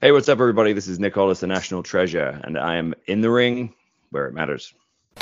Hey, what's up, everybody? This is Nicholas, the National Treasure, and I am in the ring where it matters.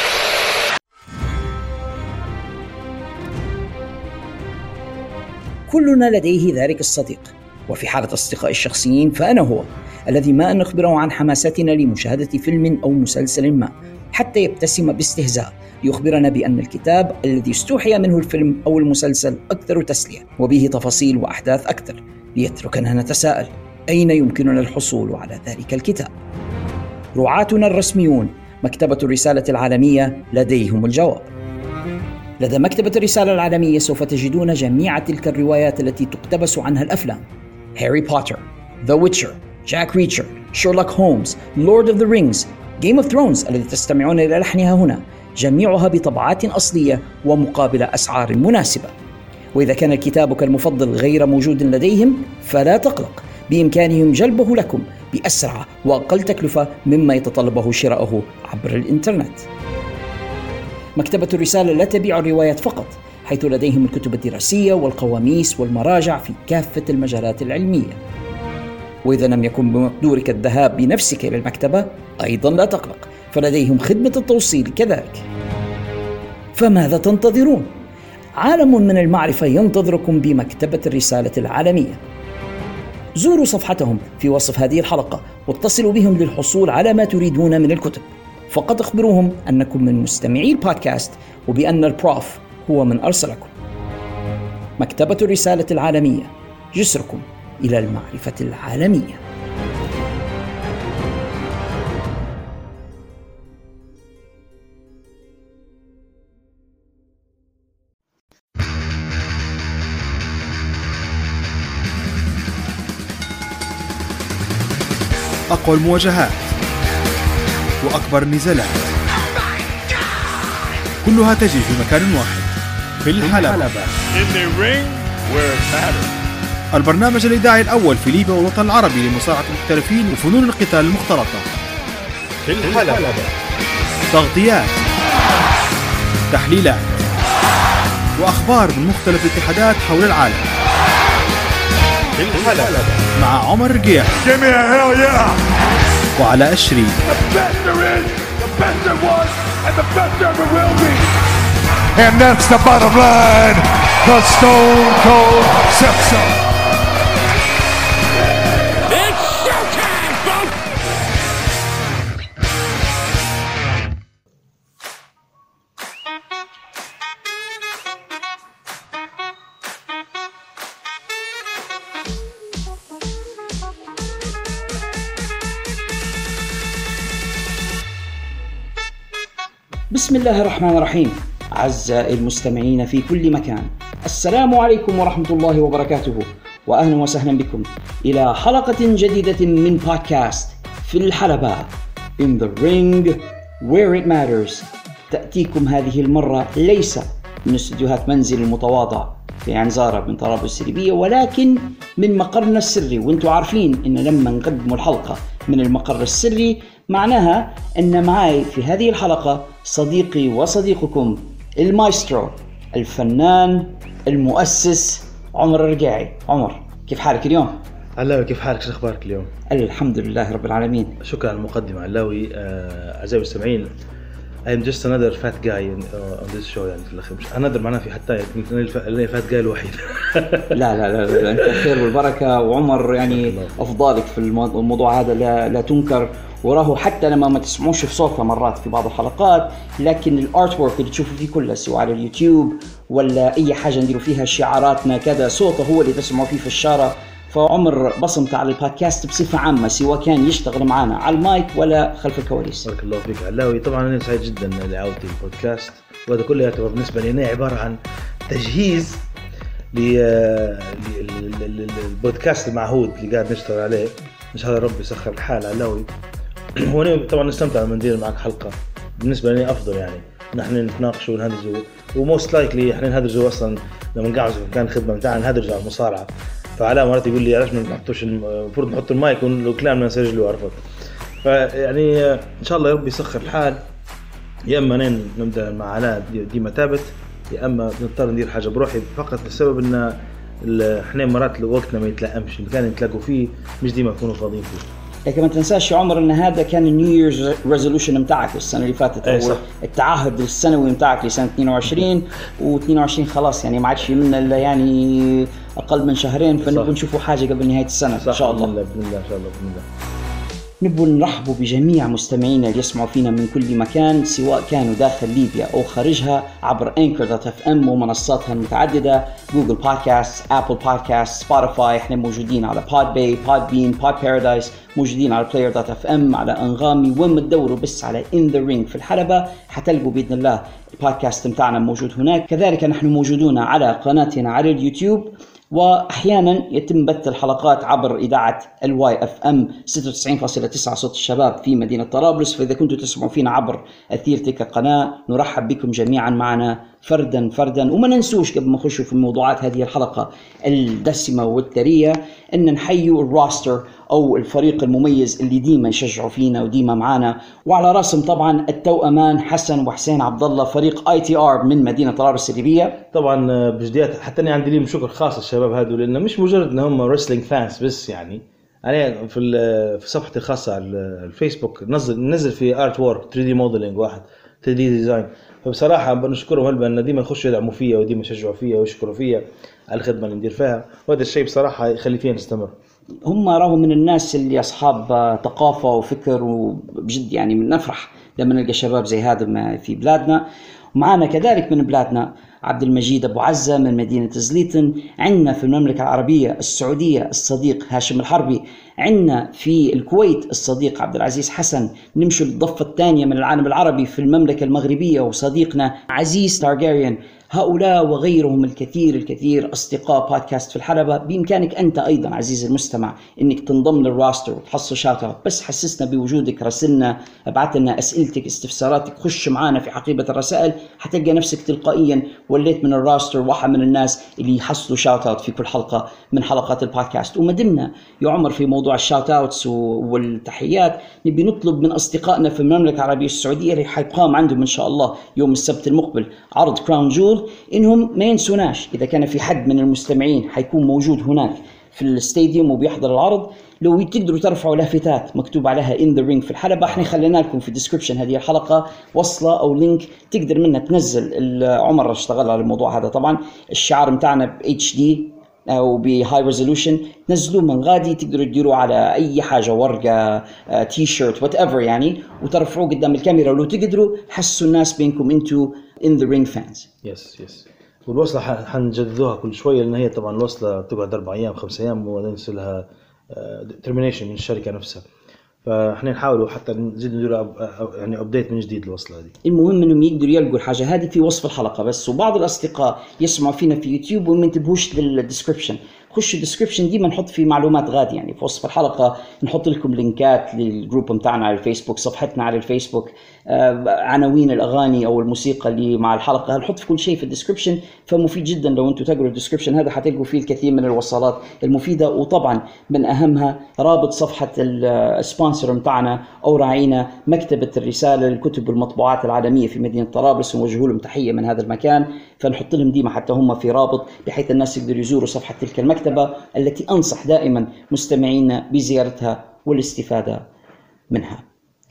كلنا لديه ذلك الصديق، وفي حالة أصدقائي الشخصيين فأنا هو الذي ما أن نخبره عن حماستنا لمشاهدة فيلم أو مسلسل ما حتى يبتسم باستهزاء ليخبرنا بأن الكتاب الذي استوحي منه الفيلم أو المسلسل أكثر تسلية وبه تفاصيل وأحداث أكثر، ليتركنا نتساءل أين يمكننا الحصول على ذلك الكتاب؟ رعاتنا الرسميون مكتبة الرسالة العالمية لديهم الجواب. لدى مكتبة الرسالة العالمية سوف تجدون جميع تلك الروايات التي تقتبس عنها الأفلام: هاري بوتر، ذا ويتشر، جاك ريتشر، شيرلوك هولمز، لورد اوف ذا رينجز، جيم اوف ثرونز الذي تستمعون إلى لحنها هنا، جميعها بطبعات أصلية ومقابل أسعار مناسبة. وإذا كان كتابك المفضل غير موجود لديهم فلا تقلق، بإمكانهم جلبه لكم بأسرع وأقل تكلفة مما يتطلبه شراؤه عبر الإنترنت. مكتبة الرسالة لا تبيع الروايات فقط، حيث لديهم الكتب الدراسية والقواميس والمراجع في كافة المجالات العلمية. وإذا لم يكن بمقدورك الذهاب بنفسك إلى المكتبة أيضا لا تقلق، فلديهم خدمة التوصيل كذلك. فماذا تنتظرون؟ عالم من المعرفة ينتظركم بمكتبة الرسالة العالمية. زوروا صفحتهم في وصف هذه الحلقة واتصلوا بهم للحصول على ما تريدون من الكتب. فقط اخبروهم أنكم من مستمعي البودكاست وبأن البروف هو من أرسلكم. مكتبة الرسالة العالمية، جسركم إلى المعرفة العالمية. أقوى المواجهات وأكبر النزالات كلها تجري في مكان واحد، في الحلبة. البرنامج الإذاعي الأول في ليبيا والوطن العربي لمصارعة المحترفين وفنون القتال المختلطة. في الحلبة تغطيات، تحليلات، وأخبار من مختلف الاتحادات حول العالم. في الحلبة مع عمر رقيح وعلى أشري. And that's the bottom line, the Stone Cold Simpson. It's showtime, folks! بسم الله الرحمن الرحيم. أعزائي المستمعين في كل مكان، السلام عليكم ورحمة الله وبركاته، وأهلا وسهلا بكم إلى حلقة جديدة من بودكاست في الحلبة In the ring where it matters. تأتيكم هذه المرة ليس من استديوهات منزل المتواضع في عنزارة من طرابلس الليبية، ولكن من مقرنا السري. وانتم عارفين إن لما نقدم الحلقة من المقر السري معناها أن معي في هذه الحلقة صديقي وصديقكم المايسترو، الفنان، المؤسس، عمر الرقاعي. عمر، كيف حالك اليوم؟ علاوي، كيف حالك؟ شو أخبارك اليوم؟ الحمد لله رب العالمين. شكرا على المقدمة علاوي. أعزائي المستمعين، I'm just another fat guy on this show. يعني في الأخير مش another معناه في حتى أنا fat guy الوحيد. لا أنت خير والبركة، وعمر يعني أفضالك في الموضوع هذا لا تنكر، وراه حتى لما ما تسمعوش في صوته مرات في بعض الحلقات، لكن الارت وورك اللي تشوفوا فيه كله سواء على اليوتيوب ولا أي حاجة نديروا فيها شعاراتنا كذا، صوته هو اللي تسمعوا فيه في الشارع. فعمر بصمت على البودكاست بصفة عامة، سواء كان يشتغل معنا على المايك ولا خلف الكواليس. بارك الله فيك علاوي. طبعا أنا سعيد جدا لعودتي البودكاست، وهذا كله يعتبر بالنسبة لي عبارة عن تجهيز للبودكاست المعهود اللي قاعد نشتغل عليه. إن شاء الله ربي يسخر الحال علاوي. هو طبعا نستمتع لما ندير معك حلقة، بالنسبة لي أفضل يعني نحن نتناقش ونهدرجوا، وموست لايكلي احنا نهدرجوا أصلا لما نقعد في مكان خدمة بتاعنا نهدرج على المصارعة. فعلى مرات يقول لي علاش ما نحطوش، المفروض نحط المايك ولو كلامنا نسجله، عرفت؟ فيعني إن شاء الله ربي يسخر الحال. يا إما نبدأ مع علاء ديما ثابت، يا اما نضطر ندير حاجه بروحي فقط لسبب ان احنا مرات وقتنا ما يتلائمش، اللي كان يتلاقوا فيه مش ديما يكونوا فاضيين فيه. لكن ما تنساش يا عمر ان هذا كان النيو ييرز ريزولوشن متاعك السنه اللي فاتت، او التعهد السنوي متاعك لسنه 22 و22 خلاص يعني ما عادش منا الا يعني اقل من شهرين، فنبغى نشوفوا حاجه قبل نهايه السنه ان شاء الله. باذن الله ان شاء الله باذن الله. نبغى نرحبوا بجميع مستمعينا اللي يسمعوا فينا من كل مكان، سواء كانوا داخل ليبيا أو خارجها، عبر Anchor.fm ومنصاتها المتعددة، جوجل بودكاست، أبل بودكاست، سبوتيفاي. احنا موجودين على Podbay، Podbean، Pod Paradise، موجودين على Player.fm، على أنغامي. وين ما تدوروا بس على In The Ring في الحلبة حتلقوا بإذن الله البودكاست متاعنا موجود هناك. كذلك نحن موجودون على قناتنا على اليوتيوب، وأحيانا يتم بث الحلقات عبر إذاعة YFM 96.9 صوت الشباب في مدينة طرابلس. فإذا كنتوا تسمعوا فينا عبر أثير تلك القناة نرحب بكم جميعا معنا فردا فردا. وما ننسوش قبل ما نخشوا في موضوعات هذه الحلقة الدسمة والثرية أن نحيوا الروستر أو الفريق المميز اللي ديما يشجعوا فينا وديما معنا، وعلى راسهم طبعا التوأمان حسن وحسين عبد الله، فريق ITR من مدينة طرابلس الليبية. طبعا بجديات حتى أنا عندي لهم شكر خاص الشباب هذول، لأنه مش مجرد أن هم ريسلينج فانس بس، يعني أنا في صفحتي الخاصة على الفيسبوك نزل في ارت وورك 3D موديلينج واحد 3D ديزاين. فبصراحة بنشكرهم هلبا أن ديما يخشوا يدعموا فيا وديما يشجعوا فيا ويشكروا فيا على الخدمة اللي ندير فيها، وهذا الشيء بصراحة يخلي فينا نستمر. هم راهم من الناس اللي أصحاب ثقافة وفكر، وبجد يعني من نفرح لما نلقى شباب زي هذا في بلادنا. ومعنا كذلك من بلادنا عبد المجيد أبو عزة من مدينة زليتن، عندنا في المملكة العربية السعودية الصديق هاشم الحربي، عندنا في الكويت الصديق عبد العزيز حسن، نمشي للضفة الثانية من العالم العربي في المملكة المغربية وصديقنا عزيز تارجاريان. هؤلاء وغيرهم الكثير أصدقاء بودكاست في الحلبة. بإمكانك أنت أيضا عزيز المستمع أنك تنضم للراستر وتحصل شاوت اوت، بس حسسنا بوجودك، راسلنا، ابعت لنا أسئلتك، استفساراتك، خش معنا في حقيبة الرسائل، حتلقى نفسك تلقائيا وليت من الراستر، واحد من الناس اللي يحصلوا شاوت اوت في كل حلقة من حلقات البودكاست. وما دمنا يا عمر في موضوع الشاوت اوتس والتحيات، نبي نطلب من أصدقائنا في المملكة العربية السعودية اللي حيقام عندهم إن شاء الله يوم السبت المقبل عرض كراون جول، إنهم ما ينسوناش إذا كان في حد من المستمعين حيكون موجود هناك في الاستاديوم وبيحضر العرض، لو تقدروا ترفعوا لافتات مكتوب عليها In The Ring في الحلبة. احنا خلينا لكم في الديسكريبشن هذه الحلقة وصلة أو لينك تقدر منها تنزل. عمر اشتغل على الموضوع هذا طبعا، الشعار متاعنا ب HD أو بهاي ريزولوشن، تنزلوه من غادي، تقدروا تديروا على أي حاجة، ورقة، تي شيرت، وات ايفر يعني، وترفعوه قدام الكاميرا، ولو تقدروا حسوا الناس بينكم انتو In The Ring fans. يس والوصلة حنجددوها كل شوية، لأن هي طبعا الوصلة تقعد 4 أيام 5 أيام وننسى لها termination من الشركة نفسها، فاحنا نحاولوا حتى نزيد ندير يعني ابديت من جديد الوصلة هذه. المهم انهم يقدروا يلقوا الحاجة هذه في وصف الحلقة بس. وبعض الأصدقاء يسمعوا فينا في يوتيوب وما ينتبهوش للديسكريبشن، خشوا الديسكريبشن ديما نحط فيه معلومات غادي، يعني في وصف الحلقة نحط لكم لينكات للجروب متاعنا على الفيسبوك، صفحتنا على الفيسبوك، عناوين الأغاني أو الموسيقى اللي مع الحلقة، هنحط في كل شيء في الديسكريبشن. فمفيد جدا لو أنتم تقروا الديسكريبشن هذا حتلقوا فيه الكثير من الوصلات المفيدة. وطبعا من أهمها رابط صفحة السبونسر متاعنا أو راعينا مكتبة الرسالة للكتب والمطبوعات العالمية في مدينة طرابلس، ونوجه لهم تحية من هذا المكان. فنحط لهم ديما حتى هم في رابط بحيث الناس يقدروا يزوروا صفحة تلك المكتبة التي أنصح دائما مستمعينا بزيارتها والاستفادة منها.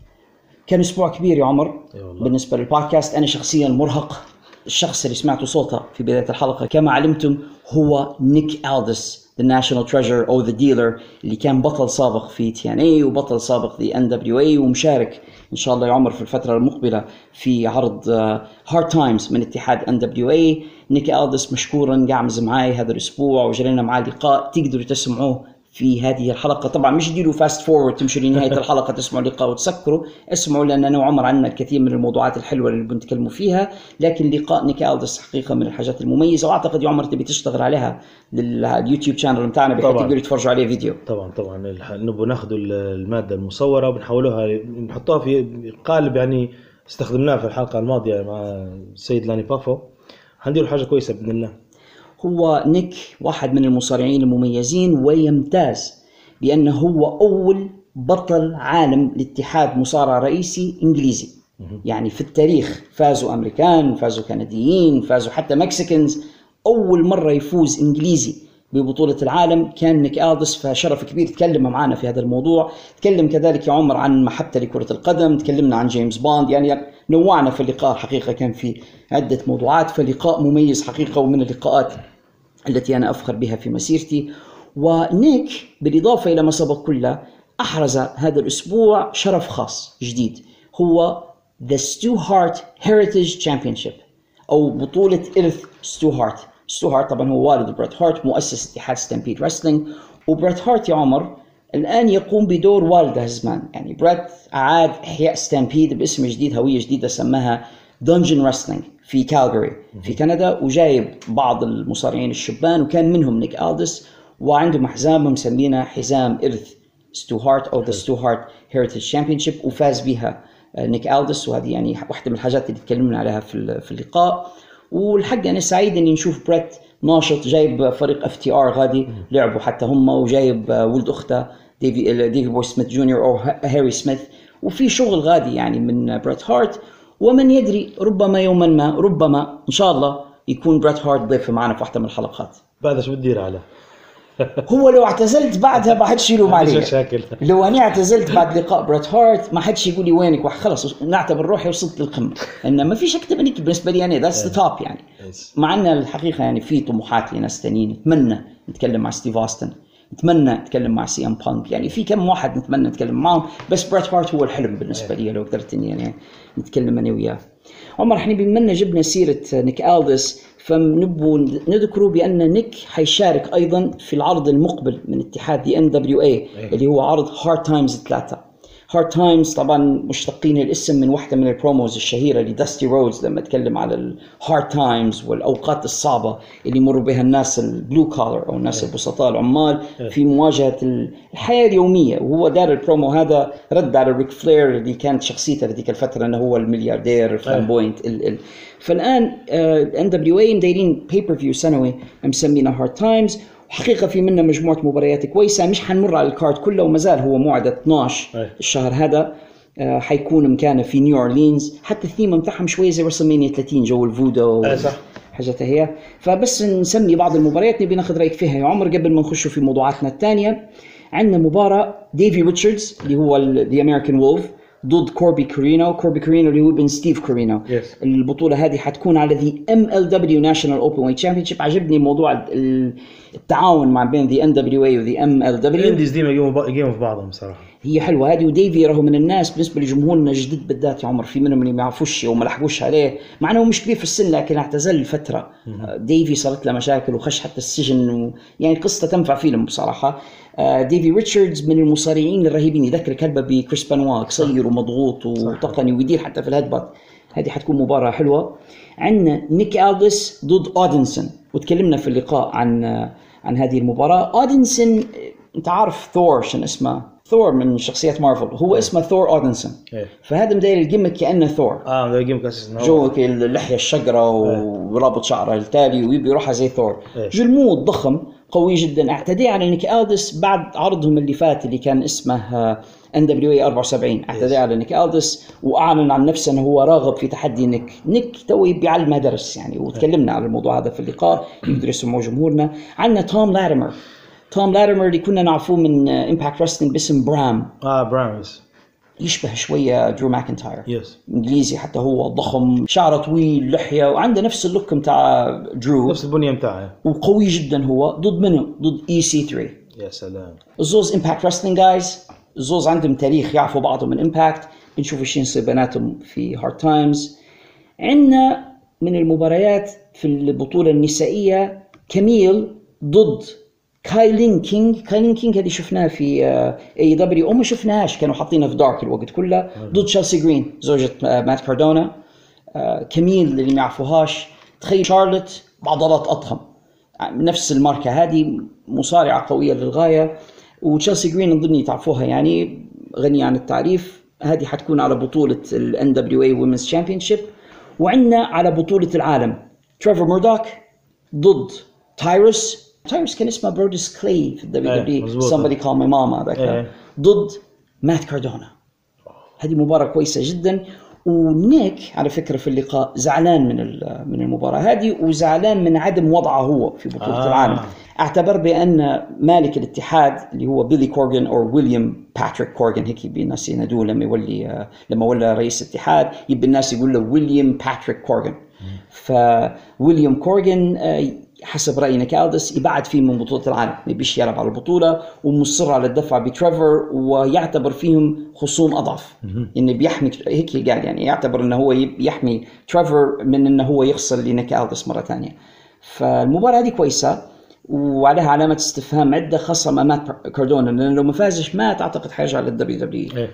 كان أسبوع كبير يا عمر بالنسبة للبودكاست. أنا شخصيا مرهق. الشخص اللي سمعته صوته في بداية الحلقة كما علمتم هو نيك ألدس، The National Treasure أو The Dealer، اللي كان بطل سابق في TNA وبطل سابق في NWA، ومشارك إن شاء الله يا عمر في الفترة المقبلة في عرض Hard Times من اتحاد NWA. نيك ألدس مشكورا قاعد معاي هذا الأسبوع وجرينا معاه لقاء تقدروا تسمعوه في هذه الحلقة. طبعا مش ديروا فاست فورورد تمشوا لنهاية الحلقة تسمعوا اللقاء وتسكروا، اسمعوا، لأن أنا وعمر عندنا الكثير من الموضوعات الحلوة اللي بنتكلموا فيها. لكن لقاء نيك ألدس حقيقة من الحاجات المميزة، وأعتقد يا عمر تبي تشتغل عليها لليوتيوب شانل متاعنا بحيث تقدروا يتفرجوا عليه فيديو. طبعا نبغى ناخذوا المادة المصورة وبنحولوها نحطوها في قالب يعني استخدمناه في الحلقة الماضية مع السيد لاني بافو. هنديروا حاجة كويسة بإذن الله. هو نيك واحد من المصارعين المميزين، ويمتاز بأنه هو أول بطل عالم لاتحاد مصارع رئيسي إنجليزي. يعني في التاريخ فازوا أمريكان، فازوا كنديين، فازوا حتى مكسيكنز، أول مرة يفوز إنجليزي ببطولة العالم كان نيك ألدس، فشرف كبير تكلم معنا في هذا الموضوع. تكلم كذلك يا عمر عن محبته لكرة القدم، تكلمنا عن جيمس بوند، يعني نوعنا في اللقاء حقيقة، كان في عدة موضوعات، فلقاء مميز حقيقة ومن اللقاءات التي أنا أفخر بها في مسيرتي. ونيك بالإضافة إلى ما سبق كله أحرز هذا الأسبوع شرف خاص جديد، هو The Stu Hart Heritage Championship أو بطولة إرث ستو هارت. ستو هارت طبعا هو والد بريت هارت، مؤسس اتحاد ستامبيد رسلينج. وبريت هارت يا عمر الآن يقوم بدور والده زمان، يعني بريت أعاد إحياء ستامبيد باسم جديد، هوية جديدة سماها دنجن رسلينج في كالغاري في كندا، وجايب بعض المصارعين الشبان وكان منهم نيك ألدس، وعندهم حزام مسمينه حزام إرث ستو هارت أو The Stu Hart Heritage Championship، وفاز بها نيك ألدس، وهذه يعني واحدة من الحاجات اللي تكلمنا عليها في اللقاء. والحق أنا سعيد إني نشوف بريت ناشط، جايب فريق FTR غادي لعبوا حتى هم، وجايب ولد أخته ديفي بوي سميث جونيور أو هاري سميث، وفي شغل غادي يعني من بريت هارت. ومن يدري ربما يوما ما، ربما إن شاء الله يكون بريت هارت ضيف معنا في واحدة من الحلقات. بعد شو بتدير على هو لو اعتزلت بعدها ما حدش يلوم علي. لو أنا اعتزلت بعد لقاء بريت هارت ما حدش يقول لي وينك، خلص نعتبر روحي وصلت للقمة. إن ما فيش أكتر منك بالنسبة لي، يعني that's the top يعني. مع أن الحقيقة يعني في طموحات لناس تانيين، نتمنى نتكلم مع ستيف أوستن، نتمنى نتكلم مع سي ام بانك، يعني في كم واحد نتمنى نتكلم معهم، بس بريت هارت هو الحلم بالنسبة لي لو قدرت إني يعني نتكلم أنا وياه. عمر احنا بما جبنا سيرة نيك ألدس، فنبو نذكروا بأن نيك حيشارك أيضا في العرض المقبل من اتحاد دي NWA اللي هو عرض هارد تايمز 3. هارد تايمز طبعا مشتقين الاسم من واحدة من البروموز الشهيرة لداستي رودز لما تكلم على الهارد تايمز والأوقات الصعبة اللي يمر بها الناس البلو كولر أو الناس البسطاء العمال في مواجهة الحياة اليومية. وهو دار البرومو هذا رد على ريك فلير اللي كانت شخصيته في ذيك الفترة أنه هو الملياردير فلامبوينت. فالآن NWA دايرين بيبر فيو سنوي مسمينه هارد تايمز، حقيقة في منه مجموعة مباريات كويسة، مش حنمر على الكارد كله، ومازال هو موعد 12 الشهر هذا. حيكون مكانه في نيو أورلينز، حتى الثيمة متاعهم شوية زي رسلمانيا 30 جو الفودو حاجتها هي. فبس نسمي بعض المباريات نبي ناخذ رأيك فيها يا عمر قبل ما نخش في موضوعاتنا الثانية. عندنا مباراة ديفي ريتشاردز اللي هو The American Wolf ضد كوربي كورينو اللي هو ابن ستيف كورينو. البطولة هذه حتكون على The MLW National Openweight Championship. عجبني موضوع التعاون مع بين The NWA و The MLW. الانديز ديما يقيموا في بعضهم صراحة، هي حلوة هذه. وديفي راه من الناس بالنسبة لجمهورنا جديد بالذات يا عمر، في منهم اللي ما يعرفوش وما لحقوش عليه، مع انه مش كبير في السن لكن اعتزل فترة. ديفي صارت له مشاكل وخش حتى السجن، يعني قصة تنفع فيلم بصراحة. ديفي ريتشاردز من المصارعين الرهيبين، يذكر كلبه بكريس بانوا، قصير ومضغوط وتقني ويدير حتى في الهدبات. هذه حتكون مباراة حلوة. عندنا نيك ألدس ضد أودنسون، وتكلمنا في اللقاء عن هذه المباراة. أودنسون انت عارف ثور شن اسمه، ثور من شخصيات مارفل، هو اسمه ثور أودنسون. فهذا مداير الجيمك كأنه ثور، مداير الجيمك أساسا جو اللحية الشقرة ورابط شعره التالي ويبي يروحها زي ثور. جلمود ضخم قوي جدا. اعتدي على نيك ألدس بعد عرضهم اللي فات اللي كان اسمه NWA 74. اعتدي على نيك ألدس وأعلن عن نفسه أنه هو راغب في تحدي نيك توي بيعلمه درس يعني، وتكلمنا على الموضوع هذا في اللقاء يقدر يسمعه جمهورنا. عندنا توم لاتيمر اللي كنا نعرفوه من إمباكت رسلينج باسم برام. برامز يشبه شوية درو ماكنتاير. إنجليزي حتى، هو ضخم، شعره طويل، لحية، وعنده نفس اللوك متاع درو، نفس البنية متاعه، وقوي جدا. هو ضد منه؟ ضد EC3. يا سلام. الزوز إمباكت رسلينج جايز، الزوز عندهم تاريخ، يعرفوا بعضهم من إمباكت. بنشوف ايش يصير بيناتهم في هارد تايمز. عندنا من المباريات في البطولة النسائية كاميل ضد كايلين كينج. هذه شفناها في AEW أو ما شفناهاش، كانوا حاطينها في دارك الوقت كله. ضد تشيلسي جرين زوجة مات كاردونا. كاميل اللي ما يعرفوهاش، تخيل شارلوت بعضلات أضخم، نفس الماركة هذه، مصارعة قوية للغاية. وتشيلسي جرين نظني تعرفوها يعني، غنية عن التعريف. هذه حتكون على بطولة ال NWA Women's Championship. وعندنا على بطولة العالم تريفر ميردوك ضد تايروس كان اسمه برودس كلي في WWE Somebody Call My Mama ذاك، ضد مات كاردونا. هذه مباراة كويسة جدا. ونيك على فكرة في اللقاء زعلان من المباراة هذه، وزعلان من عدم وضعه هو في بطولة العالم. اعتبر بأن مالك الاتحاد اللي هو بيلي كورغان أو ويليام باتريك كورغان، هيك يبي الناس ينادوه لما ولى رئيس الاتحاد، يبي الناس يقول له ويليام باتريك كورغان. فويليام كورغان حسب رأي نيك ألدس يبعد فيه من بطولة العالم، ما يبيش يلعب على البطولة، ومصر على الدفع بتريفر، ويعتبر فيهم خصوم أضعف، إنه بيحمي هيك قال، يعني يعتبر إنه هو يحمي تريفر من إنه هو يخسر لنيك ألدس مرة ثانية. فالمباراة دي كويسة وعليها علامة استفهام عدة، خاصة مع مات كاردونا، لأنه لو ما فازش مات أعتقد حيرجع للدبليو دبليو.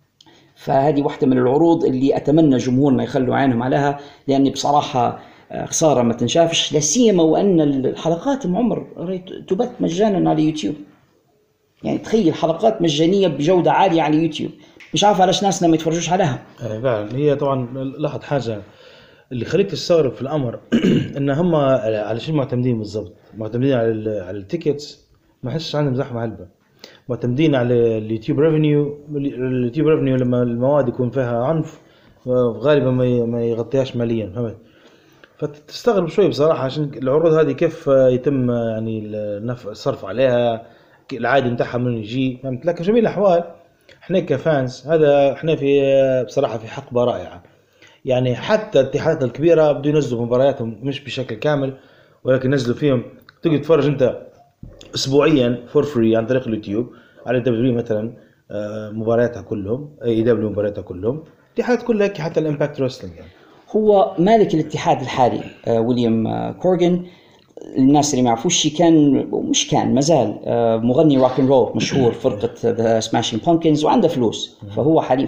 فهذه واحدة من العروض اللي أتمنى جمهورنا يخلوا عينهم عليها، لأني بصراحة خسارة ما تنشافش، لا سيما وأن الحلقات عمر تبث مجانا على يوتيوب. يعني تخيل حلقات مجانية بجودة عالية على يوتيوب، مش عارف علاش ناسنا ما يتفرجوش عليها. فعلا هي طبعا لاحظ حاجة اللي خليك تستغرب في الأمر إن هم على شيء معتمدين بالضبط، معتمدين على التيكتس، ما حسش عندهم زحمة هلبة، معتمدين على اليوتيوب ريفينيو. اليوتيوب ريفينيو لما المواد يكون فيها عنف غالبا ما يغطيهاش ماليا، فهمت؟ فتستغرب شوي بصراحة عشان العروض هذه كيف يتم يعني الصرف عليها، العادي متاعها من يجي، فهمت؟ لكن جميع الأحوال احنا كفانس هذا احنا في بصراحة في حقبة رائعة. يعني حتى الاتحادات الكبيرة بدو ينزلوا مبارياتهم مش بشكل كامل، ولكن نزلوا فيهم تقدر تتفرج انت اسبوعيا فور فري عن طريق اليوتيوب على دبليو مثلا مبارياتها كلهم، اي دبليو مبارياتها كلهم، الاتحادات كلها حتى الامباكت ريسلينج. يعني هو مالك الاتحاد الحالي ويليام كورغان، الناس اللي ما يعرفوش كان مازال مغني روك اند رول مشهور، فرقة ذا سماشينج بامكنز، وعنده فلوس. فهو حاليا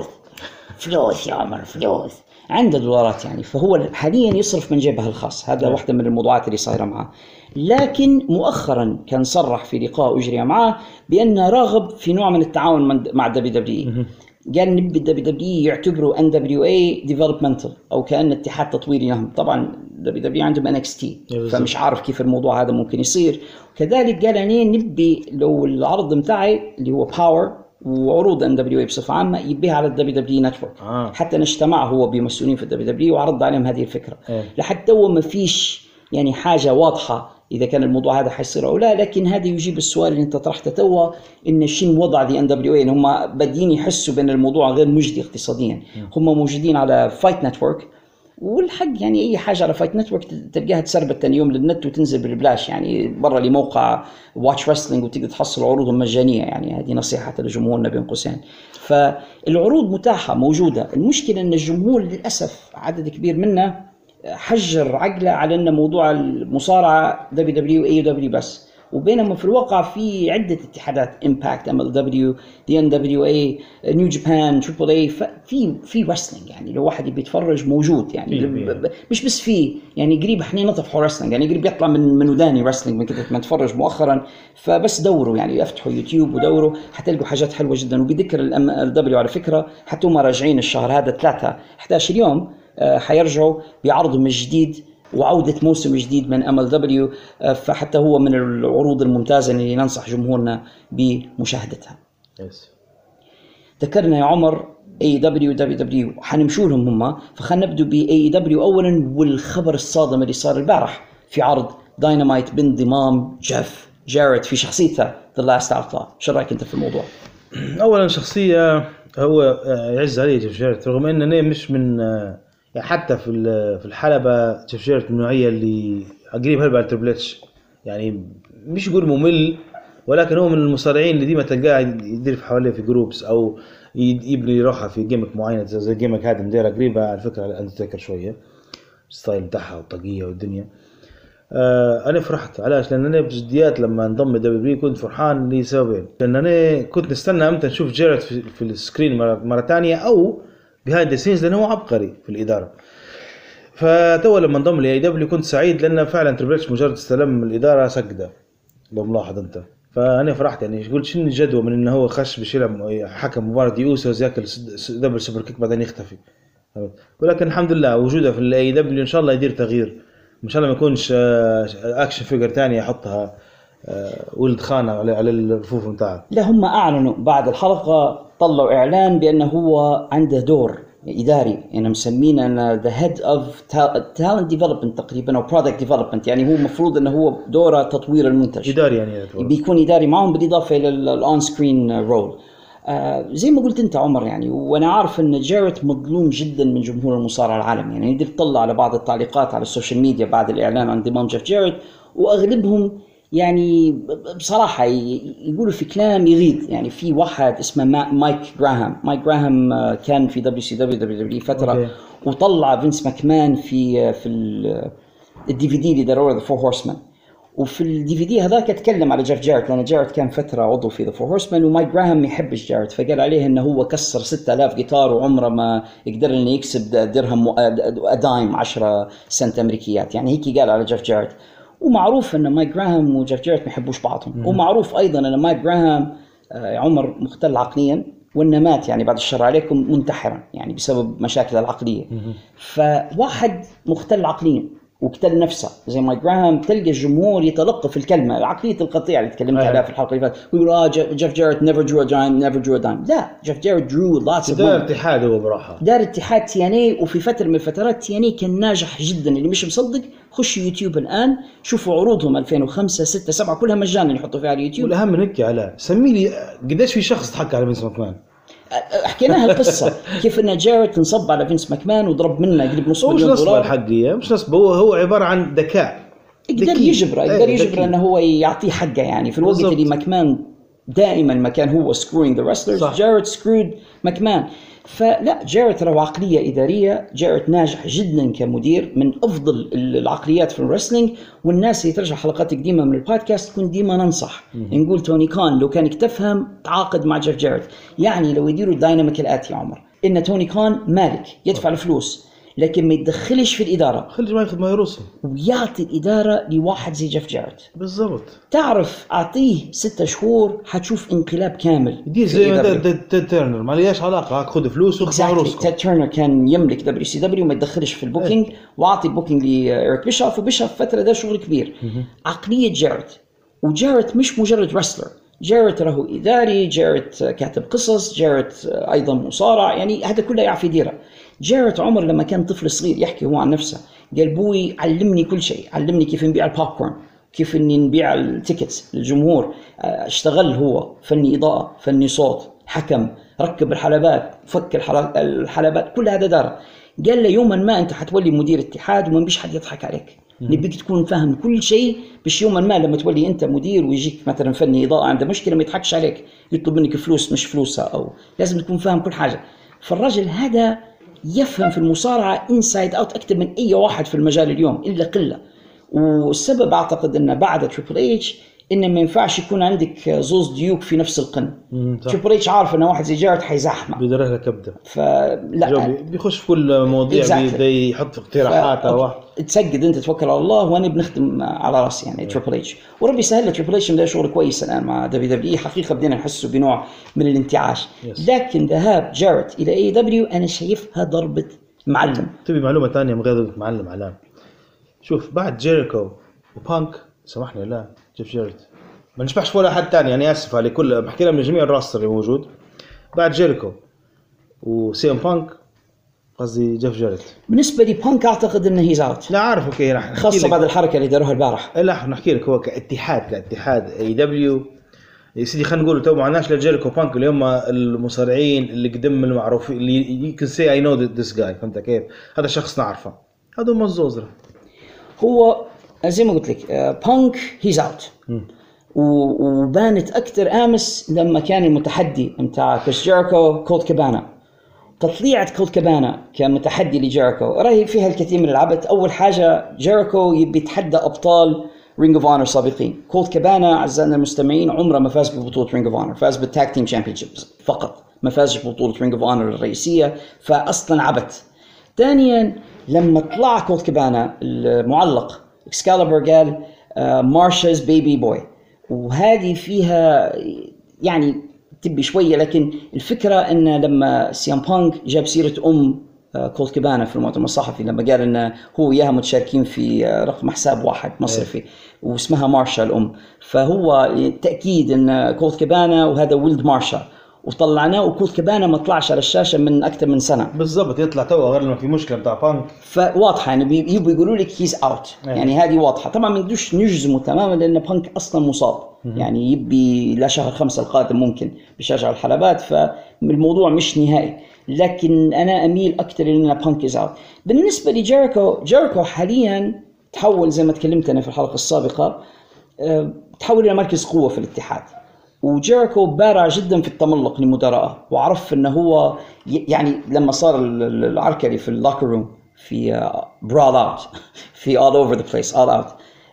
فلوس يا عمر، فلوس عنده دولارات يعني، فهو حاليا يصرف من جيبه الخاص. هذا واحدة من الموضوعات اللي صايرة معه. لكن مؤخرا كان صرح في لقاء أجري معه بأنه راغب في نوع من التعاون مع WWE. قال نبي WWE يعتبروا NWA developmental أو كأن اتحاد تطويري لهم. طبعا WWE عندهم NXT، فمش عارف كيف الموضوع هذا ممكن يصير. كذلك قال أنا نبي لو العرض متاعي اللي هو باور وعروض NWA بصفة عامة يبيها على WWE Network. حتى نجتمع هو بمسؤولين في WWE وعرض عليهم هذه الفكرة. لحد هو ما فيش يعني حاجة واضحة إذا كان الموضوع هذا حيصير أو لا، لكن هذا يجيب السؤال اللي أنت طرحته توا، إن شين وضع دي NWA، إن هم بدين يحسوا بأن الموضوع غير مجدي اقتصاديا. هم موجودين على فايت نتورك، والحق يعني أي حاجة على فايت نتورك تلقاها تسربت تاني يوم للنت وتنزل بالبلاش، يعني برا لموقع واتش رسلينج وتقدر تحصل عروضهم مجانية. يعني هذه نصيحة لجمهورنا بين قوسين. فالعروض متاحة موجودة. المشكلة أن الجمهور للأسف عدد كبير منه حجر عقله على أن موضوع المصارعة WWE AEW بس، وبينما في الواقع في عدة اتحادات Impact MLW the NWA New Japan Triple A، في wrestling يعني لو واحد بيتفرج موجود يعني مش بس في يعني قريب احنا نطفحوا wrestling، يعني قريب يطلع من وداني wrestling من كده ما نتفرج مؤخرا. فبس دوروا يعني افتحوا يوتيوب ودوروا حتلقوا حاجات حلوة جدا. وبذكر الMLW على فكرة حتى هم راجعين الشهر هذا 11 يوم حيرجعوا بعرضهم الجديد وعودة موسم جديد من MLW. فحتى هو من العروض الممتازة اللي ننصح جمهورنا بمشاهدتها. ذكرنا يا عمر AEW WWE حنمشوا لهم هم، فخلنا نبدو ب AEW أولا، والخبر الصادم اللي صار البارح في عرض داينامايت بانضمام جيف جاريت في شخصيته The Last Outlaw. شو رأيك أنت في الموضوع؟ أولا شخصية هو يعز عليه جيف جاريت، رغم أنه مش من يعني حتى في الحلبة جيف جاريت من النوعية اللي قريب هلبة على تريبل اتش، يعني مش يقول ممل، ولكن هو من المصارعين اللي ديما تلقاه يدير في حواليه في جروبس او يبني روحه في جيمك معينة زي الجيمك هذا مديرة قريبة على فكرة على أندرتيكر شوية، الستايل بتاعها والطاقية والدنيا. أنا فرحت علاش؟ لأن أنا بجديات لما انضم دبليو كنت فرحان لسببين، لأن أنا كنت نستنى أمتى نشوف جاريت في السكرين مرة تانية أو بهايند ذا سينز، لأنه هو عبقري في الإدارة. فتو لما انضم لي دبليو كنت سعيد، لأن فعلا تريبل اتش مجرد استلم الإدارة سجدة لو ملاحظ أنت. فأنا فرحت يعني قلت شنو الجدوى من إنه هو خش بشيلة حكم مباراة يوسف ياكل دبل سوبر كيك بعدين يختفي. ولكن الحمد لله وجوده في الاي دبليو ان شاء الله يدير تغيير، ان شاء الله ما يكونش اكشن فيجر ثانيه يحطها ولد خانه على الرفوف نتاعه. لا هم اعلنوا بعد الحلقه، طلعوا اعلان بانه هو عنده دور إداري، أنا مسمينه أنا the head of talent development تقريبا أو product development، يعني هو مفروض أنه هو دوره تطوير المنتج. إداري يعني بيكون إداري معهم بالإضافة إلى الأون سكرين رول. زي ما قلت أنت عمر يعني، وأنا عارف أن جاريت مظلوم جدا من جمهور المصارعة العالمي. يعني نقدر تطلع على بعض التعليقات على السوشيال ميديا بعد الإعلان عن انضمام جيف جاريت، وأغلبهم يعني بصراحة يقولوا في كلام يغيظ. يعني في واحد اسمه مايك جراهام كان في WCW فترة وطلع فينس ماكمان في الدي في دي اللي داروه The Four Horsemen، وفي الدي في دي هذاك اتكلم على جيف جاريت لأن جاريت كان فترة عضو في The Four Horsemen، ومايك جراهام يحبش جاريت فقال عليه انه هو كسر 6000 جيتار وعمره ما يقدر انه يكسب درهم دايم 10 سنت امريكيات. يعني هيك قال على جيف جاريت. ومعروف ان مايك جراهام وجيف جاريت ما يحبوش بعضهم، ومعروف ايضا ان مايك جراهام عمر مختل عقليا وانه مات يعني بعد الشر عليكم منتحرا يعني بسبب مشاكل العقليه. فواحد مختل عقليا وقتل نفسه زي مايك جراهام تلقى الجمهور يتلقف الكلمه عقليه القطيع اللي تكلمت عليها في الحلقه اللي فاتت، ويقول جيف جاريت never drew a dime. لا، جيف جاريت drew lots of دار اتحاد هو براحه، دار اتحاد TNA، وفي فتره من الفترات TNA كان ناجح جدا. اللي مش مصدق خش يوتيوب الان شوفوا عروضهم 2005 6 7 كلها مجانا يحطوا فيها على اليوتيوب. والاهم من هيك على سمي لي قديش في شخص ضحك على فينس ماكمان. حكيناها القصة كيف ان جاريت انصب على فينس ماكمان وضرب منه قريب نص مليون دولار. مش نصب الحقيقة، مش نصب، هو عبارة عن ذكاء يقدر يجبر انه هو يعطيه حقه. يعني في الوقت اللي ماكمان دائما ما كان هو screwing the wrestlers، جاريت screwed ماكمان. فلا، جاريت له عقلية إدارية، جاريت ناجح جدا كمدير، من أفضل العقليات في الرسلينج. والناس اللي ترجع حلقات قديمة من البودكاست كنت ديما ننصح نقول توني كان لو كانك تفهم تعاقد مع جيف جاريت. يعني لو يديروا الدايناميك الآتي يا عمر، إن توني كان مالك يدفع الفلوس لكن ما يتدخلش في الإدارة، خلي ما ياخذ ما يرسم ويعطي الإدارة لواحد زي جيف جاريت. بالضبط. تعرف أعطيه 6 شهور حتشوف انقلاب كامل. يدير زي ما تيد تيرنر، ما ليش علاقة، خذ فلوس وخذ رسم. تيد تيرنر كان يملك WCW وما يتدخلش في البوكينج، وعطي البوكينج لإيريك بيشوف، وبيشوف فترة ده شغل كبير. عقلية جاريت، وجاريت مش مجرد رسلر، جاريت له إداري، جاريت كاتب قصص، جاريت أيضا مصارع، يعني هذا كله يعرف يديره. جاريت عمر لما كان طفل صغير يحكي هو عن نفسه، قال بوي علمني كل شيء، علمني كيف نبيع البوب كورن، كيف اني نبيع التيكتس للجمهور. اشتغل هو فني إضاءة، فني صوت، حكم، ركب الحلبات، فك الحلبات، كل هذا دار. قال له يوما ما انت حتولي مدير اتحاد وما بيش حد يضحك عليك، نبيك تكون فاهم كل شيء، بش يوما ما لما تولي انت مدير ويجيك مثلا فني إضاءة عنده مشكلة ما يضحكش عليك، يطلب منك فلوس مش فلوسها، او لازم تكون فاهم كل حاجة. فالرجل هذا يفهم في المصارعة inside out أكثر من أي واحد في المجال اليوم إلا قلة. والسبب أعتقد أنه بعد تريبل إيتش إنه ما ينفعش يكون عندك زوز ديوك في نفس القن. تريبل إيتش عارف إنه واحد زي جاريت حيزحمه، بيدره له كبده، فلا بيخش في كل مواضيع، بيدي يحط اقتراحات واحد. تسجد أنت توكل على الله، وأنا بنخدم على راسي يعني تريبل إيتش، وربي سهل. تريبل إيتش ده شغل كويس الآن مع WWE، حقيقة بدينا نحسه بنوع من الانتعاش. لكن ذهاب جاريت إلى AEW أنا شايفها ضربة معلم. تبي معلومة ثانية من غير ضربة معلم علام؟ شوف، بعد جيريكو وبانك سامحني لا جيف جاريت ما نشبحش ولا حد تاني، يعني اسف على كل بحكي لهم من جميع الراستر اللي موجود. بعد جيريكو وسيم بانك قصدي جيف جاريت، بالنسبه لي بانك اعتقد انه هيز اوت. لا عارف اوكي، راح خاصه بعد الحركه اللي داروها البارح. لا نحكي لك، هو كاتحاد AEW يا سيدي، خلينا نقول تو معناش لجيريكو بانك اللي هم المصارعين اللي قدم المعروفين اللي you can say I know this guy، فهمت كيف؟ هذا شخص نعرفه، هذا مزوزره. هو زي ما قلت لك بانك هيز اوت، وبانت اكثر امس لما كان المتحدي متاع كريس جيريكو كولت كابانا. تطليعة كولت كابانا كمتحدي لجيريكو راهي فيها الكثير من العبث. اول حاجه جيريكو يبي يتحدى ابطال رينج اوف اونر سابقين. كولت كابانا اعزائنا المستمعين عمره ما فاز ببطوله رينج اوف اونر، فاز بالتاج تيم تشامبيونشيبس فقط، ما فاز ببطوله رينج اوف اونر الرئيسيه، فاصلا عبث. ثانيا لما طلع كولت كابانا المعلق اكسكاليبر قال مارشا's بيبي بوي، وهذه فيها يعني تبي شويه، لكن الفكره ان لما سيام بانك جاب سيره كولت كابانا في المؤتمر الصحفي لما قال انه هو وياها متشاركين في رقم حساب واحد مصرفي واسمها مارشا الام، فهو تاكيد ان كولت كابانا وهذا ولد مارشا، وطلعناه وكول كابانا ما طلعش على الشاشه من اكثر من سنه بالضبط، يطلع تو غير لما في مشكله بتاع بانك. فواضحه يعني يبوا يقولوا لك هيز اوت، يعني هذه واضحه. طبعا ما نقدرش نجزمه تماما لان بانك اصلا مصاب، يعني يبي لا شهر 5 القادم ممكن بيشجع الحلبات، فالموضوع مش نهائي. لكن انا اميل اكثر ان بانك از اوت. بالنسبه لجيريكو حاليا تحول زي ما تكلمت انا في الحلقه السابقه، تحول الى مركز قوه في الاتحاد. وجيريكو بارع جدا في التملق لمدراءه، وعرف انه هو يعني لما صار العركه في اللوكر روم في براد اوت في all over the place all out،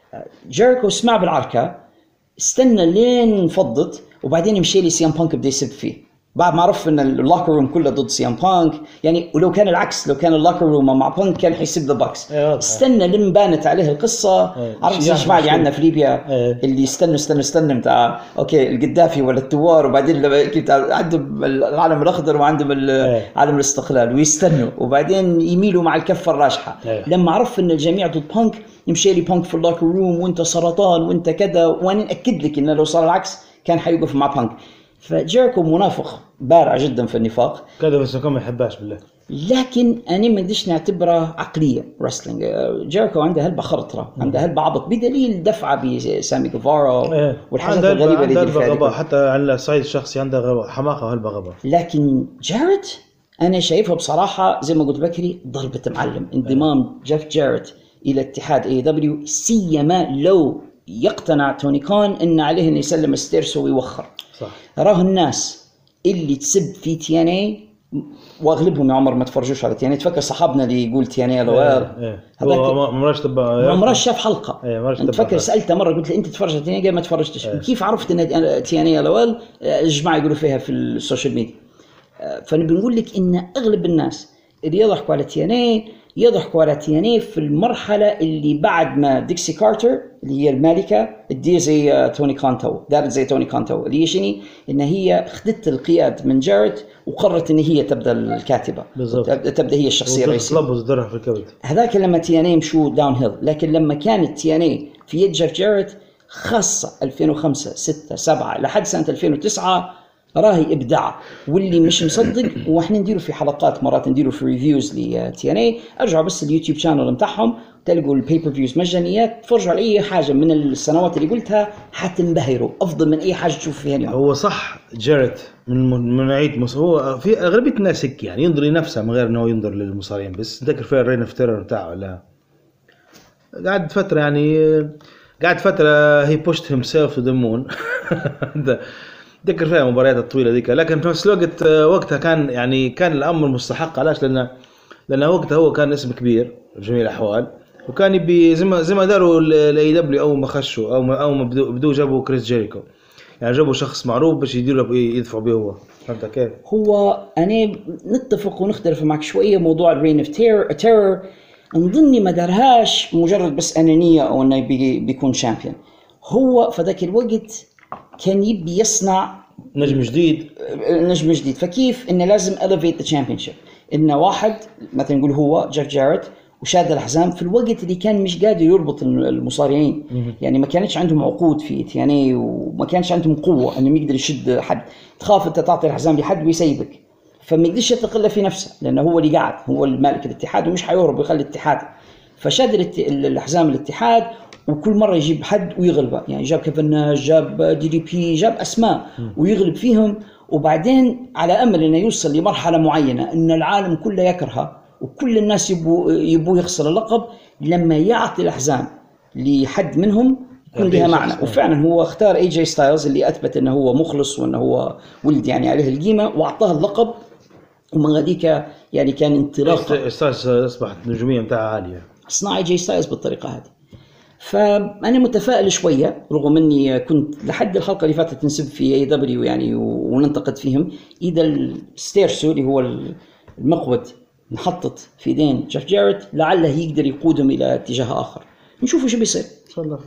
جيريكو سمع بالعركه، استنى لين فضت، وبعدين مشي لي سيام بانك بده يسب فيه بعد ما عرف ان اللوكر روم كله ضد سيام بانك. يعني ولو كان العكس، لو كان اللوكر روم مع بانك كان حيسب ذا باكس. استنى لما بانت عليه القصه. عرفت زي الجماعه اللي عندنا في ليبيا اللي استنى بتاع اوكي القدافي ولا التوار، وبعدين عندهم العلم الاخضر وعندهم علم الاستقلال ويستنوا، وبعدين يميلوا مع الكفه الراجحه. لما عرف ان الجميع ضد بانك يمشي لي بانك في اللوكر روم وانت سرطان وانت كذا، وانا اكد لك انه لو صار العكس كان حيوقف مع بانك. فجيريكو منافق بارع جدا في النفاق كذا، بس كم ما يحبهاش بالله. لكن انا ما بديش نعتبره عقليه رسلينج. جيريكو عنده هلبة خرطره، عنده هلبة عبط، بدليل دفعه بسامي جيفارا والحاجات الغريبه اللي فيها. حتى على الصعيد الشخصي عنده حماقه وهلبة غبا. لكن جاريت انا شايفها بصراحه زي ما قلت بكري ضربه معلم. انضمام جيف جاريت الى اتحاد اي دبليو، سيما لو يقتنع توني كان ان عليه انه يسلم الستيرسو ويوخر. صح. راه الناس اللي تسب في تي ان اي واغلبهم يا عمر ما تفرجوش على تي ان اي. تفكر صحابنا اللي يقول تي ان اي لوال هو مرش شاف حلقه. تفكر سالته مره قلت له انت تتفرج على تي ان اي؟ قال ما تفرجتش. كيف عرفت ان تي ان اي لوال؟ الجماعه يقولوا فيها في السوشيال ميديا. فنقول لك ان اغلب الناس اللي يضحكوا على تي ان اي يضحكوا على تي ان اي في المرحله اللي بعد ما ديكسي كارتر اللي هي المالكه تدير زي توني كانتو، دارت زي توني كانتو، اللي هي شنو؟ ان هي خدت القياد من جاريت وقررت ان هي تبدا الكاتبه بالضبط، تبدا هي الشخصيه الرئيسيه، تلبس درها في الكبد. هذاك لما تي ان اي مشوا داون هيل. لكن لما كانت تي ان اي في يد جيف جاريت خاصه 2005 6 7 لحد سنه 2009 راهي ابداع. واللي مش مصدق واحنا نديروا في حلقات مرات نديروا في ريفيوز لتي ان اي، ارجعوا بس اليوتيوب شانل نتاعهم تلقوا البيبر فيوز مجانيات، تفرجوا على اي حاجه من السنوات اللي قلتها حتنبهروا، افضل من اي حاجه تشوف فيها اليوم. هو صح جاريت من نوعيه هو في اغلبيه الناس هيك يعني ينظر لنفسه من غير انه ينظر للمصارعين بس. ذكر فيها الرين اوف تيرر بتاعه ولا قعد فتره هي بوشت هيم سيلف تو ذا مون ذكر فيها مباريات الطويله ذيك. لكن في نفس الوقت وقتها كان الامر مستحق. علاش؟ لان وقتها هو كان اسم كبير بجميع الاحوال، وكان يبي زي ما داروا الاي دبليو اول ما خشوا او ما بدو جابوا كريس جيريكو، يعني جابوا شخص معروف باش يدفعوا به هو. فهمت كيف؟ هو انا نتفق ونختلف معك شويه. موضوع الرين اوف تيرر نظني ما دارهاش مجرد بس انانيه او انه بيكون شامبيون. هو في ذاك الوقت كان يبي يصنع نجم جديد. فكيف إنه لازم elevate the championship. إنه واحد مثلا نقول هو جيف جاريت وشاد الحزام في الوقت اللي كان مش قادر يربط المصارعين، يعني ما كانش عندهم عقود في تياني وما كانش عندهم قوة إنه يقدر يشد حد. تخاف أنت تعطي الحزام لحد ويسيبك، فما يقدرش يتقل في نفسه لأنه هو اللي قاعد، هو المالك الاتحاد ومش حيهرب ويخلي الاتحاد. فشاد الحزام الاتحاد وكل مرة يجيب حد ويغلبه، يعني جاب كيفن ناش، جاب دي بي، جاب أسماء ويغلب فيهم. وبعدين على أمل إنه يوصل لمرحلة معينة إن العالم كله يكرهه وكل الناس يبوه يخسر اللقب، لما يعطي الأحزام لحد منهم يكون لها معنى. وفعلا هو اختار AJ ستايلز اللي أثبت إنه هو مخلص وإنه هو ولد يعني عليه القيمة، وأعطاه اللقب. ومن غاديك يعني كان انطلاق. ستايلز أصبحت نجومية متاعها عالية. صنع AJ ستايلز بالطريقة هذه. فأنا متفائل شوية رغم أني كنت لحد الحلقة اللي فاتت نسب في اي دبليو يعني وننتقد فيهم. إذا الستيرسو اللي هو المقود نحطت في يدين جيف جاريت لعله يقدر يقودهم إلى اتجاه آخر، نشوفوا شو بيصير إن شاء الله.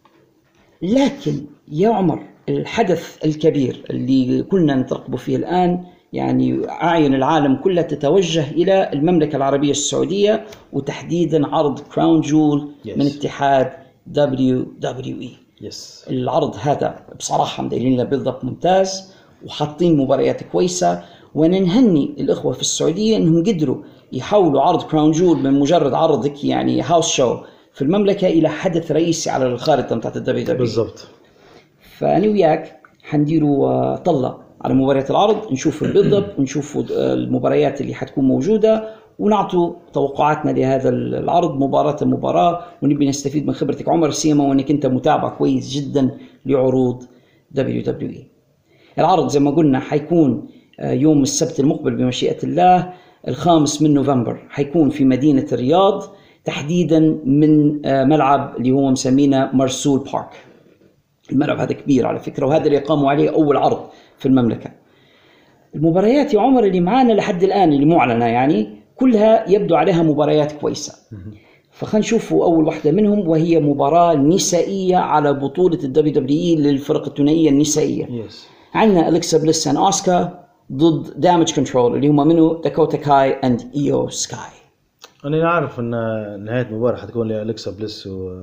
لكن يا عمر الحدث الكبير اللي كلنا نترقبه فيه الآن، يعني أعين العالم كله تتوجه إلى المملكة العربية السعودية وتحديدا عرض كراون جول من اتحاد WWE. yes. العرض هذا بصراحة مديرين له بيلد اب ممتاز، وحاطين مباريات كويسة. وننهني الإخوة في السعودية أنهم قدروا يحولوا عرض كراون جول من مجرد عرض يعني هاوس شو في المملكة إلى حدث رئيسي على الخارطة متاعت الدبليو دبليو. بالضبط. فأنا وياك حنديروا طلة على مباريات العرض، نشوف البيلد اب ونشوف المباريات اللي حتكون موجودة، ونعطوا توقعاتنا لهذا العرض مباراة، ونبي نستفيد من خبرتك عمر سيما، وانك انت متابع كويس جدا لعروض WWE. العرض زي ما قلنا حيكون يوم السبت المقبل بمشيئة الله 5 من نوفمبر، حيكون في مدينة الرياض، تحديدا من ملعب اللي هو مسمينه مرسول بارك. الملعب هذا كبير على فكرة، وهذا اللي قاموا عليه أول عرض في المملكة. المباريات يا عمر اللي معانا لحد الآن اللي معلنة يعني كلها يبدو عليها مباريات كويسة. فخلينا نشوفوا أول واحدة منهم، وهي مباراة نسائية على بطولة WWE للفرق الثنائية النسائية. عندنا أليكسا بليس and أوسكا ضد دامج كنترول اللي هم منه داكوتا كاي and إيو سكاي. أنا عارف أن نهاية المباراة حتكون لأليكسا بليس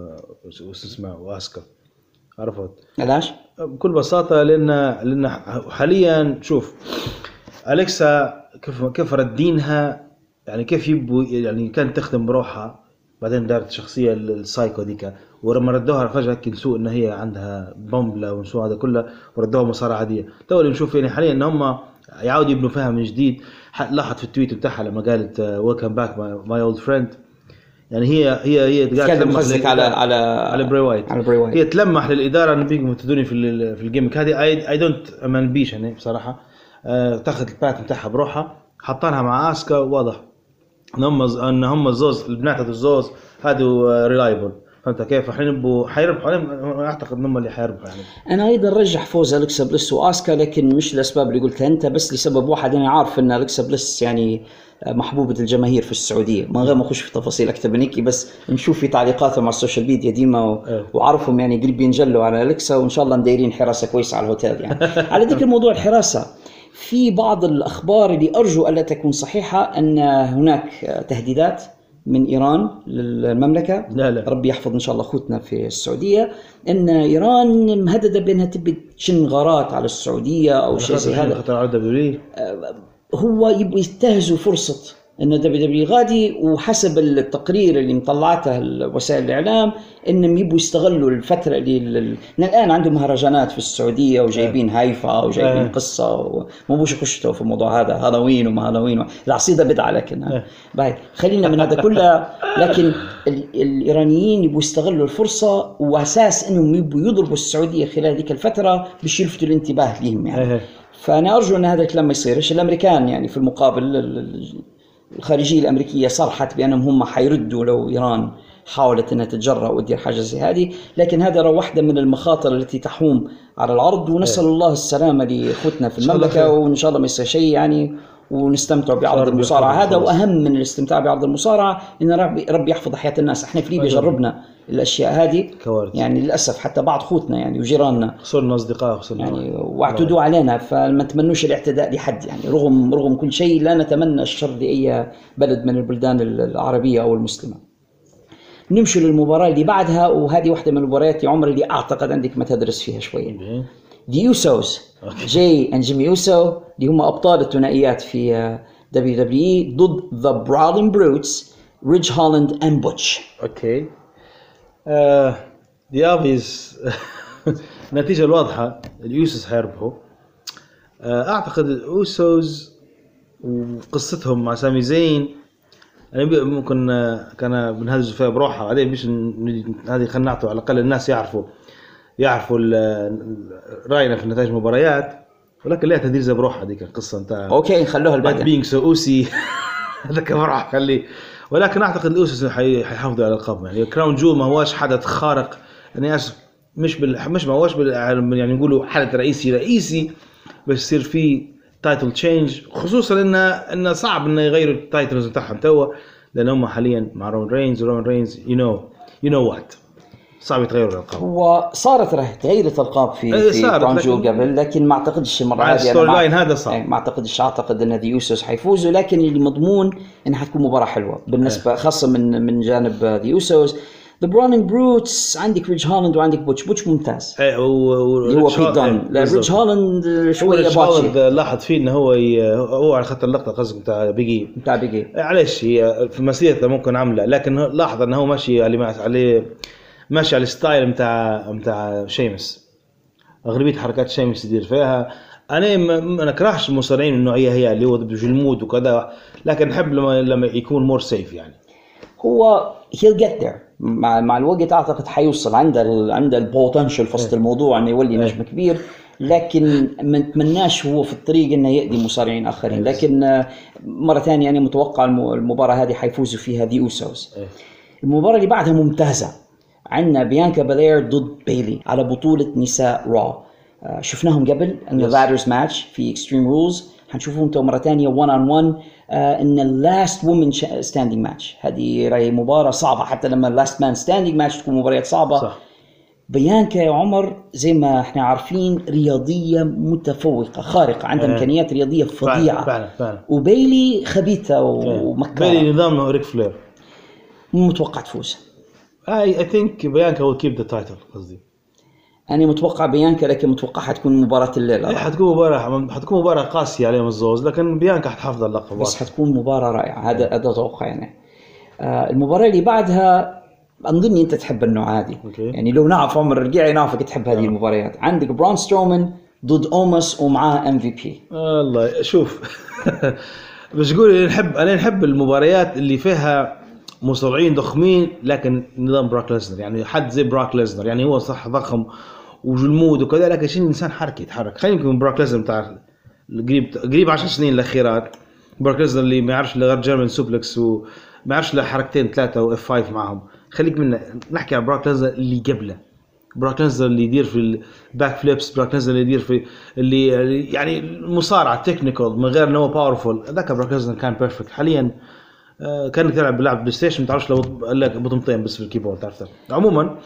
وأسكا. عرفت علاش؟ بكل بساطة لأن حاليا شوف أليكسا كيف ردينها، يعني كيف يبوا يعني كانت تخدم بروحها، بعدين دارت شخصية السايكو ديكا، ولما ردوها فجأة كنسوا إن هي عندها بومبلا ونسوا هذا كله وردوها مصارعة عادية. تو اللي نشوف يعني حاليا إن هم يعاودوا يبنوا فيها من جديد. لاحظ في التويت بتاعها لما قالت ويلكم باك ماي اولد فريند، يعني هي تلمح على بري وايت. هي تلمح للإدارة إن بيجوا تدوني في الجيمك هذه. اي دونت امن بيش يعني بصراحة. تاخذ البات بتاعها بروحها، حطانها مع اسكا، واضح ان هم الزوز البنات الزوز هادو ريلايبل. فهمت كيف؟ حيربحوا اعتقد انهم اللي حيربحوا يعني. انا ايضا رجح فوز اليكسا بليس واسكا، لكن مش الاسباب اللي قلتها انت، بس لسبب واحد. انا عارف ان اليكسا بليس يعني محبوبة الجماهير في السعودية، من غير ما اخش في تفاصيل اكثر من هيك، بس نشوف في تعليقاتهم على السوشيال ميديا ديما وعرفهم يعني قريب ينجلوا على اليكسا، وان شاء الله مدايرين حراسة كويسة على الهوتيل يعني. على ذكر موضوع الحراسة، في بعض الأخبار اللي أرجو ألا تكون صحيحة أن هناك تهديدات من إيران للمملكة. لا. ربي يحفظ إن شاء الله أخوتنا في السعودية، أن إيران مهددة بأنها تبي تشن غارات على السعودية أو شيء زي هذا. هو يبغوا ينتهزوا فرصة أن WWE غادي، وحسب التقرير اللي مطلعته وسائل الإعلام إنهم يبغوا يستغلوا الفترة اللي الآن عندهم مهرجانات في السعودية وجايبين هايفا وجايبين قصة، وما بوش يخشوا في الموضوع هذا، هالوين وما هالوين، العصيدة بدعة لكن باي خلينا من هذا كله. لكن الإيرانيين يبغوا يستغلوا الفرصة، وأساس إنهم يبغوا يضربوا السعودية خلال ذيك الفترة باش يلفتوا الانتباه لهم يعني. فأنا أرجو أن هذا الكلام ما يصيرش. الأمريكان يعني في المقابل الخارجية الأمريكية صرحت بأنهم هم حيردوا لو إيران حاولت أنها تتجرأ وتدير حاجة زي هذه، لكن هذا واحدة من المخاطر التي تحوم على العرض، ونسأل الله السلامة لأخوتنا في المملكة، وإن شاء الله ما يصير شيء يعني، ونستمتع بعرض المصارعة هذا. وأهم من الاستمتاع بعرض المصارعة إن ربي يحفظ حياة الناس. احنا في ليبيا جربنا الأشياء هذه يعني للأسف، حتى بعض أخوتنا يعني وجيراننا صرنا أصدقاء يعني واعتدوا علينا، فما نتمنوش الاعتداء لحد يعني، رغم كل شيء لا نتمنى الشر لأي بلد من البلدان العربية أو المسلمة. نمشي للمباراة اللي بعدها، وهذه واحدة من المباريات يا عمر اللي أعتقد عندك ما تدرس فيها شوية. The Usos جاي and Jimmy Uso اللي هم أبطال الثنائيات في WWE ضد The Brawling Brutes Ridge Holland and Butch. أوكي. The obvious النتيجة الواضحة اليوسوس حيربحوا. أعتقد الأوسوس وقصتهم مع سامي زين يعني ممكن كان بنهزوا فيها بروحها، بعدين بيش هذه خلنا نعطوا على الأقل الناس يعرفوا رأينا في نتائج المباريات، ولكن ليها تدير زي بروحها ديك القصة انتهى. اوكي نخلوها البعد بينج سو اوسي هذا كبروح خليه. ولكن اعتقد الاوسس حيحافظوا على القب يعني. كراون جول ما هواش حدث خارق، انا اسف مش ما هواش يعني نقولوا حدث رئيسي بس يصير فيه تايتل تشينج، خصوصا انه صعب انه يغيروا التايتلز بتاعهم توا، لان هم حاليا مع رون رينز you know what صعب يتغيروا الألقاب. وصارت تغيرت الألقاب في كراون جول قبل، لكن ما أعتقدش المرة هذه هذا صعب. ما أعتقد أن ذا يوسوس حيفوزوا، لكن اللي مضمون إنها حتكون مباراة حلوة بالنسبة خاصة من جانب ذا يوسوس. The Brawling Brutes عندك ريج هالاند وعندك بوتش ممتاز. اللي هو بيت دان. لا ريج هالاند شويه باتشي. لاحظ فيه انه هو على خط اللقطه قصدك بتاع بيجي معلش هي في مسيرته ممكن عامله، لكن لاحظ انه هو ماشي عليه ماشي على الستايل بتاع شيمس. اغلبيه حركات شيمس يدير فيها. انا ما نكرهش المصارعين النوعيه هي اللي هو بالجلمود وكذا، لكن نحب لما يكون مور سيف يعني. هو he'll get there مع الوقت. اعتقد حيوصل عنده البوتنشل في وسط الموضوع انه يولي نجم كبير، لكن ما نتمناش هو في الطريق انه يأذي مصارعين اخرين. لكن مره ثانيه انا متوقع المباراه هذه حيفوزوا فيها ذا اوسوس. المباراه اللي بعدها ممتازه، عندنا بيانكا بالير ضد بيلي على بطوله نساء را. شفناهم قبل ان اللادرز ماتش في اكستريم رولز، حنشوفهم تو مره ثانيه 1 on 1 ان اللاست وومن ستاندينج ماتش. هذه راي مباراه صعبه، حتى لما اللاست مان ستاندينج ماتش تكون مباريات صعبه. صح. بيانكا يا عمر زي ما احنا عارفين رياضيه متفوقه خارقه، عندها امكانيات رياضيه فظيعه فعلا. وبيلي خبيثه ومكاره. بيلي نظام ريك فلير. متوقع تفوز. I think بيانكا will keep the title قصدي. أنا متوقع بيانكا، لكن متوقع حتكون مباراة الليلة. حتكون مباراة قاسية عليهم الزوز، لكن بيانكا حتحافظ اللقب. بس حتكون مباراة رائعة، هذا توقع يعني. المباراة اللي بعدها أظن أنت تحب النوع هذه. يعني لو نعرف عمر الرقيعي نعرفك تحب هذه المباريات. عندك برون سترومان ضد أوموس ومعاه MVP. الله شوف بس قولي أنا نحب المباريات اللي فيها مصارعين ضخمين لكن نظام براك ليزنر، يعني حد زي براك ليزنر، يعني هو صح ضخم وجلمود وكذا، لكن شيء الانسان يتحرك. خلينا نكون براك ليزنر بتاع قريب 10 سنين الاخيرات. براك ليزنر اللي ما يعرفش غير جيرمان سوبلكس وما يعرفش الا حركتين 3 و F5 معهم. خليك منا نحكي عن براك ليزنر اللي قبله. براك ليزنر اللي يدير في الباك فليبس، براك ليزنر اللي يدير في اللي يعني المصارعه تكنيكال من غير انه باورفول. ذاك براك ليزنر كان بيرفكت. حاليا كانك تلعب بلعب بلاي ستيشن ما تعرفش لو لك بطمتين بس في الكيبورد تعرف. عموما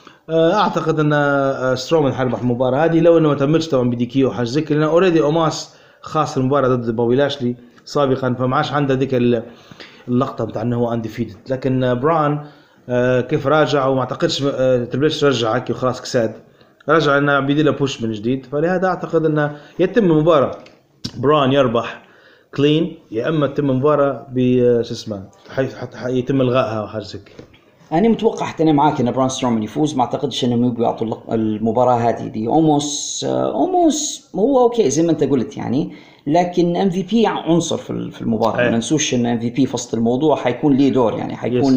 اعتقد ان سترومان حيربح المباراه هذه لو انه ما تمتش طبعا بدي كيو حاجه زي كذا، لان اوريدي اوماس خاص المباراه ضد بوبي لاشلي سابقا، فما عادش عنده ذيك اللقطه بتاع انه هو انديفيتد. لكن بران كيف راجع وما اعتقدش تربلش رجع هيك وخلاص كساد، رجع انه بيدي له بوش من جديد. فلهذا اعتقد انه يتم المباراه بران يربح كلين، يا اما تتم مباراه شو اسمه يتم الغائها وحاجه زي كذا. انا متوقع حتى انا معاك ان برون سترومان يفوز. ما اعتقدش انهم يعطوا المباراه هذه دي اوموس هو اوكي زي ما انت قلت يعني، لكن MVP عنصر في المباراه. ما ننسوش ان MVP في وسط الموضوع حيكون ليه دور، يعني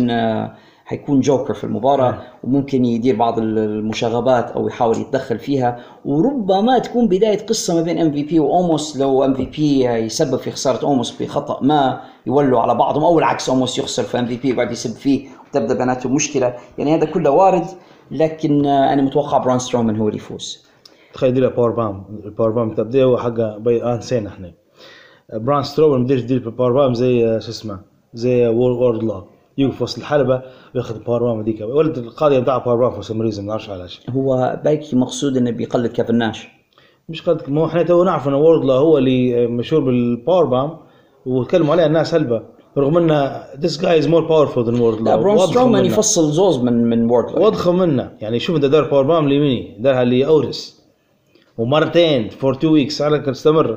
حيكون جوكر في المباراة وممكن يدير بعض المشاغبات أو يحاول يتدخل فيها، وربما تكون بداية قصة ما بين MVP وأوموس. لو MVP يسبب في خسارة أوموس بخطأ ما يولوا على بعضهم، أو العكس أوموس يخسر في MVP وبعد يسب فيه وتبدأ بيناتهم مشكلة. يعني هذا كله وارد، لكن أنا متوقع برون سترومان هو اللي يفوز. تخيل يدير الباور بام تبدأ هو حقه نسينا احنا برون سترومان بديش يدير الباور بام زي شو اسمه زي وورد لا يوقف وسط الحلبة وياخذ الباور بام ديك. ولد القاضي بتاع الباور بام في سمريزم ما نعرفش علاش. هو باكي مقصود انه بيقلد كيفن ناش. مش قد ما احنا تو نعرف ان وورد لا هو اللي مشهور بالباور بام وتكلموا عليه الناس هلبة، رغم ان this guy is more powerful than وورد لا. برون سترومان يفصل زوز من وورد لا. واضخم منه يعني. شوف انت دار باور بام ليميني دارها لي اورس ومرتين for 2 weeks على تستمر.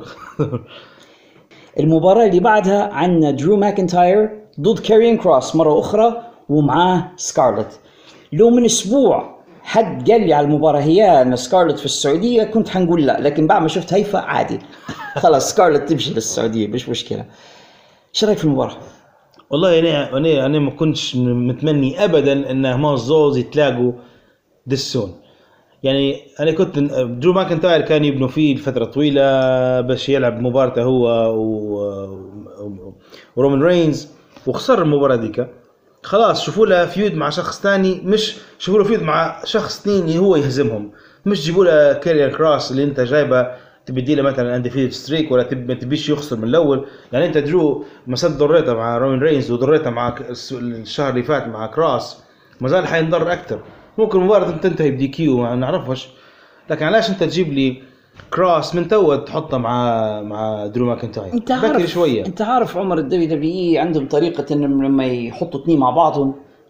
المباراة اللي بعدها عندنا درو ماكنتاير ضد كاريان كروس مرة أخرى ومعاه سكارلت. لو من أسبوع حد قال لي على المباراة هي أن سكارلت في السعودية كنت حنقول لا، لكن بعد ما شفت هيفا عادي خلاص سكارلت تمشي للسعودية مش مشكلة. ايش رايك في المباراة؟ والله أنا ما كنتش متمني أبدا أن ما الزوز يتلاقوا دسون. يعني أنا كنت درو ماكنتاير كان يبنوا فيه لفترة طويلة باش يلعب مباراته هو ورومان رينز، وخسر المباراة ديك. خلاص شوفوا له فيود مع شخص ثاني، مش شوفوا له فيود مع شخص ثاني هو يهزمهم، مش جيبوا له كاريان كروس اللي انت جايبه تبدي له مثلا انديفيد ستريك ولا تبيش يخسر من الاول. يعني انت درو مسد ضريته مع رومان رينز وضريته مع الشهر اللي فات مع كروس، ما زال حينضر اكثر. ممكن المباراة تنتهي بدي كيو ما نعرفش، لكن علاش انت تجيب لي كروس من تو تحطه مع درو ماكنتاير؟ انت عارف عمر الدبليو دبليو اي عندهم طريقة ان لما يحطوا اثنين مع بعضهم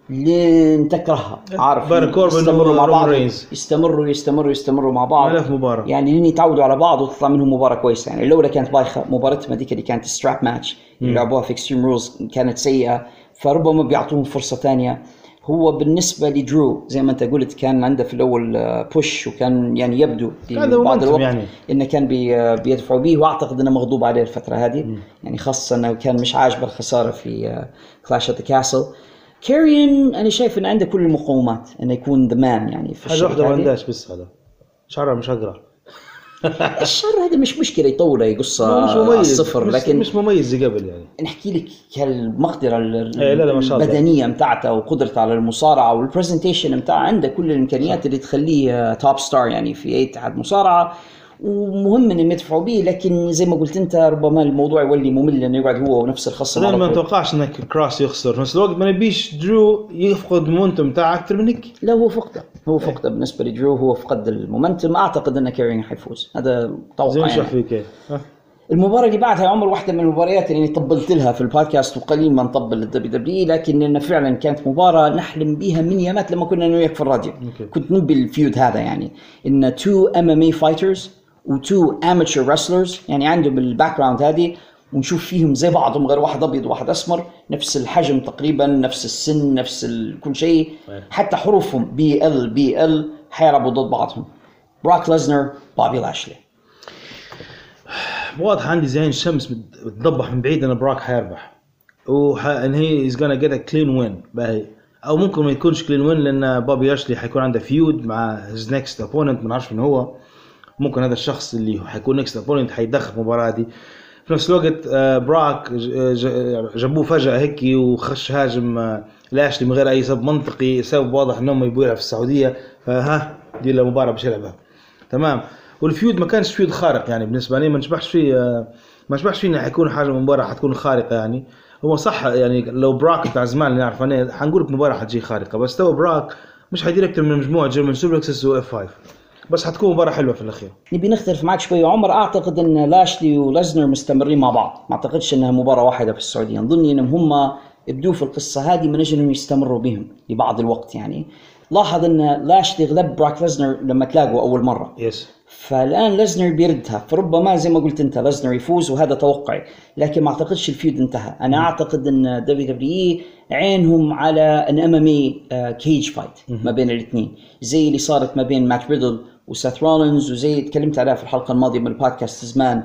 لين تكرهها، عارف، يستمروا مع بعض، يستمروا مع بعض 1000 مباراة يعني لين يتعودوا على بعض وتطلع منهم مباراة كويسة. يعني الأولى كانت بايخة، مباراتهم هذيك اللي كانت ستراب ماتش اللي لعبوها في اكستريم رولز كانت سيئة، فربما بيعطوهم فرصة تانية. هو بالنسبة لدرو زي ما أنت قلت كان عنده في الأول بوش، وكان يعني يبدو بعض الوقت يعني إنه كان بيدفعوا به، وأعتقد إنه مغضوب عليه الفترة هذه يعني، خاصة إنه كان مش عاجبه الخسارة في كلاش أت ذا كاسل. كاريون أنا شايف إنه عنده كل المقومات إنه يكون ذا مان يعني في حاجة واحدة ما عندهاش، بس هذا شعره مش أقرأ. الشر هذا مش مشكلة يطوله يقصه الصفر، لكن مش مميز زي قبل يعني. نحكي لك كالمقدرة البدنية متاعته وقدرته على المصارعة والبرزنتيشن متاعه، عنده كل الإمكانيات اللي تخليه توب ستار يعني في أي اتحاد مصارعة، ومهم إنهم يدفعوا به. لكن زي ما قلت أنت ربما الموضوع يولي ممل إنه يقعد هو ونفس الخصم. ما نتوقعش إنك كراس يخسر في نفس الوقت، ما نبيش درو يفقد المومنتوم تاعه أكثر منك. لا هو فقده بالنسبة لدرو، هو فقد المومنتوم. أعتقد إن كارين حيفوز، هذا توقع يعني. المباراة اللي بعدها يا عمر واحدة من المباريات اللي طبلت لها في البودكاست، وقليل ما نطبل للدبليو دبليو، لكن فعلا كانت مباراة نحلم بها من يامات لما كنا نوياك في الراديو. كنت نبي الفيود هذا يعني، إن 2 MMA fighters و2 amateur wrestlers يعني عندهم الباك جراوند هذه، ونشوف فيهم زي بعضهم غير واحد أبيض وواحد أسمر، نفس الحجم تقريبا، نفس السن، نفس كل شيء، حتى حروفهم BL حيلعبوا ضد بعضهم. براك ليزنر بوبي لاشلي. واضح عندي زين الشمس بتضبح من بعيد أنا براك حيربح، وإن هي is gonna get a clean win باهي، أو ممكن ما يكونش clean win لأن بوبي لاشلي حيكون عنده فيود مع his next opponent، ما نعرفش من هو، ممكن هذا الشخص اللي حيكون next opponent حيدخل في المباراة دي. في نفس الوقت براك جابوه فجأة هيك وخش هاجم لاشلي من غير أي سبب منطقي، سبب واضح إنهم يبغوا في السعودية، فها دي المباراة باش يلعبها تمام. والفيود ما كانش فيود خارق يعني بالنسبة لي، ما نشبحش فيه إنه حيكون حاجة مباراة حتكون خارقة يعني. هو صح يعني لو براك بتاع زمان اللي نعرف أنا حنقول لك مباراة حتجي خارقة، بس تو براك مش حيدير أكتر من مجموعة جيرمان سوبلكسس و F5، بس حتكون مباراة حلوة في الأخير. نبي نختلف معك شوي عمر، أعتقد أن لاشلي وليزنر مستمرين مع بعض، ما أعتقدش أنها مباراة واحدة في السعودية. نظني أنهم هم يبدوا في القصة هذه من أجل أنهم يستمروا بهم لبعض الوقت يعني. لاحظ أن لاشلي غلب براك ليزنر لما تلاقوا أول مرة، فالآن ليزنر بيردها، فربما زي ما قلت أنت ليزنر يفوز، وهذا توقعي، لكن ما أعتقدش الفيود انتهى. أنا أعتقد أن WWE عينهم على أن MMA كيج فايت ما بين الاثنين، زي اللي صارت ما بين مات ريدل وسيث رولينز، وزي تكلمت عليها في الحلقة الماضية من البودكاست زمان،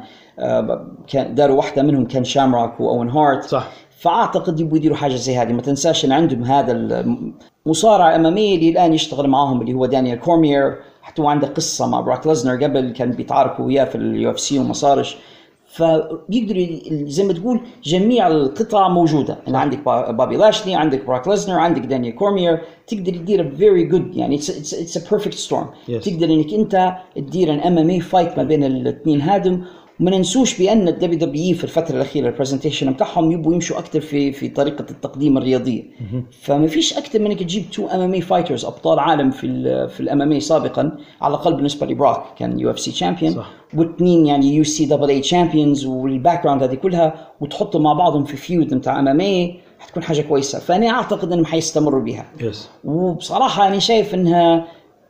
كان داروا واحدة منهم كان شامروك وأون هارت صح. فأعتقد يبغوا يديروا حاجة زي هذه. ما تنساش أن عندهم هذا المصارع MMA اللي الآن يشتغل معهم اللي هو دانيال كورمير، حتى عنده قصة مع براك ليزنر قبل كان بيتعاركوا وياه في UFC وما صارش، فبيقدروا زي ما تقول جميع القطع موجودة. أنا عندك بوبي لاشلي، عندك براك ليزنر، عندك دانيال كورمير، تقدر تدير very good يعني it's a perfect storm. تقدر إنك أنت تدير MMA fight ما بين الاثنين هادم. وما ننسوش بأن الدبليو دبليو في الفترة الأخيرة البرزنتيشن بتاعهم يبوا يمشوا أكتر في طريقة التقديم الرياضية، فما فيش أكتر من إنك تجيب 2 MMA fighters أبطال عالم في الMMA سابقا، على الأقل بالنسبة لبراك كان UFC champion، واثنين يعني UCAA champions والباك جراوند هذه كلها، وتحطوا مع بعضهم في فيود متاع MMA حتكون حاجة كويسة. فأنا أعتقد إنهم حيستمروا بها. وبصراحة أنا شايف إنها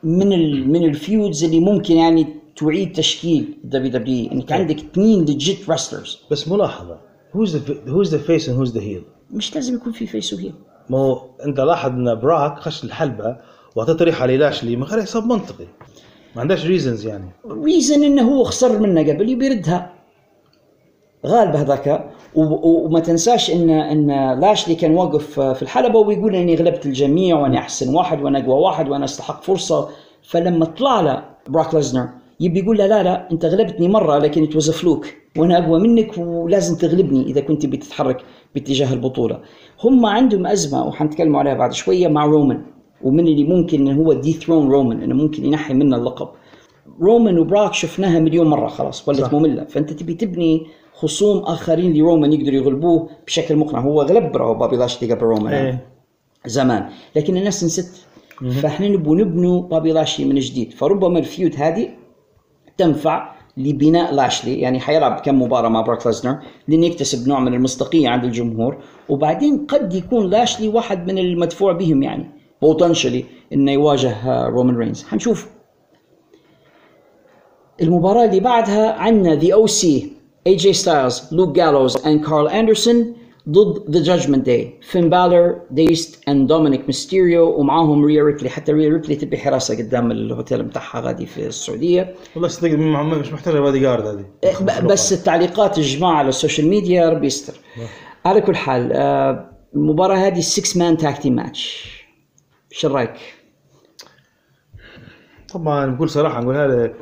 من الفيودز اللي ممكن يعني تعيد تشكيل WWE، انك عندك 2 legit wrestlers. بس ملاحظة who's the face and who's the heel. مش لازم يكون في face وهيل. ما هو انت لاحظ ان براك خش الحلبة وعطى طريحة للاشلي من غير حساب منطقي، ما عندهاش reasons يعني. reason انه هو خسر منه قبل يبردها غالب هذاك. وما تنساش ان لاشلي كان واقف في الحلبة ويقول اني غلبت الجميع وانا احسن واحد وانا اقوى واحد وانا استحق فرصة. فلما طلع له براك ليزنر يبي يقول له لا انت غلبتني مرة لكن it was a fluke وانا اقوى منك ولازم تغلبني اذا كنت بتتحرك باتجاه البطولة. هم عندهم ازمة وحنتكلم عليها بعد شوية مع رومان، ومن اللي ممكن انه هو دي ثرون رومان، انه ممكن ينحي منه اللقب. رومان وبراك شفناها مليون مرة خلاص ولت مملة، فانت تبي تبني خصوم اخرين لرومان يقدروا يغلبوه بشكل مقنع. هو غلب بوبي لاشلي قبل رومان زمان لكن الناس نسيت، فاحنا نبنوا بوبي لاشلي من جديد. فربما الفيود هذه تنفع لبناء لاشلي، يعني حيلعب كم مباراة مع بروك ليزنر لأن يكتسب نوع من المصداقية عند الجمهور، وبعدين قد يكون لاشلي واحد من المدفوع بهم يعني بوتنشلي إنه يواجه رومان رينز. هنشوف. المباراة اللي بعدها عندنا The OC AJ Styles, Luke Gallows and Carl Anderson ضد The Judgment Day, Finn Balor, Deist and Dominic Mysterio، ومعاهم ريا ريبلي. حتى ريا ريبلي تبي حراسة قدام الهوتيل متاعها غادي في السعودية. والله صدق مش محتاجة بادي جارد هذه. بس التعليقات الجماعة على السوشيال ميديا ربي يستر. على كل حال المباراة هذه 6 man tag team match. شو رأيك؟ طبعا بكل صراحة نقولها لك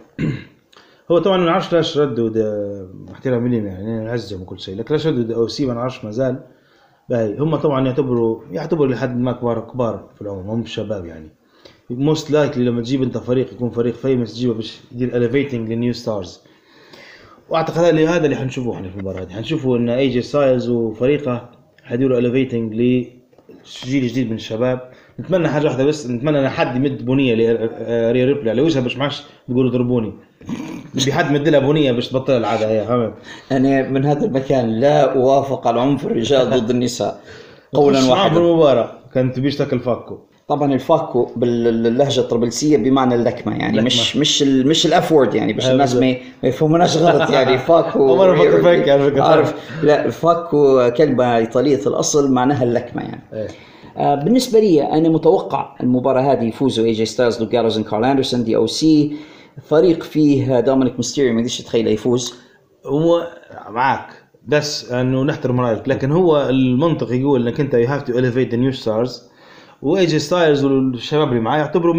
هو طبعا ما نعرفش ليش ردوا احترام لنا يعني نعزهم وكل شيء، لكن ليش ردوا او سي ما نعرفش مازال. باهي هم طبعا يعتبروا لحد ما كبار في العمر، هم شباب يعني. موست لايكلي لما تجيب انت فريق يكون فريق فيمس تجيبه باش يدير اليفيتنج للنيو ستارز، واعتقد هذا اللي حنشوفوه احنا في المباراة هذه. حنشوفوا ان اي جي ستايلز وفريقه حيديروا اليفيتنج لجيل جديد من الشباب. نتمنى حاجه واحده بس، نتمنى ان حد يمد بنيه لريا ريبلي على وجهها باش ما عادش تقولوا ضربوني، نبي حد مد لها بنيه باش تبطل العاده هي. فهمت؟ انا من هذا المكان لا اوافق على عنف الرجال ضد النساء قولا واحدا. المباراه كانت تبيش تاكل فاكو. طبعا الفاكو باللهجه الطرابلسيه بمعنى اللكمه يعني لكمة. مش الافورد يعني باش الناس ما يفهموناش غلط يعني فاكو عارف. لا الفاكو كلمه ايطاليه الاصل معناها اللكمه يعني. بالنسبه لي انا متوقع المباراه هذه يفوزوا اي جي ستايلز، لوك جالوز وكارل اندرسون. دي او سي فريق فيه دومينيك ميستيريو ما قدرش تتخيل يفوز. هو معك بس انه نحترم رايك، لكن هو المنطق يقول انك انت you have to elevate the new stars، واي جي ستايلز والشباب اللي معاه يعتبروا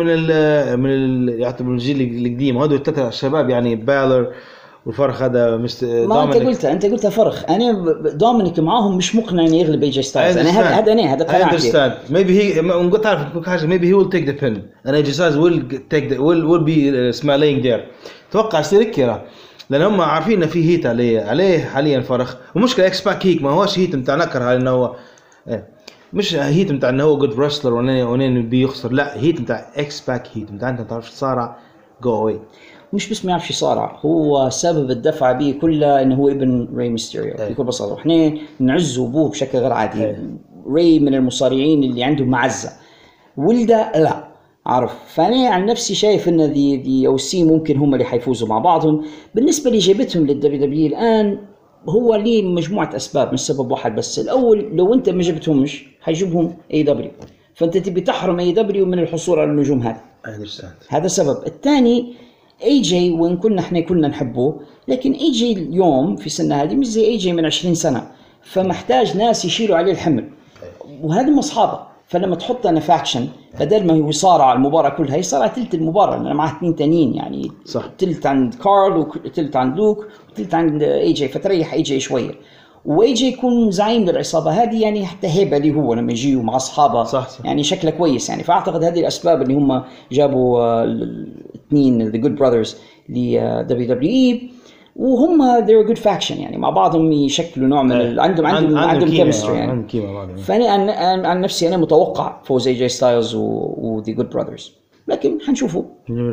يعتبروا الجيل القديم، هذول الثلاثه الشباب يعني بالر والفرق هذا ما انت قلت فرق. انا دومينيك معاهم مش مقنع انه يغلب اي جي ستايلز. انا هذا قناعتي. maybe he قلت تعرف حاجه maybe he will take the pin and AJ Styles will be smiling there. توقع يصير كده لان هم عارفين ان في هيت عليه حاليا فرق. ومشكله اكس باك هيك ما هوش هيت نتاع نكره انه هو مش هيت نتاع انه هو جود رسلر ونين بيخسر، لا هيت نتاع اكس باك هيت نتاع انت تعرف تصارع جو اواي. مش بس ما يعرفش يصارع، هو سبب الدفع به كلها انه هو ابن ري ميستيريو بكل بساطه. احنا نعزه ابوه بشكل غير عادي. ري من المصارعين اللي عندهم معزه، ولده لا عارف. فانا عن نفسي شايف ان دي او سي ممكن هم اللي حيفوزوا مع بعضهم. بالنسبه اللي جابتهم للدبليو دبليو الان هو ليه مجموعه اسباب مش سبب واحد بس. الاول لو انت ما جبتهمش حيجيبهم اي دبليو، فانت تبي تحرم اي دبليو من الحصول على النجوم هذا سبب. الثاني اي جي وان كنا احنا كلنا نحبه، لكن اي جي اليوم في سنه هذه مش زي اي جي من 20 سنه، فمحتاج ناس يشيلوا عليه الحمل وهذا مصحابه. فلما تحط انا فاكشن بدل ما هو يصارع المباراه كلها يصارع تلت المباراه لان معه اثنين تانيين يعني صح. تلت عند كارل وتلت عند لوك وتلت عند اي جي، فتريح اي جي شويه واي جي يكون زعيم للعصابه هذه يعني حتى هيبه لي هو لما يجيوا مع اصحابه صح. يعني شكله كويس يعني. فاعتقد هذه الاسباب اللي هم جابوا الاثنين ذا جود براذرز ل دبليو دبليو اي، وهم they're a good faction يعني مع بعضهم يشكلوا نوع من عندهم كيمستري يعني. فانا عن نفسي انا متوقع فوز اي جي ستايلز و the good brothers، لكن حنشوفه.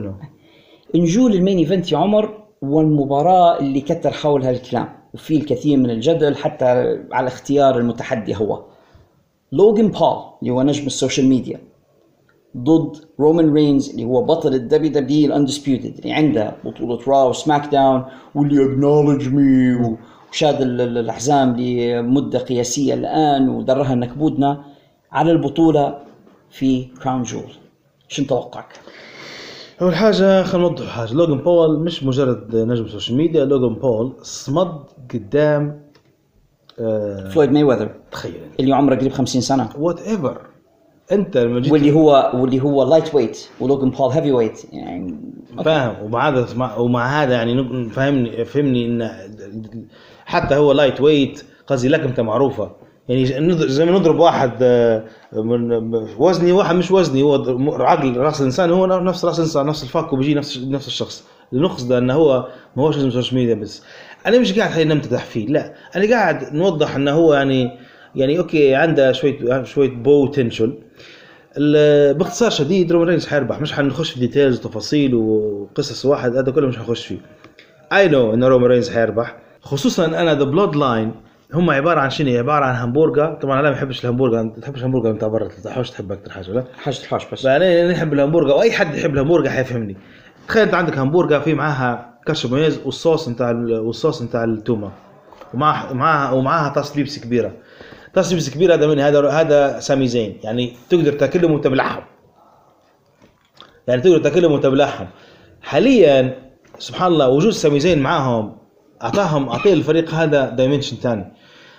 نجول المين ايفنت يا عمر، والمباراه اللي كتر حولها الكلام وفي الكثير من الجدل حتى على اختيار المتحدي هو لوغان بول اللي هو نجم السوشيال ميديا ضد رومان رينز اللي هو بطل الدبليو دبليو الاندسبيوتد اللي عنده بطولة راو وسماك داون واللي اكنولج مي وشاد الأحزام لمدة قياسية الآن ودرها نكبودنا على البطولة في كراون جول. شو نتوقعك؟ أول حاجة خلينا نوضح حاجة. لوغان بول مش مجرد نجم السوشيال ميديا، لوغان بول صمد قدام فلويد مايوذر تخيل اللي عمره قريب 50 سنة وات ايفر انت لما جيت واللي هو لايت ويت ولوغان بول هيفي ويت يعني فاهم. ومع هذا يعني فهمني ان حتى هو لايت ويت قصدي لكمته معروفه يعني زي ما نضرب واحد من وزني واحد مش وزني هو عقل راس الانسان هو نفس راس الانسان نفس الفك وبيجي نفس الشخص. النقص ده انه هو ما هوش لازم سوشيال ميديا بس. انا مش قاعد خلينا نمتدح فيه، لا انا قاعد نوضح انه هو يعني اوكي عنده شويه بوتنشل. باختصار شديد رومان رينز حيربح، مش حنخش في ديتيلز وتفاصيل وقصص واحد هذا كله مش حنخش فيه. اي نو ان رومان رينز حيربح، خصوصا انا ذا بلود لاين هم عباره عن شنو؟ عباره عن همبرجر. طبعا انا ما بحبش الهمبرجر، انت تحبش الهمبرجر انت برا تحوش تحب اكثر حاجه ولا حاجه الحاش بس. انا نحب الهمبرجر واي حد يحب الهمبرجر حيفهمني. تخيل انت عندك همبرجر في معاها كاتشب مايونيز والصوص نتاع التومه ومعاها طاسه بيبسي كبيره. طاسه بيبسي كبيره هذا من هذا سامي زين، يعني تقدر تاكلهم وانت بلحم، يعني تقدر تاكلهم وانت بلحم. حاليا سبحان الله وجود سامي زين معاهم اعطيه الفريق هذا دايمنشن ثاني،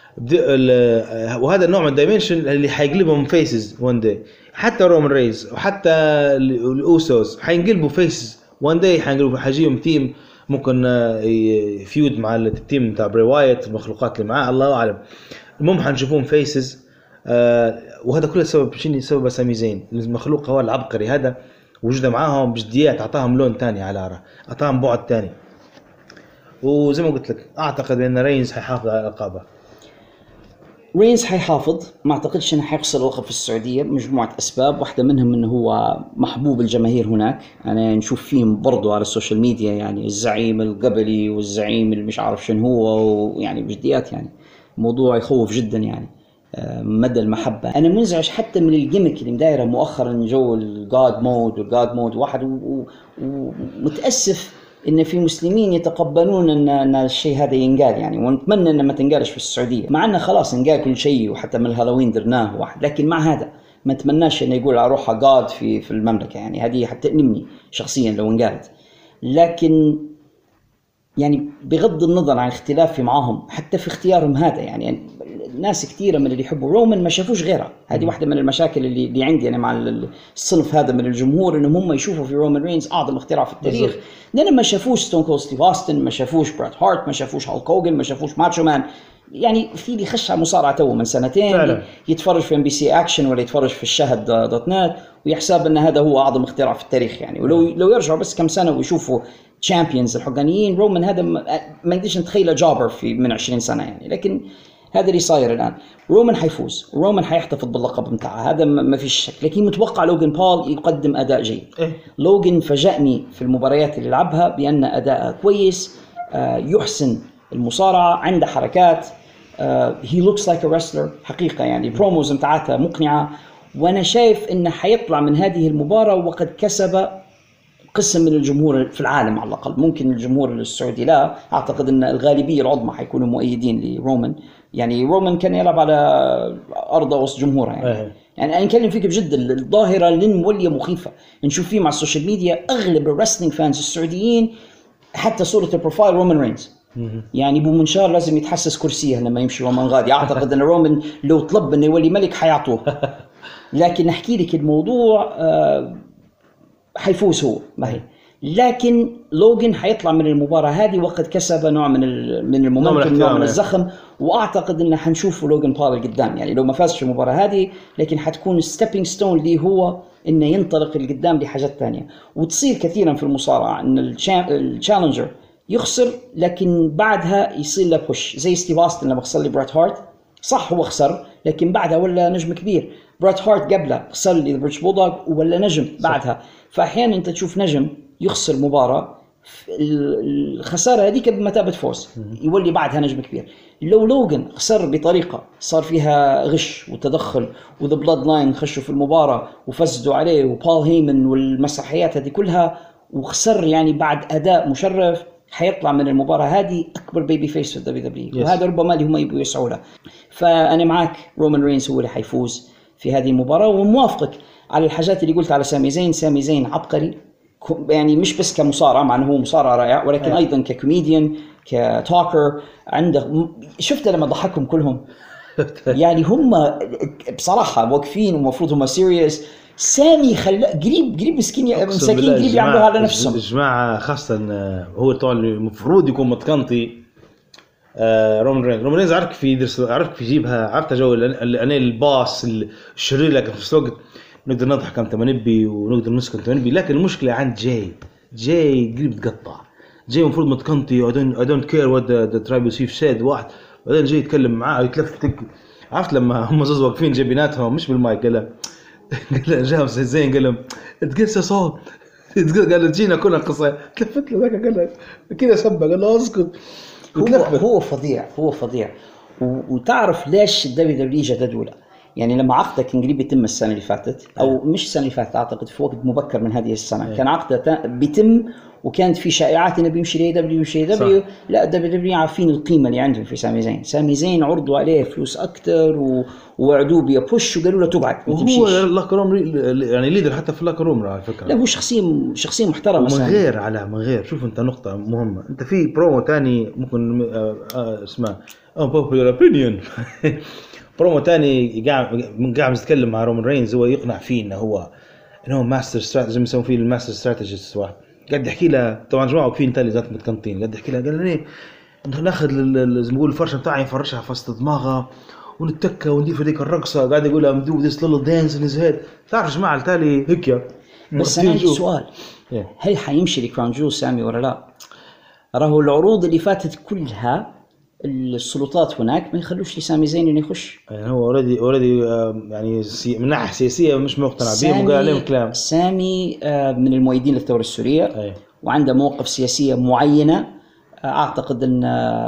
وهذا النوع من الدايمنشن اللي حيقلبهم فيسز وان داي. حتى رومان ريز وحتى الاوسوس حينقلبوا فيسز وان داي، حيجيهم تيم ممكن يفيود مع التيم بتاع بري وايت، المخلوقات اللي معاه الله اعلم. المهم حنشوفهم فيسز، وهذا كله سبب شنو؟ سبب سامي زين المخلوق هو العبقري هذا، وجوده معاهم بجديات اعطاهم لون ثاني على عاره، اعطاهم بعد ثاني. وزي ما قلت لك اعتقد ان رينز حيحافظ على الالقاب. رينز حيحافظ، ما اعتقدش انه حيخسر اللقب في السعوديه بمجموعه اسباب، واحده منهم انه هو محبوب الجماهير هناك. انا نشوف فيهم برضو على السوشيال ميديا يعني الزعيم القبلي والزعيم اللي مش عارف شنو هو، ويعني بجديات يعني موضوع يخوف جدا يعني مدى المحبه. انا منزعج حتى من الجيمك اللي مدايره مؤخرا، جو الجاد مود واحد، ومتاسف ان في مسلمين يتقبلون ان الشيء هذا ينقال يعني، ونتمنى انه ما تنقالش في السعوديه، مع انه خلاص انقال كل شيء وحتى من الهالوين درناه واحد، لكن مع هذا ما اتمناش انه يقول اروح جاد في المملكه يعني، هذه حتى تألمني شخصيا لو انقالت. لكن يعني بغض النظر عن اختلافي معهم حتى في اختيارهم هذا يعني ناس كثيرة من اللي يحبوا رومان ما شافوش غيرها. هذه واحدة من المشاكل اللي عندي أنا مع الصنف هذا من الجمهور، إنهم هم يشوفوا في رومان رينز أعظم اختراع في التاريخ، لأن ما شافوش ستون كولد ستيف أوستن، ما شافوش برات هارت، ما شافوش هالك هوجن، ما شافوش ماتشو مان. يعني في اللي خش على مصارعة تو من سنتين فعلا. يتفرج في MBC أكشن ولا يتفرج في الشهد .net ويحسب أن هذا هو أعظم اختراع في التاريخ يعني. ولو يرجعوا بس كم سنة ويشوفوا تشامبيونز الحقانيين، رومان هذا ما نقدرش نتخيله جابر من 20 سنة يعني. لكن هذا اللي صاير الآن، رومان حيفوز، رومان حيحتفظ باللقب متاعه، هذا ما فيش شك. لكن متوقع لوغان بول يقدم أداء جيد. لوغان فاجأني في المباريات اللي لعبها بأن أداءه كويس، يحسن المصارعة، عنده حركات، he looks like a wrestler حقيقة يعني. بروموز متاعته مقنعة، وأنا شايف إنه حيطلع من هذه المباراة وقد كسب قسم من الجمهور في العالم على الأقل. ممكن الجمهور السعودي لا، أعتقد أن الغالبية العظمى حيكونوا مؤيدين لرومان يعني. رومان كان يلعب على أرض وسط جمهوره يعني أنا نكلم فيك بجد، الظاهرة اللي مولية مخيفة نشوف فيه مع السوشيال ميديا. أغلب الرسلينج فانز السعوديين حتى صورة البروفايل رومان رينز يعني ابو منشار لازم يتحسس كرسيه لما يمشي رومان غادي. اعتقد ان رومان لو طلب انه يولي ملك حيعطوه. لكن نحكي لك الموضوع حيفوز هو ما هي، لكن لوغان حيطلع من المباراة هذه وقد كسب نوع من المومنتوم، نوع من الزخم، واعتقد ان حنشوف لوغان بول قدام يعني. لو ما فازش في المباراة هذه لكن حتكون ستيبينج ستون ليه هو انه ينطلق لقدام لحاجات ثانية. وتصير كثيرا في المصارعة ان التشالنجر يخسر لكن بعدها يصير له بوش، زي ستيف أوستن لما خسر لي برات هارت، صح هو خسر لكن بعدها ولا نجم كبير. برات هارت قبله خسر لي بريتش بولدوغ ولا نجم بعدها. فأحيانا أنت تشوف نجم يخسر مباراة، الخسارة هذيك بمثابة فوز يولي بعدها نجم كبير. لو لوغان خسر بطريقة صار فيها غش وتدخل وذا بلاد لاين خشوا في المباراة وفسدوا عليه وبول هيمن والمسرحيات هذه كلها وخسر يعني بعد أداء مشرف، حيطلع من المباراة هذه أكبر بيبي فيس في WWE وهذا ربما اللي هم يبغوا يسعوا له. فأنا معك رومان رينز هو اللي حيفوز في هذه المباراة، وموافقك على الحاجات اللي قلت على سامي زين. سامي زين عبقري يعني، مش بس كمصارع مع أنه هو مصارع رائع، ولكن أيضا ككوميديان كتوكر. عنده شفت لما ضحكهم كلهم يعني هم بصراحة واقفين ومفروض هم سيريس. سامي قريب مسكين مساكين قريب يعملوا على نفسهم الجماعة، خاصة هو طبعا المفروض يكون متقنطي. رومان رينز عارف في يدرس، عارف في يجيبها، عرفت جو أنا الباص الشرير، لكن في الوقت نقدر نضحك كم تمنبي ونقدر نسكن تمنبي. لكن المشكلة عند جاي قريب تقطع. جاي المفروض متقنطي I don't care what the tribal chief said واحد، بعدين جاي يتكلم معاه يتلفتك. عرفت لما هم زوز واقفين جاي بيناتهم مش بالمايك، قال جاهم زين قال لهم it gets us all قال له جينا كلنا قصة تلفت له ذاك قال له كذا سبق قال له اسكت. هو فظيع وتعرف ليش الدبليو جددوا له؟ يعني لما عقده كان قريب يتم السنة اللي فاتت أو مش السنة اللي فاتت أعتقد في وقت مبكر من هذه السنة كان عقده بيتم وكانت في شائعات انه بيمشي دبليو. لا دبليو عارفين القيمه اللي عندهم في سامي زين عرضوا عليه فلوس اكثر ووعدوه بيبوش وقالوا له تبعد وهو لاكروم يعني ليدر حتى في لاكروم على فكره. لا هو شخصيه محترمه من غير شوف انت نقطه مهمه. انت في برومو تاني ممكن اسمه unpopular opinion برومو تاني قاعد يتكلم مع رومان رينز هو يقنع فيه انه هو ماستر استراتيجي زي ما يسمون فيه الماستر استراتيجيست واحد. قاعد يحكي له طبعا جماعه واقفين تالي ذات متقنطين. قاعد يحكي له قال لي ناخذ زي ما نقول الفرشه بتاعي نفرشها في وسط دماغه ونتكى وندير هذيك الرقصه. قاعد يقول لهم دو ذيس ليتل دانس ان هيز هيد. تعرف جماعه التالي هيك. بس انا عندي سؤال هل حيمشي لكراون جول سامي ولا لا؟ راهو العروض اللي فاتت كلها السلطات هناك ما يخلوش لسامي زين انه يخش. يعني هو اوريدي يعني من ناحيه سياسيه مش مقتنع بهم وقال عليهم كلام. سامي من المؤيدين للثوره السوريه وعنده مواقف سياسيه معينه. اعتقد ان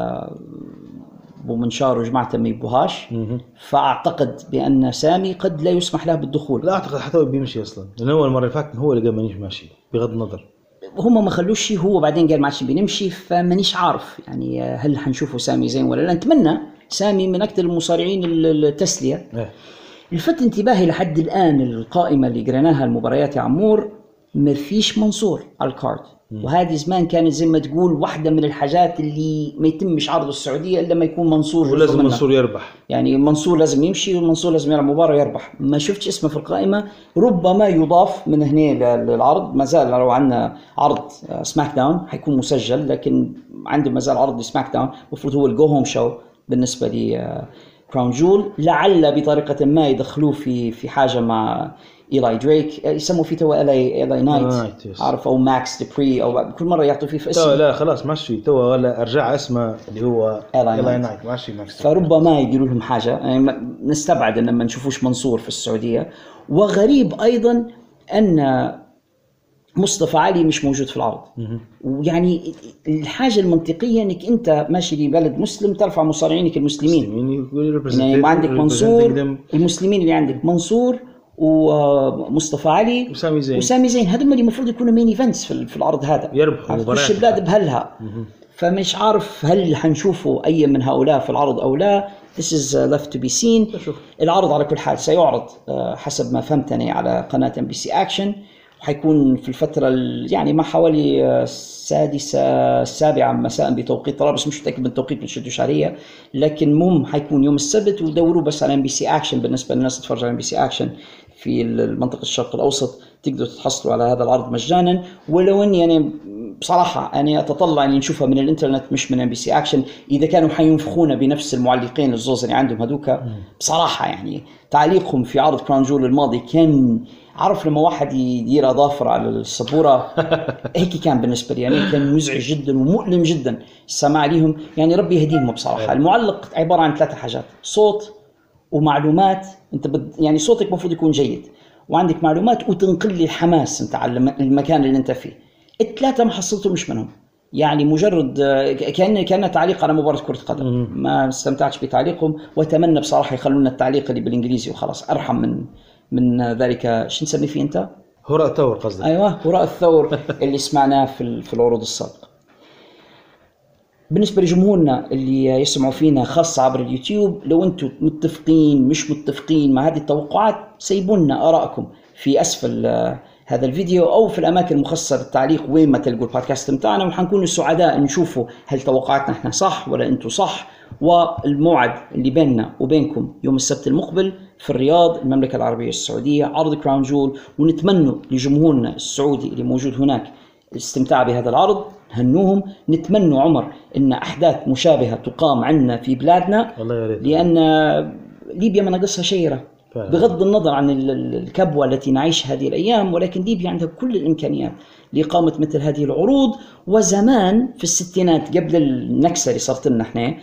ابو منشار وجماعته ما يبوهاش. فاعتقد بان سامي قد لا يسمح له بالدخول. لا اعتقد حتى هو بيمشي اصلا لان هو المره اللي فاتت هو اللي قال مانيش ماشي بغض النظر. هم ما خلوش هو بعدين قال ما عادش بنمشي. فمانيش عارف يعني هل حنشوفه سامي زين ولا لا. نتمنى. سامي من اكثر المصارعين التسليه. الفت انتباهي لحد الان القائمه اللي قريناها المباريات يا عمور ما فيش منصور على الكارد. وهذه زمان كانت زي ما تقول واحدة من الحاجات اللي ما يتمش عرض السعودية إلا ما يكون منصور. ولازم منصور يربح. يعني منصور لازم يمشي ومنصور لازم يلعب مباراة يربح. ما شفتش اسمه في القائمة. ربما يضاف من هنا للعرض. ما زال لو عندنا عرض سماك داون حيكون مسجل لكن عنده ما زال عرض سماك داون مفروض هو الجو هوم شو بالنسبة لي كراون جول. لعل بطريقة ما يدخلوه في حاجة مع إيلاي دريك يسموا فيه تو إيلاي نايت عارف أو ماكس ديبري أو كل مرة يعطوا فيه في اسم. لا خلاص ماشي تو ولا أرجع اسمه اللي هو إيلاي نايت ماشي ماكس. فربما يديروا لهم حاجة يعني نستبعد أن ما نشوفوش منصور في السعودية. وغريب أيضا أن مصطفى علي مش موجود في العرض. ويعني الحاجة المنطقية انك انت ماشي لبلد مسلم ترفع مصارعينك المسلمين. يعني عندك منصور المسلمين اللي عندك منصور ومصطفى علي وسامي زين هذول اللي المفروض يكونوا مين ايفنتس في العرض هذا يربحوا مباريات بلاد بهلها. فمش عارف هل حنشوفوا اي من هؤلاء في العرض او لا. This is left to be seen. العرض على كل حال سيعرض حسب ما فهمتني على قناة MBC Action وحيكون في الفترة يعني ما حوالي 6-7 مساء بتوقيت طرابلس. مش متأكد من التوقيت من شدوا شعرية لكن حيكون يوم السبت. ودوروا بس على MBC Action بالنسبة للناس تتفرج على MBC Action في المنطقة الشرق الأوسط تقدروا تحصلوا على هذا العرض مجانا. ولو أني يعني بصراحة أنا أتطلع أن نشوفها من الإنترنت مش من MBC Action. إذا كانوا حينفخونا بنفس المعلقين الزوز اللي عندهم هذوك بصراحة يعني تعليقهم في عرض كراون جول الماضي كان عارف لما واحد يدير أظافر على السبورة هيك كان بالنسبة لي يعني كان مزعج جدا ومؤلم جدا السماع ليهم. يعني ربي يهديهم بصراحة. المعلق عبارة عن 3 حاجات: صوت ومعلومات. أنت يعني صوتك مفروض يكون جيد وعندك معلومات وتنقل لي الحماس أنت على المكان اللي أنت فيه. ال3 ما حصلته مش منهم. يعني مجرد كان تعليق على مباراة كرة قدم. ما استمتعتش بتعليقهم وأتمنى بصراحة يخلونا التعليق اللي بالإنجليزي وخلاص أرحم من ذلك. شو نسمي فيه أنت؟ هراء الثور قصدك؟ أيوة هراء الثور اللي سمعناه في العروض السابقة. بالنسبة لجمهورنا اللي يسمعوا فينا خاصة عبر اليوتيوب لو أنتم متفقين مش متفقين مع هذه التوقعات سيبونا آراءكم في أسفل هذا الفيديو أو في الأماكن المخصصة للتعليق وين ما تلقوا البودكاست متاعنا. وحنكون سعداء نشوفوا هل توقعاتنا احنا صح ولا أنتم صح. والموعد اللي بيننا وبينكم يوم السبت المقبل في الرياض المملكة العربية السعودية عرض كراون جول. ونتمنى لجمهورنا السعودي اللي موجود هناك الاستمتاع بهذا العرض. هنوهم. نتمنى عمر ان احداث مشابهة تقام عندنا في بلادنا لان ليبيا ما ناقصها شيرة بغض النظر عن الكبوة التي نعيش هذه الأيام. ولكن ليبيا عندها كل الإمكانيات لإقامة مثل هذه العروض. وزمان في الستينات قبل النكسة اللي صارت لنا احنا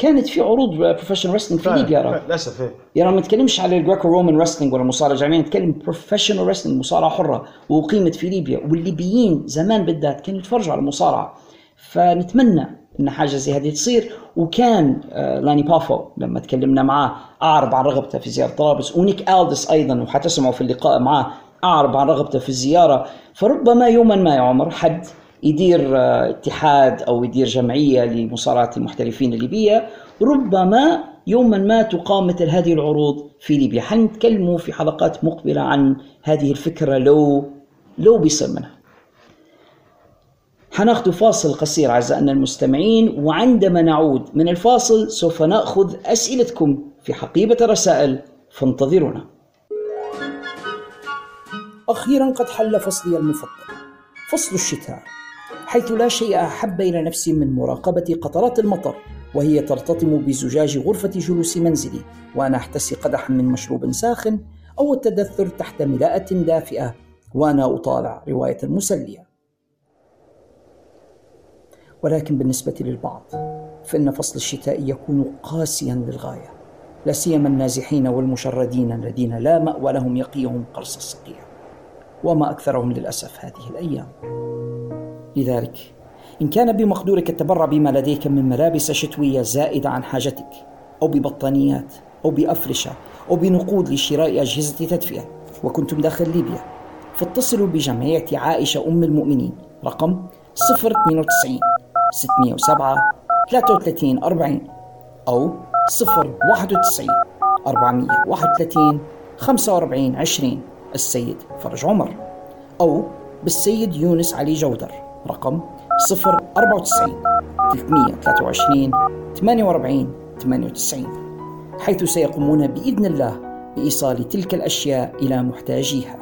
كانت في عروض بروفيشنال رسلينج في ليبيا. للاسف يعني ما نتكلمش على الجريكو رومان رسلينج ولا مصارعه جماعيه، نتكلم بروفيشنال رسلينج، مصارعه حره وقيمت في ليبيا، والليبيين زمان بالذات كانوا يتفرجوا على المصارعه. فنتمنى ان حاجه زي هذه تصير. وكان لاني بافو لما تكلمنا معاه اعرب عن رغبته في زياره طرابلس، ونيك ألدس ايضا وحتسمعوا في اللقاء معاه اعرب عن رغبته في الزياره. فربما يوما ما يا عمر حد يدير اتحاد أو يدير جمعية لمصارعة المحترفين الليبية، ربما يوما ما تقام مثل هذه العروض في ليبيا. حنتكلموا في حلقات مقبلة عن هذه الفكرة لو بيصير منها. حناخذ فاصل قصير أعزائنا المستمعين، وعندما نعود من الفاصل سوف نأخذ أسئلتكم في حقيبة الرسائل، فانتظرونا. أخيرا قد حل فصلي المفضل، فصل الشتاء، حيث لا شيء أحب إلى نفسي من مراقبة قطرات المطر وهي ترتطم بزجاج غرفة جلوس منزلي وأنا أحتسي قدحا من مشروب ساخن، أو التدثر تحت ملاءة دافئة وأنا أطالع رواية مسلية. ولكن بالنسبة للبعض فإن فصل الشتاء يكون قاسيا للغاية، لا سيما النازحين والمشردين الذين لا مأوى لهم يقيهم قرص الصقيع، وما أكثرهم للأسف هذه الأيام. لذلك إن كان بمقدورك التبرع بما لديك من ملابس شتوية زائدة عن حاجتك، أو ببطانيات، أو بأفرشة، أو بنقود لشراء أجهزة تدفئة، وكنتم داخل ليبيا، فاتصلوا بجمعية عائشة أم المؤمنين رقم 092 607 33 40 أو 091 431 45 20 السيد فرج عمر، أو بالسيد يونس علي جودر رقم 094 323 48 98، حيث سيقومون بإذن الله بإيصال تلك الأشياء إلى محتاجيها.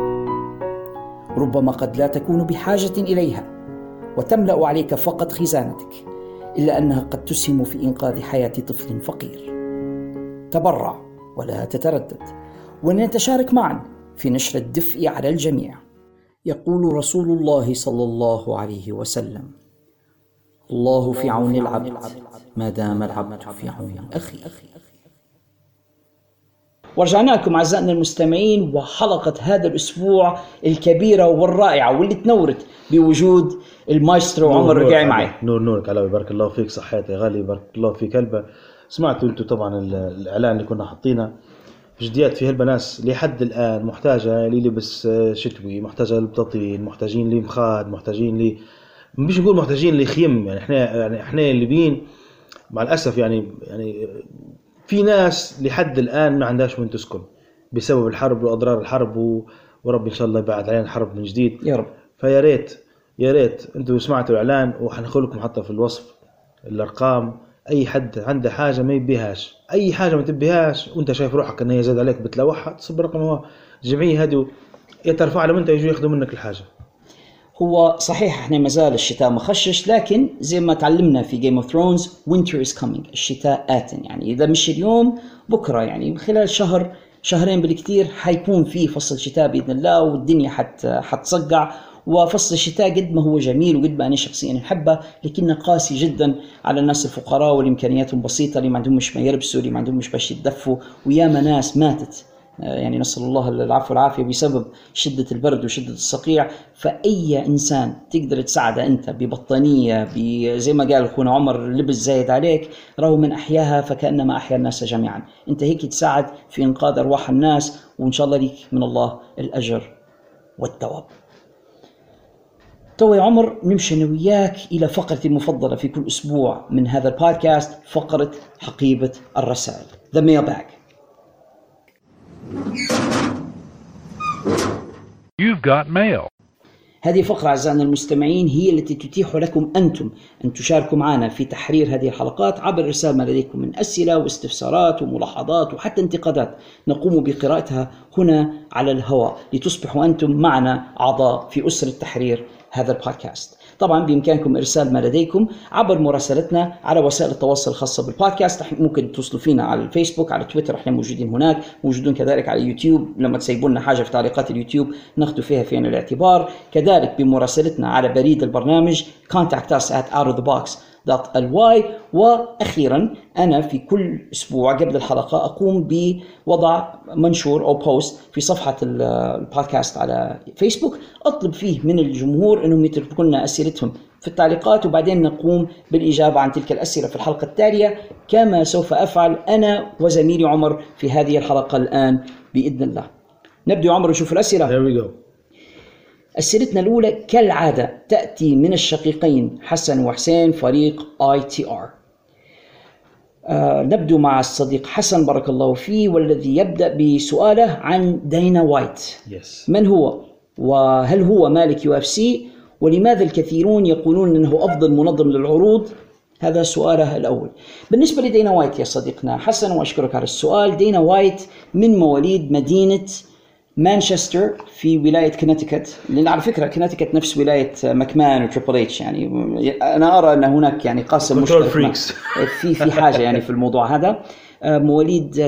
ربما قد لا تكون بحاجة إليها وتملأ عليك فقط خزانتك، إلا أنها قد تسهم في إنقاذ حياة طفل فقير. تبرع ولا تتردد، ونتشارك معا في نشر الدفء على الجميع. يقول رسول الله صلى الله عليه وسلم: الله في عون العبد ما دام العبد في عون أخيه. ورجعنا لكم أعزائنا المستمعين، وحلقة هذا الأسبوع الكبيرة والرائعة واللي تنورت بوجود المايسترو عمر ربيعي معي. نورك على بارك الله فيك، صحياتي يا غالي، بارك الله فيك هلبة. سمعتوا انتوا طبعا الإعلان اللي كنا حاطينه، جديات في هلبة ناس لحد الآن محتاجة للبس شتوي، محتاجة للبطاطين، محتاجين لمخاد، محتاجين مش نقول محتاجين لخيم. يعني احنا الليبيين مع الأسف يعني في ناس لحد الآن ما عندهاش وين تسكن بسبب الحرب وأضرار الحرب، ورب إن شاء الله يبعد علينا الحرب من جديد يا رب. فيا ريت انتوا سمعتوا الإعلان، وحنخل لكم حتى في الوصف الأرقام. أي حد عنده حاجة ما يبيهاش، أي حاجة ما تبيهاش وأنت شايف روحك أنها زاد عليك بتلوحها، تصب رقم هو الجمعية هذه يترفع لهم أنت يجوا ياخذوا منك الحاجة. هو صحيح احنا مازال الشتاء مخشش، لكن زي ما تعلمنا في Game of Thrones winter is coming، الشتاء آت. يعني إذا مش اليوم بكرة، يعني خلال شهرين بالكثير حيكون في فصل شتاء بإذن الله، والدنيا حتصقع. وفصل الشتاء قد ما هو جميل وقد ما أنا شخصيا أحبه، لكنه قاسي جدا على الناس الفقراء واللي إمكانياتهم بسيطة، اللي ما عندهم مش ما يلبسوا، اللي ما عندهم مش باش يتدفوا، وياما ناس ماتت يعني نسأل الله العفو والعافية بسبب شدة البرد وشدة الصقيع. فأي إنسان تقدر تساعده أنت ببطانية، زي ما قال أخونا عمر، لبس زايد عليك، راهو من أحياها فكأنما أحيا الناس جميعا. أنت هيك تساعد في إنقاذ أرواح الناس، وإن شاء الله ليك من الله الأجر والثواب. تو يا عمر نمشي أنا وياك إلى فقرتي المفضلة في كل أسبوع من هذا البودكاست، فقرة حقيبة الرسائل The Mailbag. You've got mail. هذه فقرة أعزائنا المستمعين هي التي تتيح لكم أنتم أن تشاركوا معنا في تحرير هذه الحلقات عبر إرسال ما لديكم من أسئلة واستفسارات وملاحظات وحتى انتقادات، نقوم بقراءتها هنا على الهواء لتصبحوا أنتم معنا أعضاء في أسرة تحرير هذا البودكاست. طبعا بإمكانكم إرسال ما لديكم عبر مراسلتنا على وسائل التواصل الخاصة بالبودكاست. ممكن توصلوا فينا على الفيسبوك، على تويتر، احنا موجودين هناك، موجودون كذلك على يوتيوب، لما تسيبوا لنا حاجة في تعليقات اليوتيوب ناخذ فيها في عين الاعتبار. كذلك بمراسلتنا على بريد البرنامج contact us at outofthebox .ly. وأخيرا أنا في كل أسبوع قبل الحلقة أقوم بوضع منشور أو بوست في صفحة البودكاست على فيسبوك أطلب فيه من الجمهور أنهم يتركوا لنا أسئلتهم في التعليقات، وبعدين نقوم بالإجابة عن تلك الأسئلة في الحلقة التالية، كما سوف أفعل أنا وزميلي عمر في هذه الحلقة الآن بإذن الله. نبدأ عمر نشوف الأسئلة. There we go. أسئلتنا الأولى كالعادة تأتي من الشقيقين حسن وحسين فريق ITR. نبدأ مع الصديق حسن بارك الله فيه، والذي يبدأ بسؤاله عن دينا وايت. Yes. من هو؟ وهل هو مالك UFC؟ ولماذا الكثيرون يقولون أنه أفضل منظم للعروض؟ هذا سؤاله الأول. بالنسبة لدينا وايت يا صديقنا حسن، وأشكرك على السؤال، دينا وايت من مواليد مدينة مانشستر في ولاية كونتيكت، لأن على فكرة كونتيكت نفس ولاية مكمان وتريبل اتش، يعني أنا أرى أن هناك يعني قاسم مشترك في حاجة يعني في الموضوع هذا. مواليد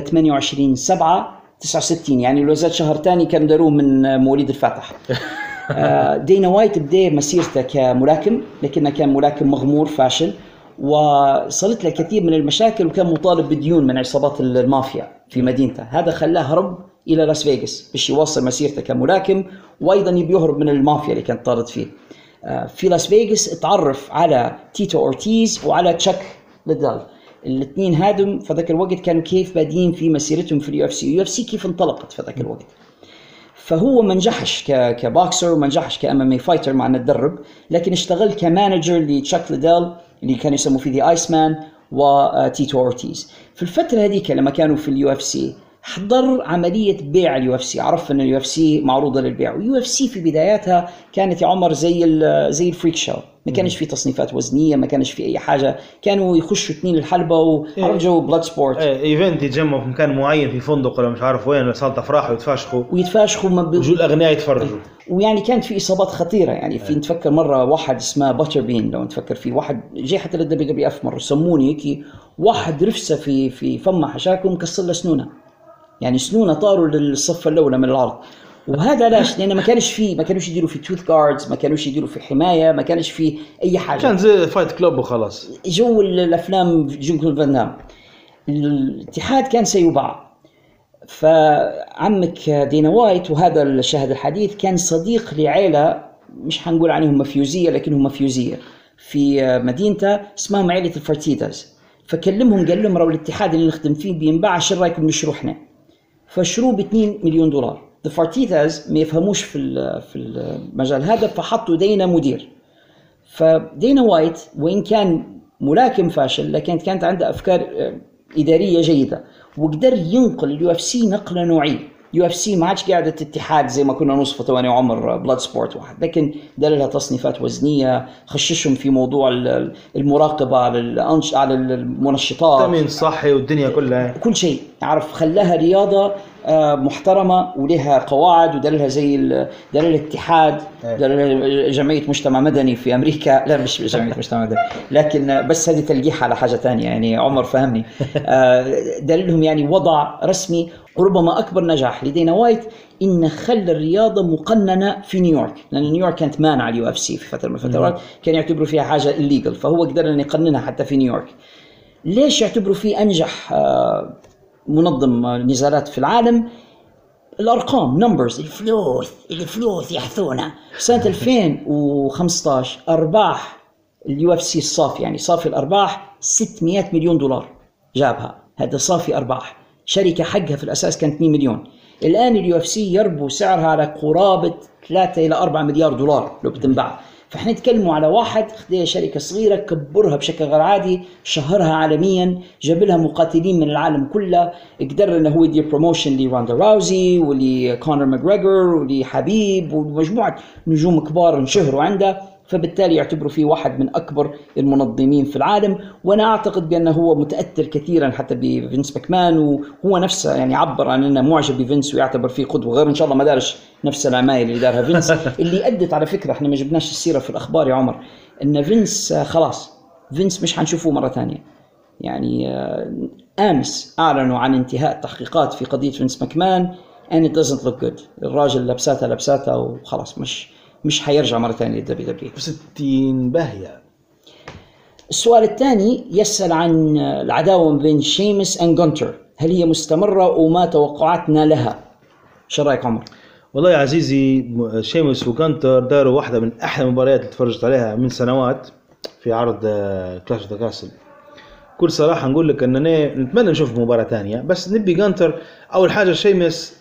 28/7/69، يعني لو زاد شهر تاني كان داروه من مواليد الفاتح. دينا وايت بدأ مسيرته كملاكم، لكنه كان ملاكم مغمور فاشل، وصلت له كثير من المشاكل، وكان مطالب بديون من عصابات المافيا في مدينته. هذا خلاه هرب إلى لاس فيغاس باش يواصل مسيرته كملاكم، وأيضا يبي يهرب من المافيا اللي كانت طارد فيه. في لاس فيغاس اتعرف على تيتو أورتيز وعلى تشاك ليدل. الاثنين هادم في ذاك الوقت كانوا كيف بادين في مسيرتهم في اليو اف سي كيف انطلقت في ذاك الوقت. فهو ما نجحش كبوكسر وما نجحش كMMA فايتر مع انه تدرب، لكن اشتغل كمانجر لتشاك ليدل اللي كانوا يسموه فيه ذا ايس مان وتيتو أورتيز. في الفترة هذيك لما كانوا في اليو اف سي حضر عملية بيع اليو اف سي، عرف ان اليو اف سي معروضة للبيع. واليو اف سي في بداياتها كانت يا عمر زي الفريك شو، ما كانش في تصنيفات وزنية، ما كانش في اي حاجة، كانوا يخشوا اثنين الحلبة وعرف جو بلاد سبورت. ايفنت يتجمعوا في مكان معين في فندق ولا مش عارف وين، صالة افراح، ويتفاشخوا ويجوا الاغنياء يتفرجوا. ويعني كانت في اصابات خطيرة، يعني في نتفكر مرة واحد اسمه باتر بين، لو نتفكر فيه واحد جاي حتى للWWF مرة سموني هيك، واحد رفسه في فمه حشاكم كسر له سنونه، يعني سنونه طاروا للصف الاولى من العرض. وهذا ليش؟ لأنه ما كانش يديروا في توث جاردز، ما كانوش يديروا في حماية، ما كانش في أي حاجة، كان زي فايت كلوب وخلاص، جو الأفلام جون فان دام. الاتحاد كان سيباع. فعمك دينا وايت، وهذا الشاهد الحديث، كان صديق لعائلة مش هنقول عليهم مافيوزية لكنهم مافيوزية في مدينته اسمهم عائلة الفارتيداز. فكلمهم قال لهم: رو الاتحاد اللي نخدم فيه بينباع، شو رايكم نشروه احنا؟ فشروه ب$2 مليون. الفارتيداز ما يفهموش في المجال هذا، فحطوا دينا مدير. فدينا وايت وإن كان ملاكم فاشل، لكن كانت عنده أفكار إدارية جيدة، وقدر ينقل اليو اف سي نقلة نوعية. يو اف سي ما عادش قاعدة اتحاد زي ما كنا نوصفه تواني عمر بلاد سبورت واحد، لكن دار لها تصنيفات وزنية، خششهم في موضوع المراقبة على المنشطات، تأمين صحي والدنيا كلها، كل شيء عرف، خلاها رياضة محترمة ولها قواعد، ودار لها زي دار الاتحاد، دار لها جمعية مجتمع مدني في أمريكا. لا مش جمعية مجتمع مدني، لكن بس هذه تلقيح على حاجة تانية، يعني عمر فهمني. دار لهم يعني وضع رسمي. وربما أكبر نجاح لدينا وايت إن خلى الرياضة مقننة في نيويورك، لأن نيويورك كانت مانعة اليو اف سي في فترة من الفترات، كان يعتبروا فيها حاجة إليجل، فهو قدر أن يقننها حتى في نيويورك. ليش يعتبروا فيه أنجح منظم نزالات في العالم؟ الأرقام، نمبرز، الفلوس يحثونا. سنة 2015 أرباح اليو اف سي الصافي، يعني صافي الأرباح $600 مليون جابها، هذا صافي أرباح. شركة حقها في الأساس كانت $2 مليون. الآن اليو اف سي يربو سعرها على قرابة 3 إلى 4 مليار دولار لو بتنباع. فإحنا نتكلموا على واحد خدها شركة صغيرة كبرها بشكل غير عادي، شهرها عالميا، جاب لها مقاتلين من العالم كله، قدر إنه هو يدير بروموشن لراندا راوزي ولكونر ماجريجور ولحبيب ومجموعة نجوم كبار انشهروا عنده. فبالتالي يعتبروا فيه واحد من أكبر المنظمين في العالم. وأنا أعتقد بأنه هو متأثر كثيرا حتى بفينس ماكمان، وهو نفسه يعني عبر عن أنه معجب بفينس ويعتبر فيه قدوة، غير إن شاء الله ما دارش نفس العمايل اللي دارها فينس اللي أدت على فكرة. إحنا ما جبناش السيرة في الأخبار يا عمر، إن فينس خلاص، فينس مش هنشوفه مرة ثانية. يعني أمس أعلنوا عن انتهاء التحقيقات في قضية فينس ماكمان and it doesn't look good. الراجل لبساتها وخلاص، مش حيرجع مرة ثانية للدبليو دبليو. 60 باهية. السؤال الثاني يسأل عن العداوة بين شيمس and جونتر، هل هي مستمرة وما توقعاتنا لها؟ شو رأيك عمر؟ والله يا عزيزي شيمس وجونتر داروا واحدة من أحلى المباريات اللي تفرجت عليها من سنوات في عرض كلاش اوف ذا كاسل. كل صراحة نقول لك أننا نتمنى نشوف مباراة تانية، بس نبي جونتر. أول حاجة شيمس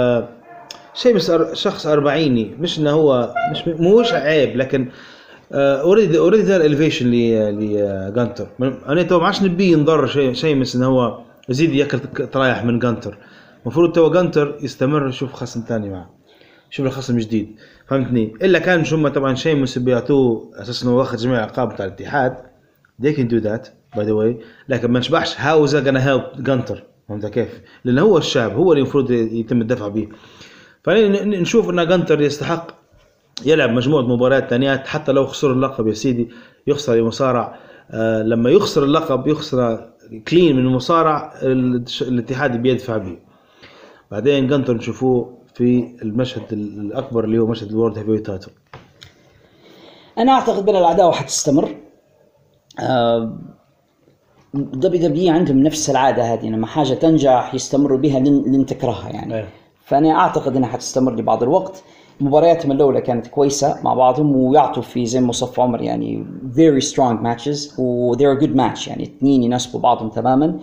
شخص أربعيني، مش إنه هو مش عيب، لكن اوريدي دار الفيشن لجونتر. أنا تو ما عادش نبي نضر شيمس إنه هو يزيد ياكل ترايح من جونتر. المفروض تو جونتر يستمر يشوف خصم تاني معه، شوف الخصم جديد، فهمتني؟ إلا كان شو طبعا شيمس بيعطوه أساس إنه واخد جميع الألقاب بتاع الاتحاد. they can do that by the way، لكن ما نشبحش how is that gonna help جونتر، فهمت كيف؟ لأنه هو الشاب، هو اللي المفروض يتم الدفع به. فنشوف إن جونتر يستحق يلعب مجموعة مباريات تانيات، حتى لو خسر اللقب يا سيدي، يخسر المصارع. لما يخسر اللقب يخسر كلين من المصارع، الاتحاد بيدفع به. بعدين جونتر نشوفوه في المشهد الأكبر اللي هو مشهد الورد هيفي تايتل. أنا أعتقد بأن العداوة حتستمر. WWE عندهم نفس العادة هذه، لما حاجة تنجح يستمروا بها لن تكرهها يعني. فأنا أعتقد أنها حتستمر لبعض الوقت. مبارياتهم الأولى كانت كويسة مع بعضهم، ويعطوا في زي ما وصف عمر يعني very strong matches و they're a good match، يعني اثنين يناسبوا بعضهم تماما.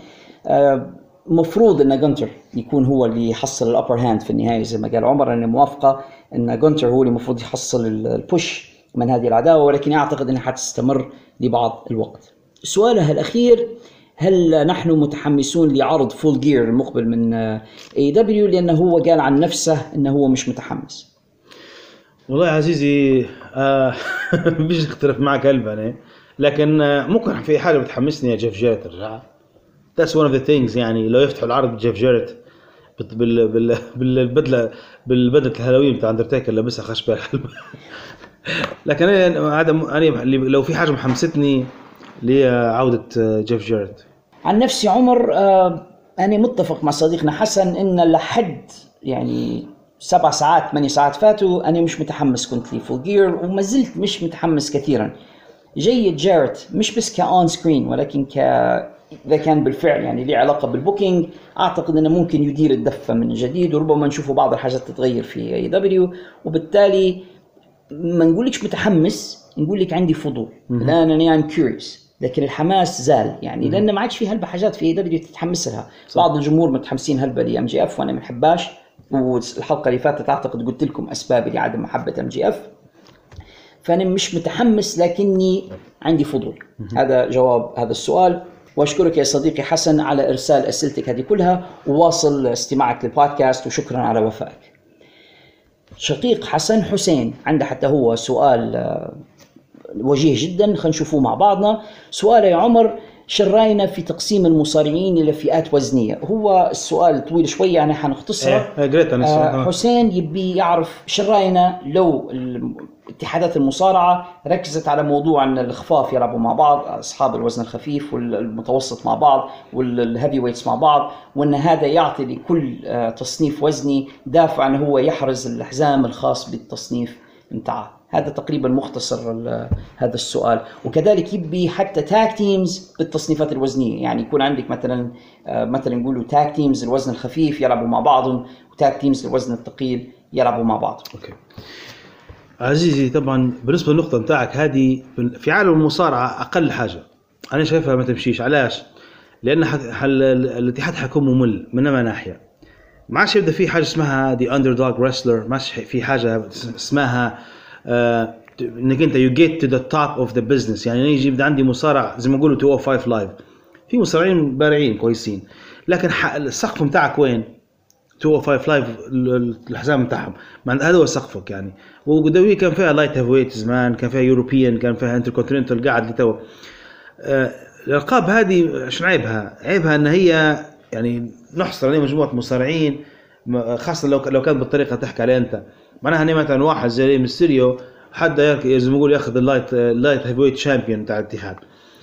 مفروض أن جونتر يكون هو اللي يحصل الأبر هاند في النهاية، زي ما قال عمر أنا موافقة أن جونتر هو اللي مفروض يحصل البوش من هذه العداوة، ولكن أعتقد أنها حتستمر لبعض الوقت. سؤالها الأخير، هل نحن متحمسون لعرض فول جير المقبل من AEW؟ لأنه هو قال عن نفسه أنه هو مش متحمس. والله يا عزيزي بيجي اختلف معك قلبا، لكن ممكن في حاجة بتحمسني يا جيف جيرت رجع. That's one of the things، يعني لو يفتحوا العرض بجيف جيرت بالبدلة الهالوين بتاع أندرتيكر لابسها خشبة الحلبة. لكن هذا لو في حاجة محمستني لعودة جيف جيرت. عن نفسي عمر أنا متفق مع صديقنا حسن إن لحد يعني 7 ساعات 8 ساعات فاتوا أنا مش متحمس كنت لي فول جير، وما زلت مش متحمس كثيرا. جيد جيرت مش بس كأون سكرين، ولكن إذا كان بالفعل يعني ليه علاقة بالبوكينج، أعتقد أنه ممكن يدير الدفة من جديد، وربما نشوفه بعض الحاجات تتغير في AEW. وبالتالي ما نقولكش متحمس، نقول لك عندي فضول الآن، أنا I'm curious، لكن الحماس زال يعني، لأن ما عادش في هلبة حاجات في AEW تتحمس لها. بعض الجمهور متحمسين هلبة ل MJF وأنا ما بحباش، والحلقة اللي فاتت أعتقد قلت لكم أسبابي لعدم محبة MJF. فأنا مش متحمس لكني عندي فضول. هذا جواب هذا السؤال. وأشكرك يا صديقي حسن على إرسال أسئلتك هذه كلها، وواصل استماعك للبودكاست، وشكرا على وفائك. شقيق حسن حسين عنده حتى هو سؤال وجيه جدا، خلينا نشوفه مع بعضنا. سؤال يا عمر، شراينا في تقسيم المصارعين إلى فئات وزنية؟ هو السؤال طويل شوية يعني حنختصره. حسين يبي يعرف شراينا لو اتحادات المصارعة ركزت على موضوع أن الخفاف يلعبوا مع بعض، أصحاب الوزن الخفيف والمتوسط مع بعض والهيفي ويتس مع بعض، وأن هذا يعطي لكل تصنيف وزني دافع أنه هو يحرز الحزام الخاص بالتصنيف متاعه. هذا تقريبا مختصر هذا السؤال. وكذلك يبي حتى تاك تيمز بالتصنيفات الوزنية، يعني يكون عندك مثلا نقولوا تاك تيمز الوزن الخفيف يلعبوا مع بعضهم، وتاك تيمز الوزن الثقيل يلعبوا مع بعض. أوكي. عزيزي طبعا بالنسبة للنقطة متاعك هذه، في عالم المصارعة أقل حاجة أنا شايفها ما تمشيش. علاش؟ لأن الاتحاد حيكون ممل من ما ناحية. ما عادش يبدأ في حاجة اسمها the underdog wrestler، ما في حاجة اسمها انك انت you get to the top of the business. يعني يجي يبدأ عندي مصارع زي ما يقولوا 205 لايف، في مصارعين بارعين كويسين، لكن السقف متاعك وين؟ 205 لايف الحزام متاعهم، هذا هو سقفك يعني. ودوي كان فيها لايت هيف ويت زمان، كان فيها يوروبيان، كان فيها انتركونتيننتال قاعد لتو. الألقاب هذه شنو عيبها؟ عيبها ان هي يعني نحصر عليه مجموعة مصارعين، خاصة لو كانت بالطريقة تحكي عليها انت. معناها هني مثلا واحد زي ميستيريو حد زي ما يقول ياخذ اللايت هيف ويت شامبيون تاع الاتحاد،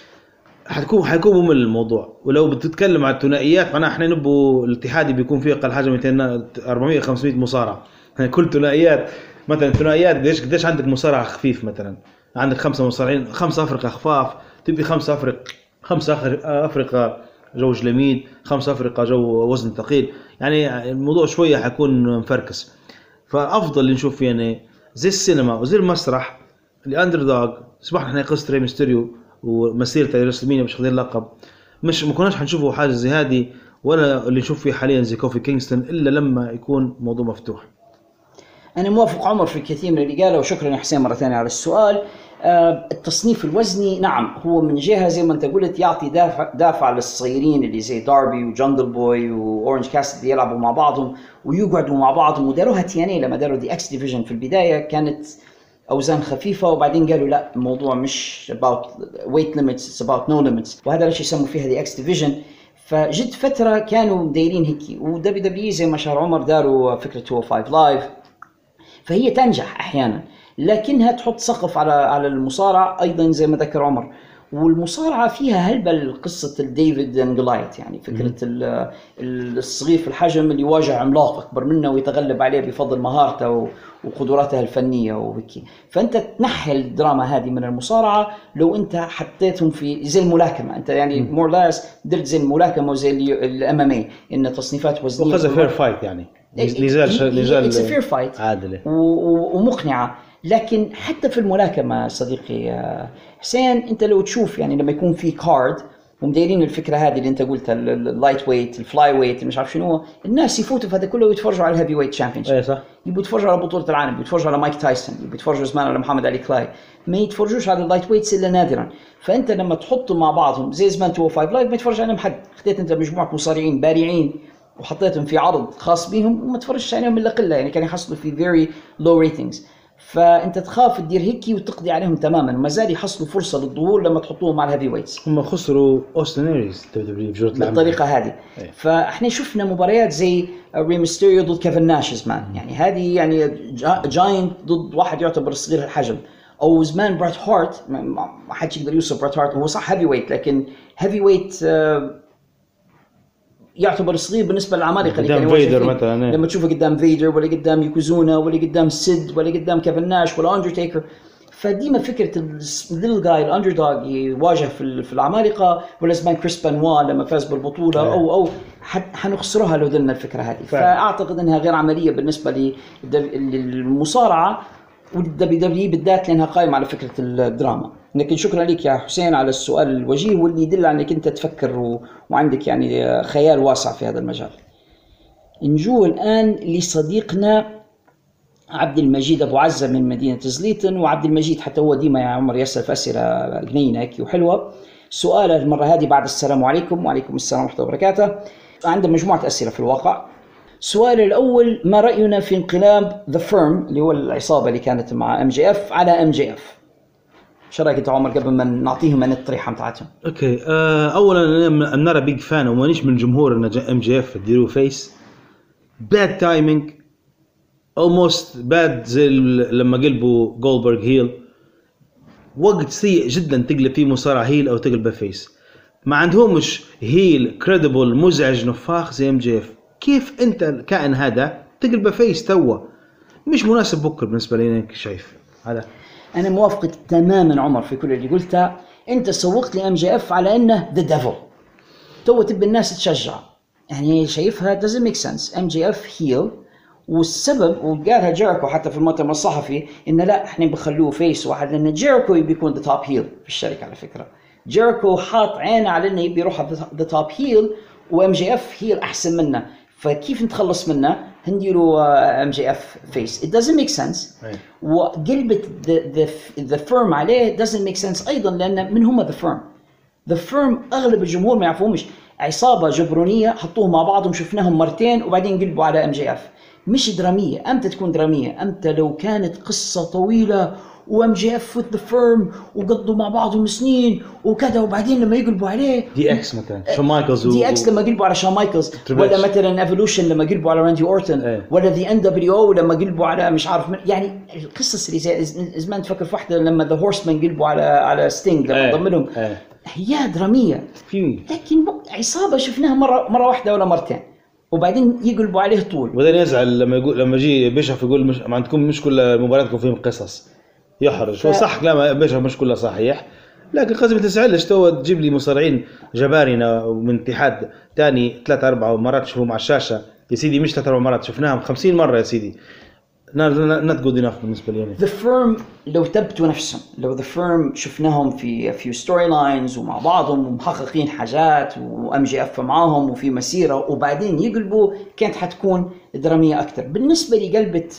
حيكون ممل الموضوع. ولو بتتكلم عن الثنائيات، معناها احنا نبوا الاتحادي بيكون فيه اقل حاجه 200 400 500 مصارع. كل ثنائيات مثلا ثنائيات قديش عندك مصارع خفيف، مثلا عندك 5 مصارعين 5 افرقه خفاف تبي 5 أفرقة جو جلميد، 5 أفرقة جو وزن ثقيل، يعني الموضوع شوية حيكون مفركس. فأفضل اللي نشوف فيه يعني زي السينما وزي المسرح اللي أندردوغ. سبحنا احنا قصة ري ميستيريو ومسيرته لرسلمينيا مش خذين لقب، مش ما كناش حنشوفه حاجة زي هذه ولا اللي نشوف فيه حاليا زي كوفي كينغستون إلا لما يكون موضوع مفتوح. أنا موافق عمر في الكثير من اللي قاله، وشكرا حسين مرة ثانية على السؤال. التصنيف الوزني نعم هو من جهة زي ما أنت قلت يعطي دافع للصغيرين اللي زي داربي وجنجل بوي وأورنج كاسيدي يلعبوا مع بعضهم ويقعدوا مع بعضهم، وداروها تياني لما داروا دي اكس ديفيجن في البداية كانت أوزان خفيفة، وبعدين قالوا لا الموضوع مش about weight limits it's about no limits، وهذا ليش يسموا فيها دي اكس ديفيجن. فجد فترة كانوا دايرين هيك، ودبليو دبليو زي ما شهر عمر داروا فكرة 205 لايف، فهي تنجح أحيانا لكنها تحط سقف على المصارعة أيضا زي ما ذكر عمر. والمصارعة فيها هلبة قصة الديفيد اند جولايث، يعني فكرة الصغير في الحجم اللي يواجه عملاق أكبر منه ويتغلب عليه بفضل مهارته وقدراته الفنية وهيك. فأنت تنحي الدراما هذه من المصارعة لو أنت حطيتهم في زي الملاكمة، أنت يعني مور لاس درت زي الملاكمة وزي الMMA إن تصنيفات وزنية وخذ فير فايت، يعني نزال عادلة ومقنعة. لكن حتى في الملاكمة صديقي حسين أنت لو تشوف يعني لما يكون في كارد ومديرين الفكرة هذه اللي أنت قلتها اللايت ويت الفلاي ويت مش عارف شنو، الناس يفوتوا في هذا كله ويتفرجوا على الهيفي ويت تشامبيونشيب. أي صح. يبوا يتفرجوا على بطولة العالم، يتفرجوا على مايك تايسون، يبوا يتفرجوا زمان على محمد علي كلاي، ما يتفرجوش على اللايت ويتس إلا نادرا. فأنت لما تحطهم مع بعضهم زي زمان 205 لايف ما يتفرج عليهم حد، خديت أنت مجموعة مصارعين بارعين وحطيتهم في عرض خاص بيهم وما تفرجش عليهم إلا قلة، يعني كان يحصلوا في very low ratings. فأنت تخاف تدير هيك وتقضي عليهم تماماً، وما زال يحصلوا فرصة للظهور لما تحطوهم مع الهيفي ويتس. هم خسروا أوستن إيريز بالطريقة هذه. فإحنا شفنا مباريات زي ري ميستيريو ضد كيفن ناش زمان، يعني هذه يعني جاينت ضد واحد يعتبر صغير الحجم، أو زمان برات هارت ما حد يقدر يوصل برات هارت، هو صح هيفي ويت لكن هيفي ويت يعتبر صغير بالنسبة للعمالقة اللي كانوا فيدر مثلا. لما تشوفه قدام فيدر ولا قدام يوكوزونا ولا قدام سيد ولا قدام كيفن ناش ولا أندرتيكر. فديما فكرة الليل جاي الأندردوغ يواجه في العمالقة، ولا زمان كريس بانوا لما فاز بالبطولة أو حنخسرها لو دلنا الفكرة هذه. فأعتقد أنها غير عملية بالنسبة للمصارعة والدبليو دبليو بالذات لأنها قائمة على فكرة الدراما. لكن شكرا لك يا حسين على السؤال الوجيه واللي يدل على أنك أنت تفكر وعندك يعني خيال واسع في هذا المجال. نجو الآن لصديقنا عبد المجيد أبو عزة من مدينة زليتن. وعبد المجيد حتى هو ديما يا عمر يسأل في أسئلة جنينة وحلوة. سؤاله المرة هذه بعد السلام عليكم. وعليكم السلام ورحمة الله وبركاته. عنده مجموعة أسئلة في الواقع. السؤال الأول: ما رأينا في انقلاب The Firm اللي هو العصابة اللي كانت مع MJF على MJF؟ شو رأيك أنت عمر قبل ما نعطيهم عن الطريحة متاعتهم؟ أوكي. أولا أنا نرى بيج فان ومانيش من جمهور إن MJF يديروا فيس. bad timing almost bad زي لما قلبوا جولدبرغ هيل. وقت سيء جدا تقلب فيه مصارع هيل أو تقلبه فيس. ما عندهمش هيل كريديبل مزعج نفاخ زي MJF. كيف أنت الكائن هذا تقلبه فيس توا؟ مش مناسب بكر بالنسبة لي. أنك شايف هذا؟ أنا موافقك تماماً عمر في كل اللي قلته. أنت سوقت لي MJF على إنه the devil. تو تبي الناس تشجع، يعني شايفها doesn't make sense. MJF heel، والسبب وقالها جيريكو حتى في المؤتمر الصحفي إنه لا إحنا بخلوه فيس واحد، لأن جيريكو يبي يكون the top heel في الشركة. على فكرة جيريكو حاط عينه على إنه يبي يروح the top heel وMJF heel أحسن منه. فكيف نتخلص منه؟ هنديروا MJF face. It doesn't make sense. وقلبت the firm عليه doesn't make sense أيضا، لأن من هم the firm أغلب الجمهور ما يعرفوهمش. عصابة جبرونية حطوهم مع بعضهم، شفناهم مرتين وبعدين قلبوا على MJF. مش درامية. أمتى تكون درامية؟ أمتى لو كانت قصة طويلة وMJF with the firm وقضوا مع بعضهم سنين وكذا، وبعدين لما يقلبوا عليه دي اكس مثلا شون مايكلز، دي اكس لما قلبوا على شون مايكلز، ولا مثلا ايفولوشن لما قلبوا على راندي اورتن، ولا ذا NWO لما قلبوا على مش عارف يعني القصص اللي زي زمان تفكر في واحدة لما ذا هورسمان قلبوا على ستينج لما ضم لهم. هي درامية، لكن عصابة شفناها مرة واحدة ولا مرتين وبعدين يقلبوا عليه طول. وبعدين يزعل لما يجي بيشرف يقول مش ما عندكم مش كل مباراتكم فيهم قصص، يحرج. هو صح كلام بيشرف مش كله صحيح، لكن قسم تسعلش تو تجيب لي مصارعين جبارنا من اتحاد تاني 3-4 مرات شوفوا مع الشاشة يا سيدي، مش 3-4 مرات شفناهم 50 مرة يا سيدي. not good enough بالنسبة لي يعني. The Firm لو تبتوا نفسهم، لو The Firm شفناهم في few storylines ومع بعضهم ومحققين حاجات وMJF معاهم وفي مسيرة وبعدين يقلبوا، كانت حتكون درامية أكتر. بالنسبة لي قلبت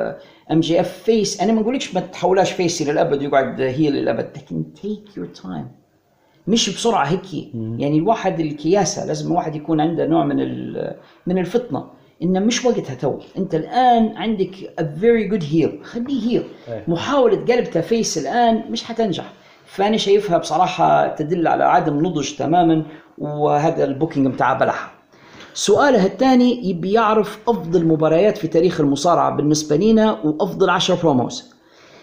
MJF فيس، أنا ما أقولكش ما تحولاش فيسي للأبد ويقعد هيل للأبد، لكن take your time، مش بسرعة هيك. يعني الواحد الكياسة لازم الواحد يكون عنده نوع من الفطنة، إنه مش وقتها تو. أنت الآن عندك a very good heel، خليه heel. محاولة قلبتها فيس الآن مش حتنجح. فأنا شايفها بصراحة تدل على عدم نضج تماما، وهذا البوكينج متاع بلحة. سؤاله الثاني يبي يعرف أفضل مباريات في تاريخ المصارعة بالنسبة لنا وأفضل 10 بروموز.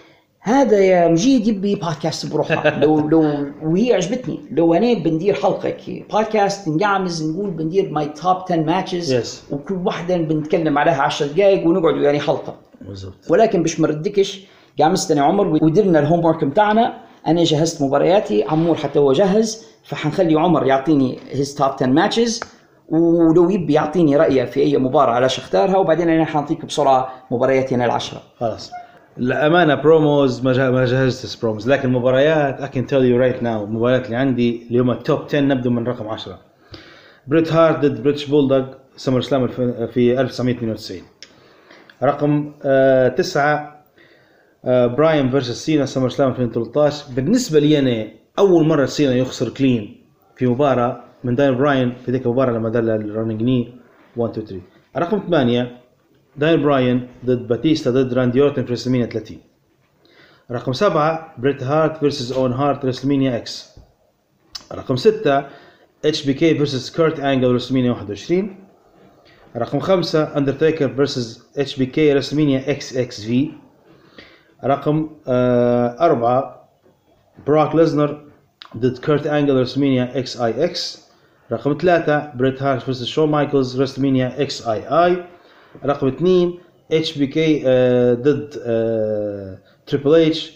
هذا يا مجيد يبي بودكاست بروحه. لو وهي عجبتني لو أنا بندير حلقة كي بودكاست نقعمز نقول بندير ماي توب 10 ماتشز وكل واحدة بنتكلم عليها 10 دقائق ونقعد يعني حلقة بالضبط. ولكن باش مردكش قامستني عمر ودرنا الهوم ورك متاعنا. أنا جهزت مبارياتي، عمور حتى هو جهز، فحنخلي عمر يعطيني his top 10 matches، ولو يبي يعطيني رأيه في أي مباراة علاش اختارها، وبعدين أنا حنعطيك بسرعة مبارياتي أنا 10. خلاص الأمانة بروموز ما جهزت بروموز، لكن مباريات I can tell you right now مباريات اللي عندي اليوم التوب 10 نبدأ من رقم 10. بريت هارت ضد بريتش بولدوغ سمر سلام في 1992. رقم 9 براين فيرسس سينا سمر سلام 2013. بالنسبة لي أنا أول مرة سينا يخسر كلين في مباراة من داين براين في ذيك المباراة لما دل الرننج ني 1 2 3. رقم 8 داين براين ضد باتيستا ضد راندي أورتن في رسلمانيا 30. رقم 7 بريت هارت فيرسس اون هارت رسلمانيا اكس. رقم 6 اتش بي كي فيرسس كيرت انجل رسلمانيا 21. رقم 5 اندرتيكر فيرسس اتش بي كي رسلمانيا اكس اكس في. رقم 4 براك ليزنر ضد كيرت انجل رسلمانيا اكس اي اكس. رقم 3 بريت هارت فيرسس شون مايكلز رسلمانيا اكس اي اي. رقم 2 اتش بي كي ضد تريبل اتش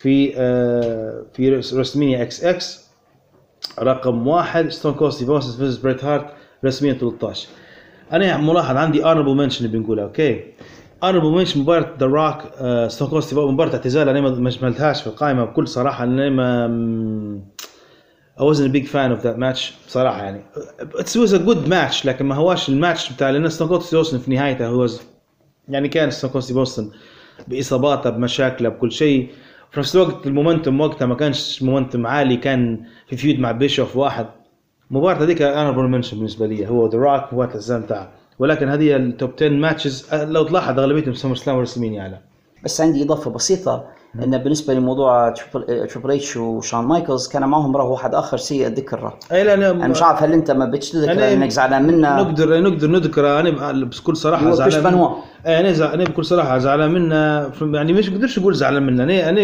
في رسلمانيا اكس اكس. رقم 1 ستون كولد ستيف اوستن فيرسس بريت هارت رسلمانيا 13. انا ملاحظ عندي honorable mention بنقولها. اوكي honorable mention مباراة ذا روك ستون كولد ستيف اوستن، مباراة اعتزال انا ما شملتهاش في القائمة بكل صراحة، انا ما I wasn't a big fan of that match بصراحة. يعني it was a good match لكن ما هواش الماتش بتاع لأن ستون كولد ستيف اوستن في نهايته هو يعني كان ستون كولد ستيف اوستن بإصاباته بمشاكله بكل شيء. في نفس الوقت المومنتم وقتها ما كانش مومنتم عالي، كان في فيود مع بيشوف واحد. مباراة هذيك أنا برمنشن بالنسبة لي هو ذا روك مباراة الزام تاعه. ولكن هذه التوب 10 ماتشز لو تلاحظ أغلبيتهم سمر سلام ورسلمانيا على. بس عندي إضافة بسيطة إن بالنسبة لموضوع تريبل اتش وشون مايكلز كان معهم راه واحد آخر سيء الذكر. أنا مش عارف هل أنت ما بتذكر إنك زعلان منه. نقدر نذكر أنا بكل صراحة زعلان منه. أنا بكل صراحة زعلان منه، يعني مش قدرش أقول زعلان منه. أنا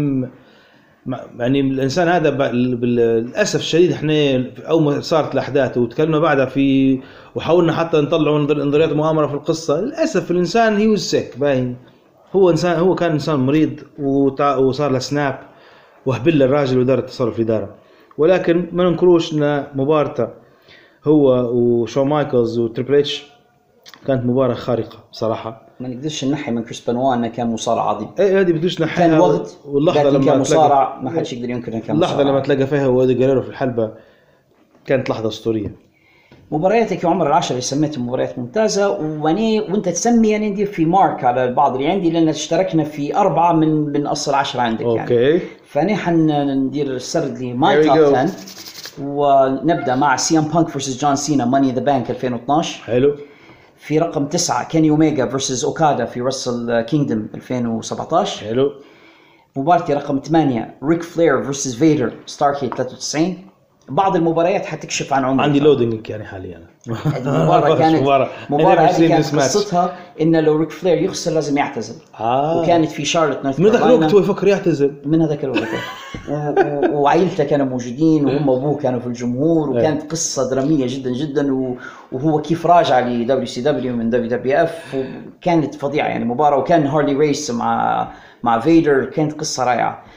يعني الإنسان هذا للأسف الشديد إحنا أول ما صارت الأحداث وتكلمنا بعدها في وحاولنا حتى نطلعوا نظريات مؤامرة في القصة، للأسف الإنسان هي والسك باين هو كان إنسان مريض وصار له سناب وهبل الراجل ودار التصرف في داره. ولكن ما ننكروش إن مباراته هو وشون مايكلز وتريبل اتش كانت مباراة خارقة بصراحة. ما نقدرش ننحي من كريس بنوا انه كان مصارع عظيم. اي هذه بدوش نحيها. كان وقت واللحظة لما كان مصارع ما حدش يقدر ينكر انه كان اللحظة لما تلاقى فيها وادي جريرو في الحلبة كانت لحظة أسطورية. مبارياتك يا عمر العشرة اللي سميتها مباريات ممتازة، وانت تسمي يعني ندير في مارك على البعض اللي عندي لان اشتركنا في 4 من اصل 10 عندك. أوكي. يعني فانا حندير السرد لي ماي توب 10 ونبدا مع سي ام بانك فيرسس جون سينا ماني ذا بانك 2012. حلو. في رقم 9 كيني أوميجا فيرسس أوكادا في رسل كينجدم 2017. حلو. مباراتي رقم 8 ريك فلير فيرسس فيدر ستاركيد 93. بعض المباريات حتكشف عن عمري. عندي لودينج يعني حاليا. المباراة كانت مباراة هذه كانت قصتها إن لو ريك فلير يخسر لازم يعتزل. وكانت في شارلوت نورث كارولاينا. من ذاك الوقت هو يفكر يعتزل. من هذاك الوقت. وعائلته كانوا موجودين وهم أبوه كانوا في الجمهور، وكانت قصة درامية جدا جدا. وهو كيف راجع ل WCW من WWF وكانت فظيعة يعني مباراة. وكان هارلي ريس مع فيدر، كانت قصة رائعة.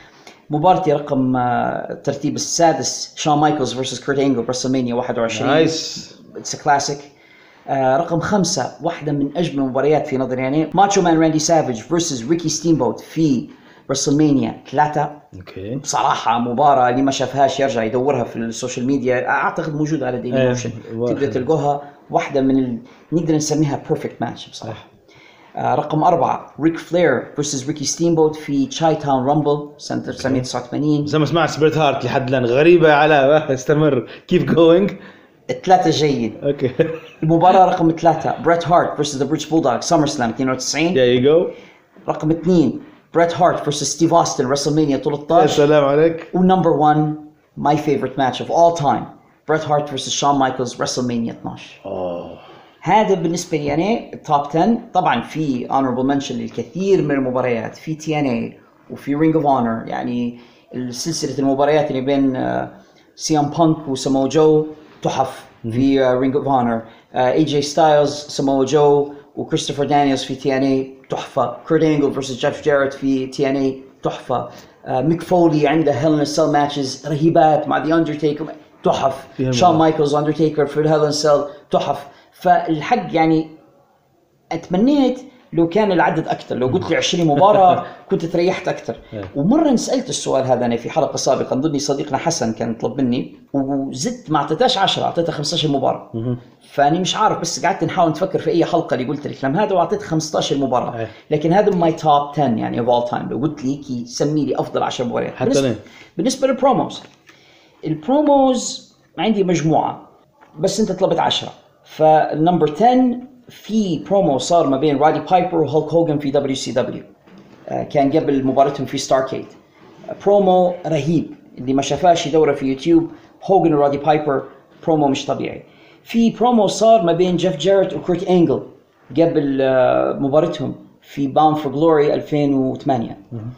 مبارتي رقم الترتيب السادس شون مايكلز versus كورت أنجل برسلمانيا 21. نايس. It's a classic. رقم 5 واحدة من أجمل المباريات في نظري يعني ماتشو مان راندي سافيج versus ريكي ستيمبوت في برسلمانيا 3. اوكي. بصراحة مباراة اللي ما شافهاش يرجع يدورها في السوشيال ميديا، أعتقد موجودة على ديلي موشن، تقدر تلقوها. واحدة من نقدر نسميها بيرفكت ماتش بصراحة. رقم 4 ريك فلير versus ريكي ستيمبوت في تشاي تاون رامبل سنة 1989. زي ما سمعت سبيرت هارت لحد الآن غريبة على استمر كيف جوينج. 3 جيد. اوكي. المباراة رقم 3 بريت هارت versus ذا بريتش بولدوغ سمر سلام 92. There you go. رقم 2 بريت هارت versus ستيف أوستن رسلمانيا 13. السلام عليك. ونمبر 1 my favorite match of all time بريت هارت versus شون مايكلز رسلمانيا 12. هذا بالنسبة لي أنا التوب 10. طبعا في honorable mention للكثير من المباريات في TNA وفي Ring of Honor، يعني السلسلة المباريات اللي بين سيام بانك وسامو جو تحف في Ring of Honor. AJ Styles سامو جو وكريستوفر دانييلز في TNA تحفة. كورت أنجل versus جيف جاريت في TNA تحفة. ميك فولي عنده هيل ان سيل ماتشز رهيبات مع The Undertaker تحف. شون مايكلز Undertaker في الهيل ان سيل تحف. فالحق يعني أتمنيت لو كان العدد أكثر، لو قلت لي 20 مباراة كنت تريحت أكثر. ومرة سألت السؤال هذا أنا في حلقة سابقة، نظني صديقنا حسن كان طلب مني وزدت ما أعطيتهاش 10، أعطيتها 15 مباراة. فأني مش عارف، بس قعدت نحاول نفكر في أي حلقة اللي قلت الكلام هذا وأعطيت 15 مباراة. لكن هذا ماي توب 10 يعني of all time. لو قلت لي كي سمي لي أفضل 10 مباريات بالنسبة للبروموز. البروموز عندي مجموعة بس أنت طلبت 10. فالنمبر 10 في برومو صار ما بين رادي بايبر وهولك هوغن في WCW. كان قبل مباراتهم في ستاركيد. برومو رهيب، اللي ما شافاش يدوره في يوتيوب. هوغن ورادي بايبر برومو مش طبيعي. في برومو صار ما بين جيف جاريت وكورت أنجل قبل مباراتهم في باوند فور جلوري 2008.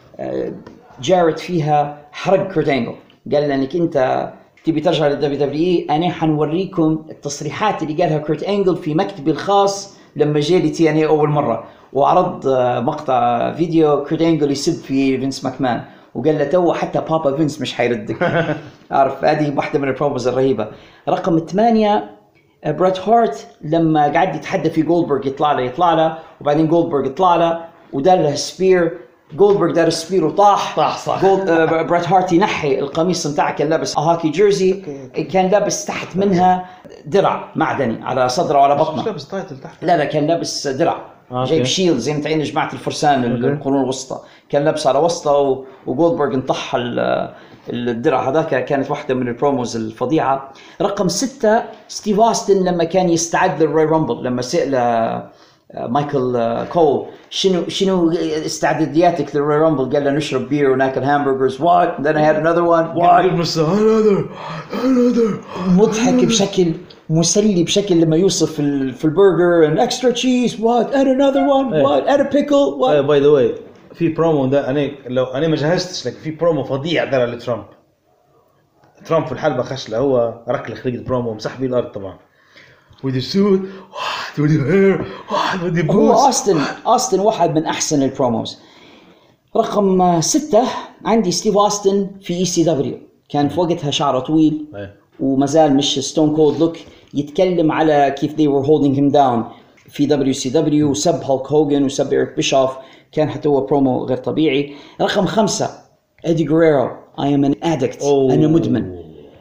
جاريت فيها حرق كورت أنجل، قال لأنك أنت تبي ترجع للWWE، أنا حنوريكم التصريحات اللي قالها كورت أنجل في مكتبي الخاص لما جاء لي TNA أول مرة. وعرض مقطع فيديو كورت أنجل يسب في فينس ماكمان وقال له تو حتى بابا فينس مش حيردك. عارف، هذه واحدة من البروموز الرهيبة. رقم 8 بريت هارت لما قاعد يتحدى في جولدبرغ، يطلع له وبعدين جولدبرغ يطلع له ودار له سبير. جولدبرغ دار سبير وطاح صح. بريت هارت ينحي القميص بتاعه، كان لابس هاكي جيرزي، كان لابس تحت منها درع معدني على صدره وعلى بطنه. مش لابس تايتل تحت؟ لا كان لابس درع جايب شيلد زي ما تعين جماعة الفرسان القرون الوسطى، كان لابس على وسطه وجولدبرغ انطح الدرع هذاك. كانت واحدة من البروموز الفظيعة. رقم 6 ستيف أوستن لما كان يستعد للروي رامبل، لما سأل مايكل كول شنو استعدادياتك للروي رامبل، قال له نشرب بير وناكل همبرجرز. what then I had another one what another مضحك بشكل مسلي بشكل لما يوصف في البرجر and extra cheese what and another one what and a pickle what. by the way في برومو ده لو انا ما جهزتش لك، في برومو فظيع دار لترامب. ترامب في الحلبة خشله، هو ركل خريج البرومو مسح بيه الارض طبعا. with the suit what with the hair what with the boots. هو أوستن واحد من أحسن البروموز. رقم 6 عندي ستيف أوستن في ECW، كان في وقتها شعره طويل ومازال مش ستون كولد لوك، يتكلم على كيف they were holding him down في WCW وسب هولك هوغن وسب إيريك بيشوف. كان حتى هو برومو غير طبيعي. رقم 5 إيدي غيريرو I am an addict أنا مدمن.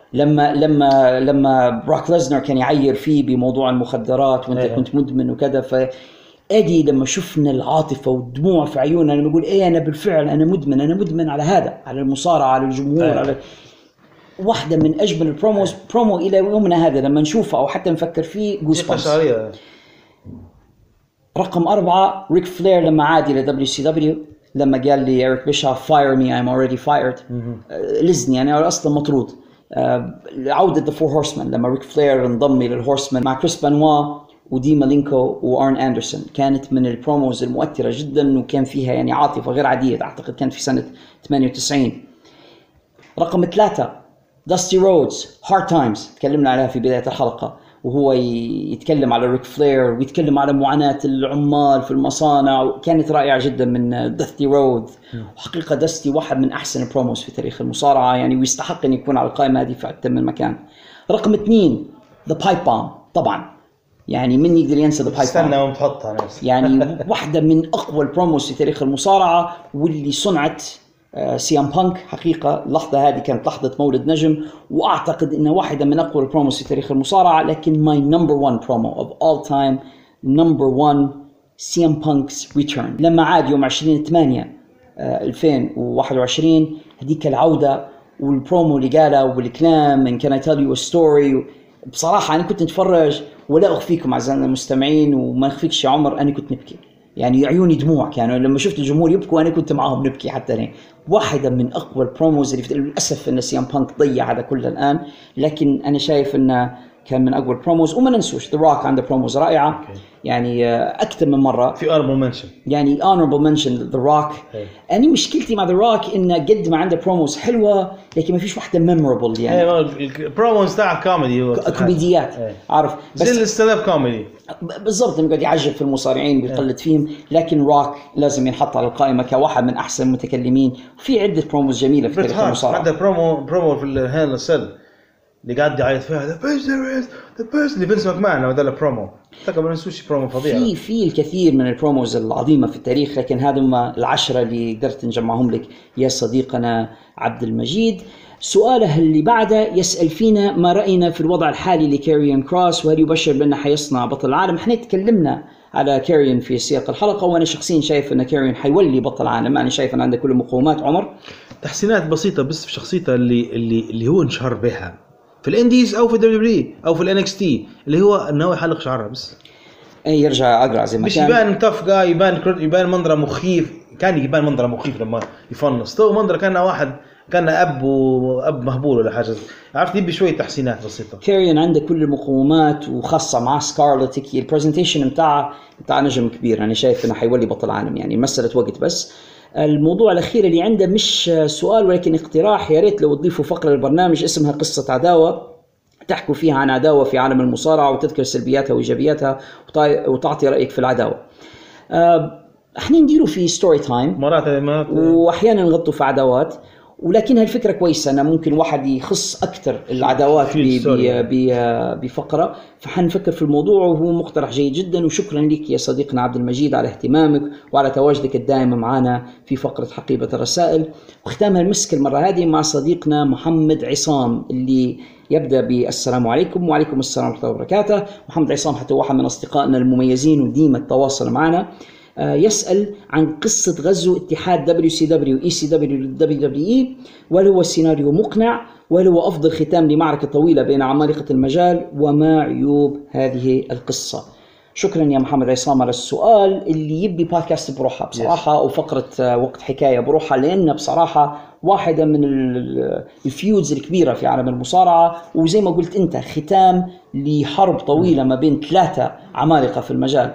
لما براك ليزنر كان يعير فيه بموضوع المخدرات وانت كنت مدمن وكذا، فأدي لما شفنا العاطفة والدموع في عيوننا لما يقول انا بالفعل انا مدمن على هذا، على المصارعة، على الجمهور، على واحدة من أجمل البروموز. برومو إلى يومنا هذا لما نشوفه أو حتى نفكر فيه جوز بامس. رقم 4 ريك فلير لما عاد إلى WCW، لما قال لي إيريك بيشوف fire me I'm already fired، لزني أنا أصلا مطرود. عودة The Four Horsemen لما ريك فلير انضم إلى الهورسمان مع كريس بانوا ودي مالينكو وارن اندرسون، كانت من البروموز المؤثرة جدا وكان فيها يعني عاطفة غير عادية. أعتقد كانت في سنة 98. رقم 3 داستي رودز هارد تايمز، تكلمنا عليها في بداية الحلقة، وهو يتكلم على ريك فلير ويتكلم على معاناة العمال في المصانع، كانت رائعة جدا من داستي رود. وحقيقة داستي واحد من أحسن البروموز في تاريخ المصارعة يعني، ويستحق أن يكون على القائمة هذه في أكثر من مكان. رقم 2 The Pipe Bomb طبعا، يعني من يقدر ينسى The Pipe Bomb؟ استنى ومتحطها نفسي. يعني واحدة من أقوى البروموز في تاريخ المصارعة، واللي صنعت سيام بانك. حقيقة اللحظة هذه كانت لحظة مولد نجم، وأعتقد إنها واحدة من أقوى البروموز في تاريخ المصارعة. لكن my number one promo of all time, number one, سيام بانك's return لما عاد يوم 20/8/2021. هذيك العودة والبرومو اللي قاله والكلام and can I tell you a story. بصراحة أنا كنت نتفرج ولا أخفيكم أعزائنا المستمعين وما أخفيكش يا عمر، أنا كنت نبكي يعني، عيوني دموع كانوا لما شفت الجمهور يبكوا، أنا كنت معهم نبكي حتى أنا. واحدة من أقوى البروموز اللي للأسف إن سيام بانك ضيع هذا كله الآن، لكن أنا شايف إنه كان من أقوى البروموز. وما ننسوش The Rock عنده بروموز رائعة يعني أكثر من مرة. في honorable mention يعني honorable mention The Rock. أنا مشكلتي مع The Rock إنه قد ما عنده بروموز حلوة لكن ما فيش واحدة memorable يعني. البروموز تاع كوميدي كوميديات عارف، بس زي الستاند اب كوميدي بالضبط، يقعد يعجب في المصارعين ويقلد فيهم. لكن روك لازم ينحط على القائمة كواحد من أحسن المتكلمين. في عدة بروموز جميلة في تاريخ المصارعة. عنده برومو في الهيل سيل اللي قاعد يعيط فيها the best اللي فينس ماكمان، هذا البرومو تقريبا ما نسوش برومو فظيع. في الكثير من البروموز العظيمة في التاريخ، لكن هذا هم 10 اللي قدرت نجمعهم لك يا صديقنا عبد المجيد. سؤاله اللي بعده يسأل فينا ما رأينا في الوضع الحالي لكاريون كروس، وهل يبشر بأنه حيصنع بطل العالم؟ احنا تكلمنا على كاريون في سياق الحلقة، وأنا شخصيا شايف أن كاريون حيولي بطل العالم. أنا شايف أن عنده كل مقومات. عمر تحسينات بسيطة بس في شخصيته اللي هو انشهر بها في الانديز او في دبليو او في الانكس تي، اللي هو انه يحلق شعره بس يرجع اقرع زي ما مش كان، يبان تف جاي، يبان منظره مخيف. كان يبان منظره مخيف لما يفنص، تو منظره كان واحد كان اب مهبول ولا حاجه. عرفت يبي شويه تحسينات بسيطه. كاريون عنده كل المقومات، وخاصه مع سكارلت كي البرزنتيشن بتاع نجم كبير. انا شايف انه حيولي بطل عالم يعني، مساله وقت بس. الموضوع الأخير اللي عنده مش سؤال ولكن اقتراح، يا ريت لو تضيفوا فقرة للبرنامج اسمها قصة عداوة، تحكوا فيها عن عداوة في عالم المصارعة وتذكر سلبياتها وإيجابياتها وتعطي رأيك في العداوة. احنا نديروا في ستوري تايم مرات وأحيانا نغطوا في عداوات، ولكن هالفكرة كويسة أن ممكن واحد يخص أكثر العداوات بفقرة، فحنفكر في الموضوع وهو مقترح جيد جدا. وشكرا لك يا صديقنا عبد المجيد على اهتمامك وعلى تواجدك الدائم معنا في فقرة حقيبة الرسائل. وختامها المسك المرة هذه مع صديقنا محمد عصام اللي يبدأ بالسلام عليكم. وعليكم السلام ورحمة الله وبركاته. محمد عصام حتى واحد من أصدقائنا المميزين وديما التواصل معنا. يسأل عن قصة غزو اتحاد WCW ECW WWE، وهل هو السيناريو مقنع، وهل هو أفضل ختام لمعركة طويلة بين عمالقة المجال، وما عيوب هذه القصة؟ شكرا يا محمد عصام على السؤال اللي يبي بودكاست بروحها بصراحة، أو فقرة وقت حكاية بروحها، لأن بصراحة واحدة من الفيودز الكبيرة في عالم المصارعة، وزي ما قلت أنت ختام لحرب طويلة ما بين 3 عمالقة في المجال.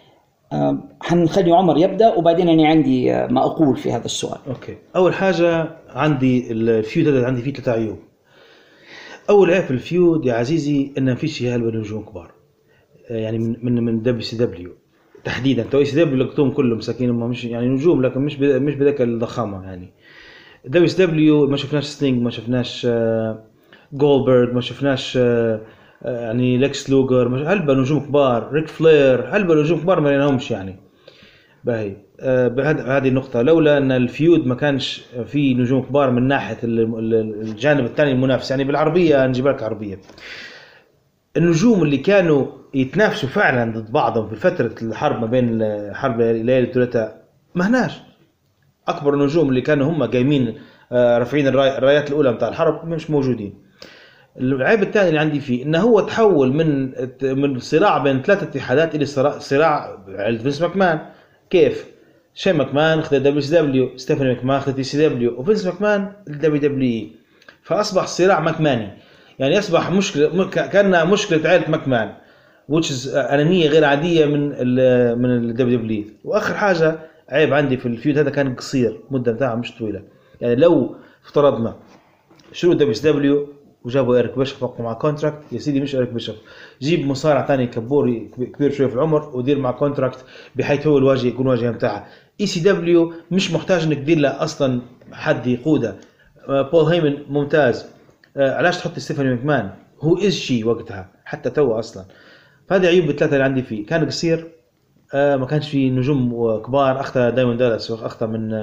حنخلي عمر يبدأ وبعدين أنا عندي ما أقول في هذا السؤال. أوكي، أول حاجة عندي الفيود هذا عندي فيه 3 عيوب. أول عيب في الفيود يا عزيزي إن فيش هالبا نجوم كبار، يعني من WCW تحديدا. تو ECW لقطهم كلهم مساكين، هم مش يعني نجوم لكن مش بذاك الضخامة. يعني WCW ما شفناش ستينج، ما شفناش جولدبرغ، ما شفناش يعني ليكس لوغر، هلبا نجوم كبار، ريك فلير، هلبا نجوم كبار ما لهمش يعني. باهي هذه النقطة. لولا أن الفيود ما كانش فيه نجوم كبار من ناحية الجانب الثاني المنافس، يعني بالعربية نجيب لك عربية، النجوم اللي كانوا يتنافسوا فعلا ضد بعضهم في فترة الحرب ما بين حرب ليالي الثلاثاء ما هناش. أكبر النجوم اللي كانوا هم قايمين رافعين الرايات الأولى متاع الحرب مش موجودين. العيب الثاني اللي عندي فيه إنه هو تحول من صراع بين 3 اتحادات إلى صراع عند فينس ماكمان. كيف؟ شين ماكمان خذ WCW، ستيفاني ماكمان خذ ECW، وفينس ماكمان WWE، فأصبح صراع ماكماني. يعني أصبح مشكلة كأنها مشكلة عائلة ماكمان، which is أنانية غير عادية من WWE. وآخر حاجة عيب عندي في الفيود هذا كان قصير، مدة بتاعه مش طويلة. يعني لو افترضنا شروط WCW وجابوا إيريك بيشوف وقفوا مع كونتراكت. يا سيدي مش إيريك بيشوف، جيب مصارع تاني كبوري كبير شوية في العمر ودير مع كونتراكت بحيث هو الواجهة يكون واجهة متاعها. ECW مش محتاج انك تدير له اصلا حد يقوده. بول هيمن ممتاز، علاش تحط ستيفاني ماكمان هو إز شي وقتها حتى تو اصلا. فهذه عيوب الثلاثة اللي عندي فيه. كان قصير، ما كانش فيه نجوم كبار. اخذ دايمون دالاس، اخذ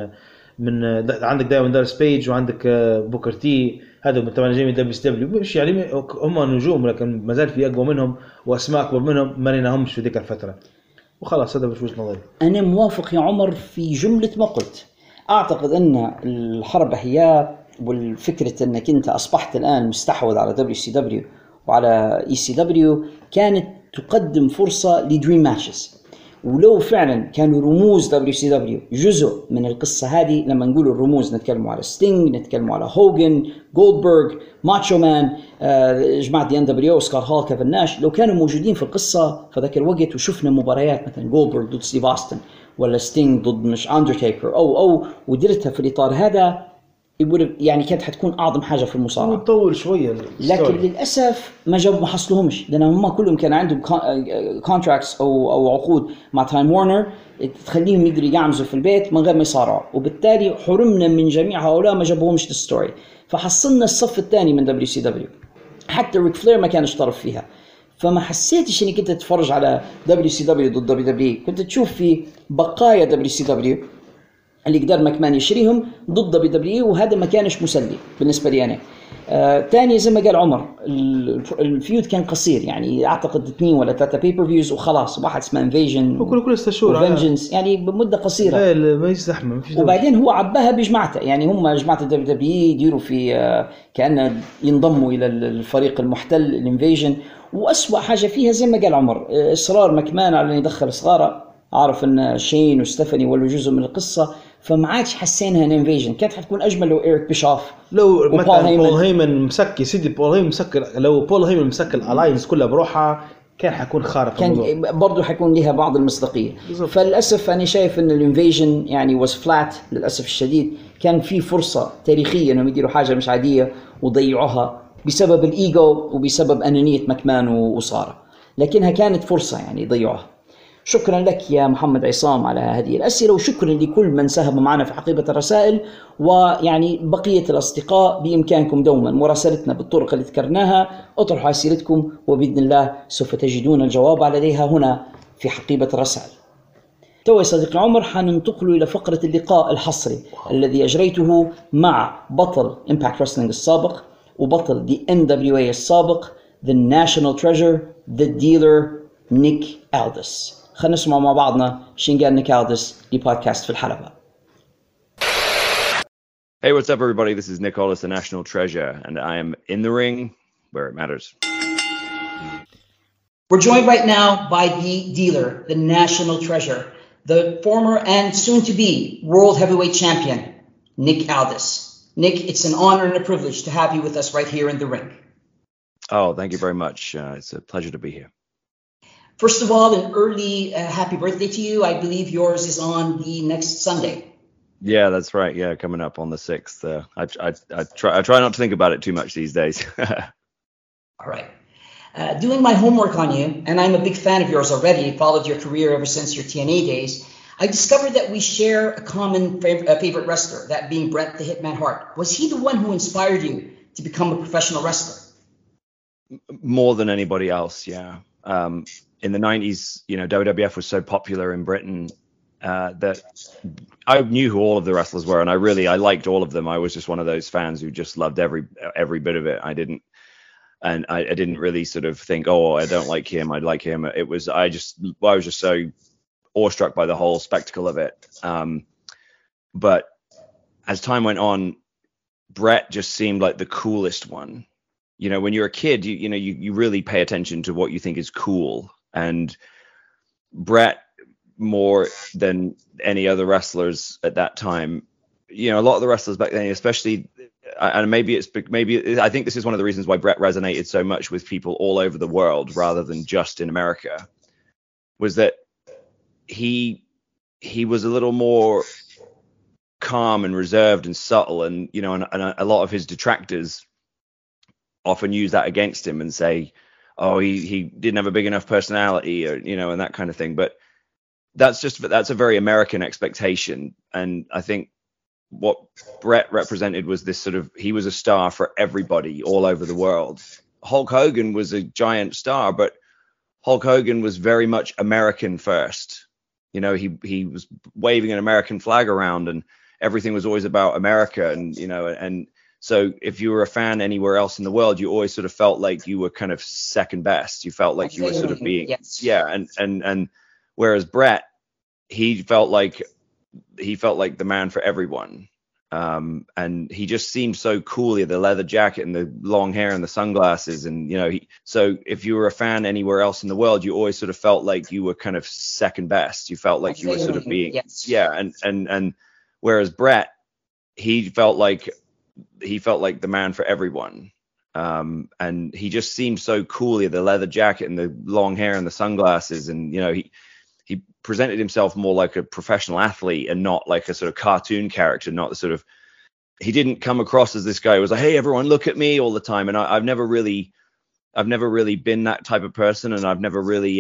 من عندك دايمون دالاس بيج وعندك بوكر تي، هذا طبعا جاي من دبليو مش يعني هم نجوم لكن ما زال في اقوى منهم واسماء اكبر منهم ما لقيناهمش في ذيك الفتره. وخلاص هذا وجهة نظري. أنا موافق يا عمر في جملة ما قلت. أعتقد أن الحرب هي والفكرة أنك أنت أصبحت الآن مستحوذ على WCW وعلى ECW كانت تقدم فرصة لدريم ماتشز. ولو فعلا كانوا رموز WCW جزء من القصة هذه، لما نقول الرموز نتكلم على ستينج، نتكلم على هوجن، جولدبرغ، ماتشو مان، جماعة دي NWO، سكار هال، كيفن ناش، لو كانوا موجودين في القصة في ذاك الوقت وشفنا مباريات مثلا جولدبرغ ضد ستيف أوستن ولا ستينج ضد مش أندرتيكر أو ودرتها في الإطار هذا، يعني كانت حتكون أعظم حاجة في المصارعة. وتطول شوية لكن للأسف ما حصلهمش، لأن هم كلهم كان عندهم كونتراكتس أو عقود مع تايم وارنر تخليهم يقدروا يعمزوا في البيت من غير ما يصارعوا، وبالتالي حرمنا من جميع هؤلاء ما جابوهمش الستوري. فحصلنا الصف الثاني من WCW، حتى ريك فلير ما كانش طرف فيها. فما حسيتش اني كنت تتفرج على WCW ضد WWE، كنت تشوف في بقايا WCW اللي قدر ماكمان يشريهم ضد WWE، وهذا ما كانش مسلي بالنسبة لي أنا. تاني زي ما قال عمر، الفيود كان قصير، يعني أعتقد 2 ولا 3 بيبر فيوز وخلاص. واحد اسمه انفيجن وكل 6 شهور وفنجنس، يعني بمدة قصيرة. ما يزحمه. وبعدين هو عباها بجماعته، يعني هم جماعة WWE يديروا في كأنه ينضموا إلى الفريق المحتل الانفيجن. وأسوأ حاجة فيها زي ما قال عمر، إصرار ماكمان على أن يدخل صغاره. عارف أن شين وستيفاني ولوا جزء من القصة، فما عادش حسينها ان انفيجن. كانت حتكون اجمل لو إيريك بيشوف لو مثلا بول هيمن مسك سيدي بول هيمن مسك. لو بول هيمن مسك الالاينس كلها بروحها كان حيكون خارق، كان برضو حيكون لها بعض المصداقيه. فللاسف انا شايف ان الانفيجن يعني واز فلات للاسف الشديد. كان في فرصه تاريخيه انهم يديروا حاجه مش عاديه وضيعوها بسبب الايجو وبسبب انانيه ماكمان وصارة، لكنها كانت فرصه يعني ضيعوها. شكرا لك يا محمد عصام على هذه الأسئلة، وشكرا لكل من ساهم معنا في حقيبة الرسائل. ويعني بقية الأصدقاء بإمكانكم دوما مراسلتنا بالطرق اللي ذكرناها. اطرحوا أسئلتكم وبإذن الله سوف تجدون الجواب عليها هنا في حقيبة الرسائل. تو يا صديقي عمر حننتقل إلى فقرة اللقاء الحصري الذي أجريته مع بطل Impact Wrestling السابق وبطل The NWA السابق The National Treasure The Dealer نيك ألدس. خلينا نسمع مع بعضنا شنقال نيك ألدس لبودكاست في الحلبة. Hey, what's up, everybody? This is Nick Aldis, the National Treasure, and I am in the ring where it matters. We're joined right now by the dealer, the National Treasure, the former and soon-to-be World Heavyweight Champion, Nick Aldis. Nick, it's an honor and a privilege to have you with us right here in the ring. Oh, thank you very much. It's a pleasure to be here. First of all, an early happy birthday to you. I believe yours is on the next Sunday. Yeah, that's right. Yeah, coming up on the 6th. I try not to think about it too much these days. All right. Doing my homework on you, and I'm a big fan of yours already, followed your career ever since your TNA days, I discovered that we share a common favorite wrestler, that being Bret the Hitman Hart. Was he the one who inspired you to become a professional wrestler? More than anybody else, yeah. In the 90s, you know, WWF was so popular in Britain that I knew who all of the wrestlers were, and I liked all of them. I was just one of those fans who just loved every bit of it. I didn't really sort of think, oh, I don't like him, I'd like him. I was just so awestruck by the whole spectacle of it. But as time went on, Bret just seemed like the coolest one. You know, when you're a kid, you really pay attention to what you think is cool. And Bret, more than any other wrestlers at that time, you know, a lot of the wrestlers back then, especially, and maybe I think this is one of the reasons why Bret resonated so much with people all over the world rather than just in America, was that he was a little more calm and reserved and subtle, and you know, and a lot of his detractors often use that against him and say, oh, he didn't have a big enough personality, or, you know, and that kind of thing. But that's a very American expectation. And I think what Bret represented was this sort of, he was a star for everybody all over the world. Hulk Hogan was a giant star, but Hulk Hogan was very much American first. You know, he was waving an American flag around, and everything was always about America. And, you know, and so if you were a fan anywhere else in the world, you always sort of felt like you were kind of second best. You felt like you were sort of being, and whereas Bret, he felt like the man for everyone. And he just seemed so cool. He had the leather jacket and the long hair and the sunglasses. And, you know, so if you were a fan anywhere else in the world, you always sort of felt like you were kind of second best. You felt like you were sort of being, and whereas Bret, he felt like the man for everyone. And he just seemed so cool. He had the leather jacket and the long hair and the sunglasses. And, you know, he presented himself more like a professional athlete and not like a sort of cartoon character, not the sort of, he didn't come across as this guy who was like, hey, everyone look at me all the time. And I've never really been that type of person. And I've never really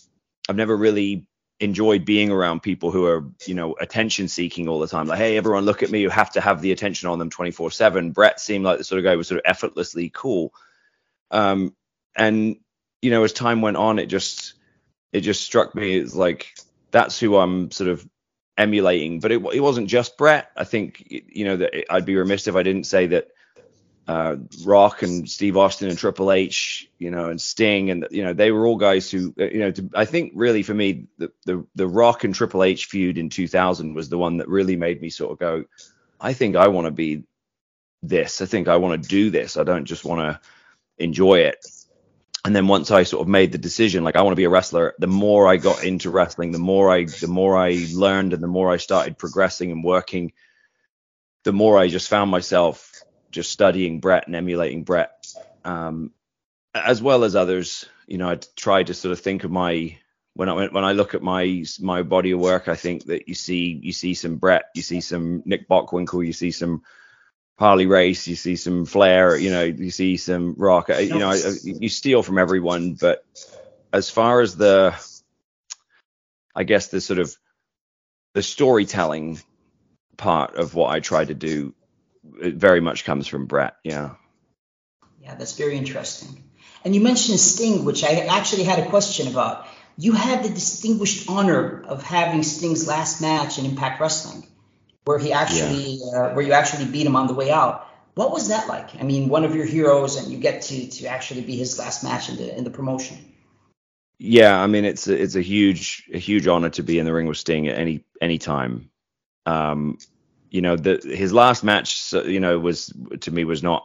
enjoyed being around people who are, you know, attention seeking all the time. Like, hey, everyone look at me, you have to have the attention on them 24/7. Bret seemed like the sort of guy who was sort of effortlessly cool. And, you know, as time went on, it just struck me as like, that's who I'm sort of emulating. But it wasn't just Bret. I think, you know, that I'd be remiss if I didn't say that Rock and Steve Austin and Triple H, you know, and Sting, and, you know, they were all guys who, you know, I think really for me, the Rock and Triple H feud in 2000 was the one that really made me sort of go, I think I want to be this. I think I want to do this. I don't just want to enjoy it. And then once I sort of made the decision, like, I want to be a wrestler, the more I got into wrestling, the more I learned, and the more I started progressing and working, the more I just found myself just studying Bret and emulating Bret, as well as others. You know, I tried to sort of think of when I look at my body of work, I think that you see some Bret, you see some Nick Bockwinkel, you see some Harley Race, you see some Flair, you know, you see some Rock, you know, you steal from everyone. But as far as I guess the sort of the storytelling part of what I try to do, it very much comes from Bret. Yeah, that's very interesting. And you mentioned Sting, which I actually had a question about. You had the distinguished honor of having Sting's last match in Impact Wrestling, where he actually, where you actually beat him on the way out. What was that like? I mean, one of your heroes, and you get to actually be his last match in the promotion. Yeah, I mean, it's a huge honor to be in the ring with Sting at any time. You know, his last match, you know, was not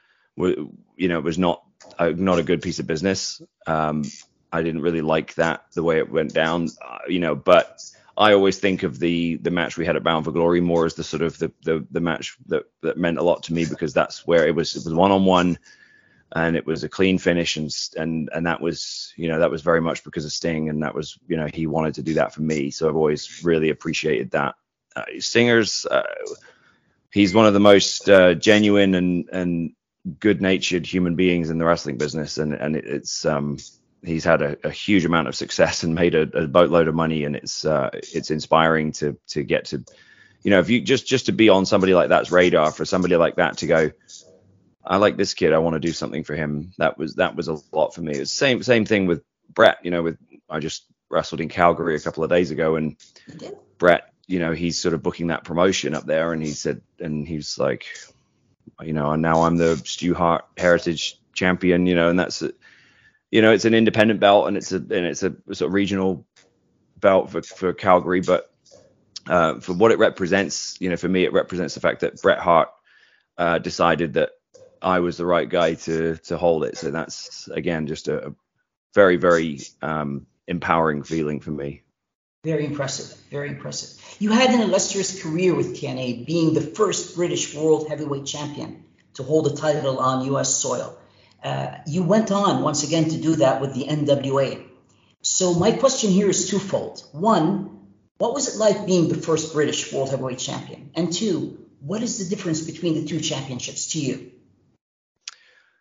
a good piece of business. I didn't really like the way it went down, you know, but I always think of the match we had at Bound for Glory more as the sort of the match that meant a lot to me, because that's where it was 1-on-1, and it was a clean finish, and that was, you know, that was very much because of Sting, and that was, you know, he wanted to do that for me. So I've always really appreciated that. Stinger's, he's one of the most genuine and good-natured human beings in the wrestling business, and it's he's had a huge amount of success and made a boatload of money, and it's inspiring to get to, you know, if you just to be on somebody like that's radar, for somebody like that to go, I like this kid, I want to do something for him. That was a lot for me. It's same thing with Bret. You know, I just wrestled in Calgary a couple of days ago, and Bret, you know, he's sort of booking that promotion up there, and he's like, you know, and now I'm the Stu Hart Heritage Champion, you know, and that's, you know, it's an independent belt, and it's a sort of regional belt for Calgary, but for what it represents, you know, for me, it represents the fact that Bret Hart decided that I was the right guy to hold it. So that's, again, just a very, very empowering feeling for me. Very impressive. Very impressive. You had an illustrious career with TNA, being the first British World Heavyweight Champion to hold a title on U.S. soil. You went on once again to do that with the NWA. So my question here is twofold. One, what was it like being the first British World Heavyweight Champion? And two, what is the difference between the two championships to you?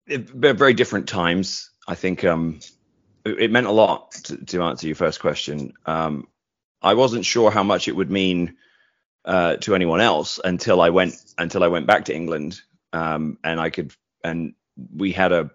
very different times. I think it meant a lot to answer your first question. I wasn't sure how much it would mean to anyone else until I went back to England, and we had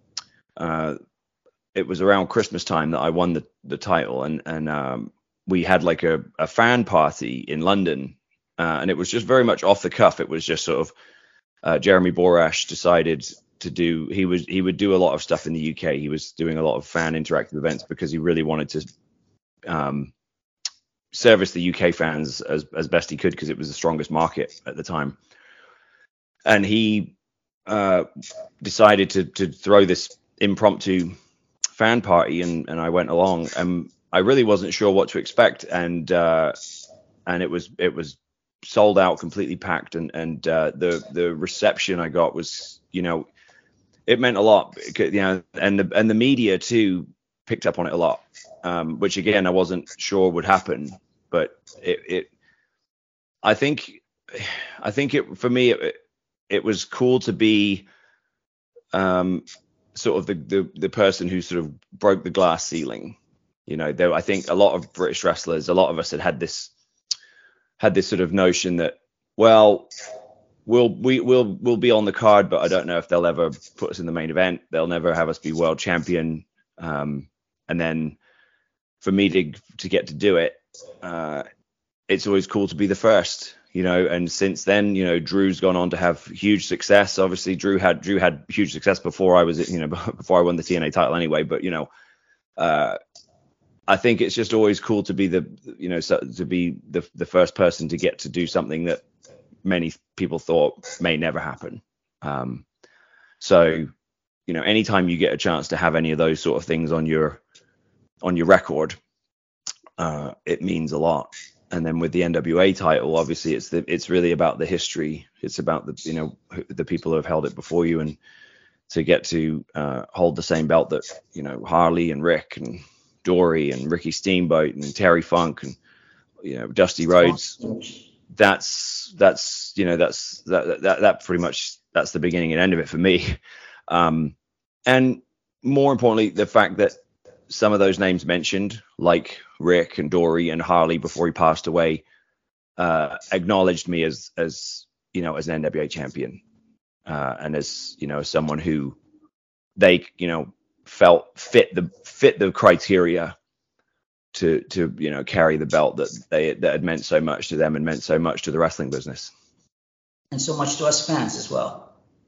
it was around Christmas time that I won the title, and we had like a fan party in London, and it was just very much off the cuff. It was just sort of Jeremy Borash decided to do. He would do a lot of stuff in the UK. He was doing a lot of fan interactive events because he really wanted to service the UK fans as best he could, because it was the strongest market at the time. And he decided to throw this impromptu fan party, and I went along, and I really wasn't sure what to expect, and it was sold out, completely packed, and the reception I got was, it meant a lot, and the media too picked up on it a lot, which again I wasn't sure would happen, but I think for me it was cool to be sort of the person who sort of broke the glass ceiling. I think a lot of British wrestlers, a lot of us had this sort of notion that, well, we'll be on the card, but I don't know if they'll ever put us in the main event. They'll never have us be world champion. And then for me to get to do it, it's always cool to be the first, and since then, Drew's gone on to have huge success. Obviously Drew had huge success before I was, before I won the TNA title anyway, but I think it's just always cool to be the first person to get to do something that many people thought may never happen. So, anytime you get a chance to have any of those sort of things on your record, it means a lot. And then with the NWA title, obviously it's really about the history. It's about the people who have held it before you, and to get to hold the same belt that Harley and Rick and Dory and Ricky Steamboat and Terry Funk and Dusty Rhodes. That's pretty much, that's the beginning and end of it for me. And more importantly, the fact that some of those names mentioned, like Rick and Dory and Harley before he passed away, acknowledged me as an NWA champion, and as someone who they felt fit the criteria to carry the belt that had meant so much to them and meant so much to the wrestling business, and so much to us fans as well.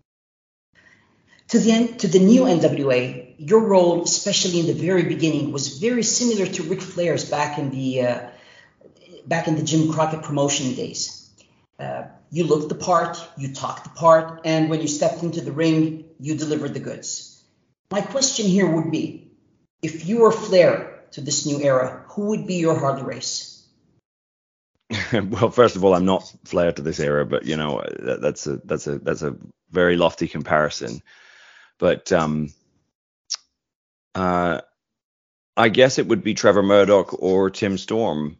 To the new NWA, your role, especially in the very beginning, was very similar to Ric Flair's back in the Jim Crockett promotion days. You looked the part, you talked the part, and when you stepped into the ring, you delivered the goods. My question here would be, if you were Flair to this new era, who would be your Harley Race? Well, first of all, I'm not Flair to this era, but that's a very lofty comparison. But I guess it would be Trevor Murdoch or Tim Storm.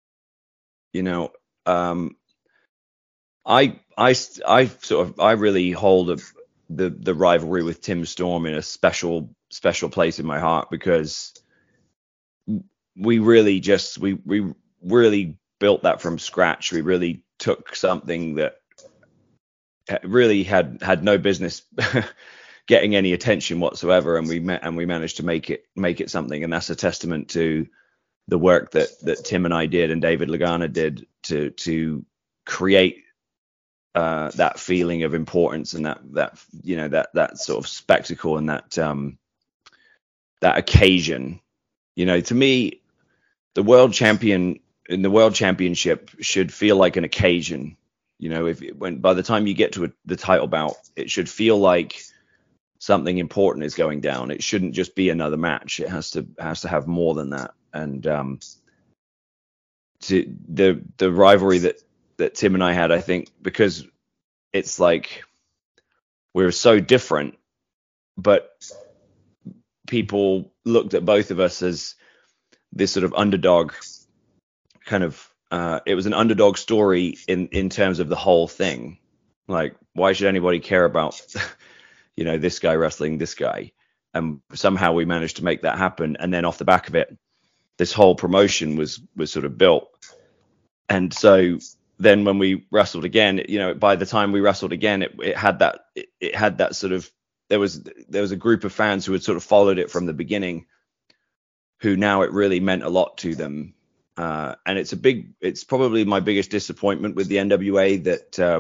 I really hold the rivalry with Tim Storm in a special place in my heart, because we really built that from scratch. We really took something that really had no business getting any attention whatsoever, and we managed to make it something. And that's a testament to the work that Tim and I did and David Lagana did to create that feeling of importance and that sort of spectacle and that occasion. To me, the world champion in the world championship should feel like an occasion. By the time you get to the title bout, it should feel like something important is going down. It shouldn't just be another match. It has to have more than that. And to the rivalry that Tim and I had, I think, because it's like we're so different, but people looked at both of us as this sort of underdog kind of. It was an underdog story in terms of the whole thing. Like, why should anybody care about this guy wrestling this guy. And somehow we managed to make that happen. And then off the back of it, this whole promotion was sort of built. And so then when we wrestled again, by the time we wrestled again, it had that sort of, there was a group of fans who had sort of followed it from the beginning, who now it really meant a lot to them. And it's probably my biggest disappointment with the NWA that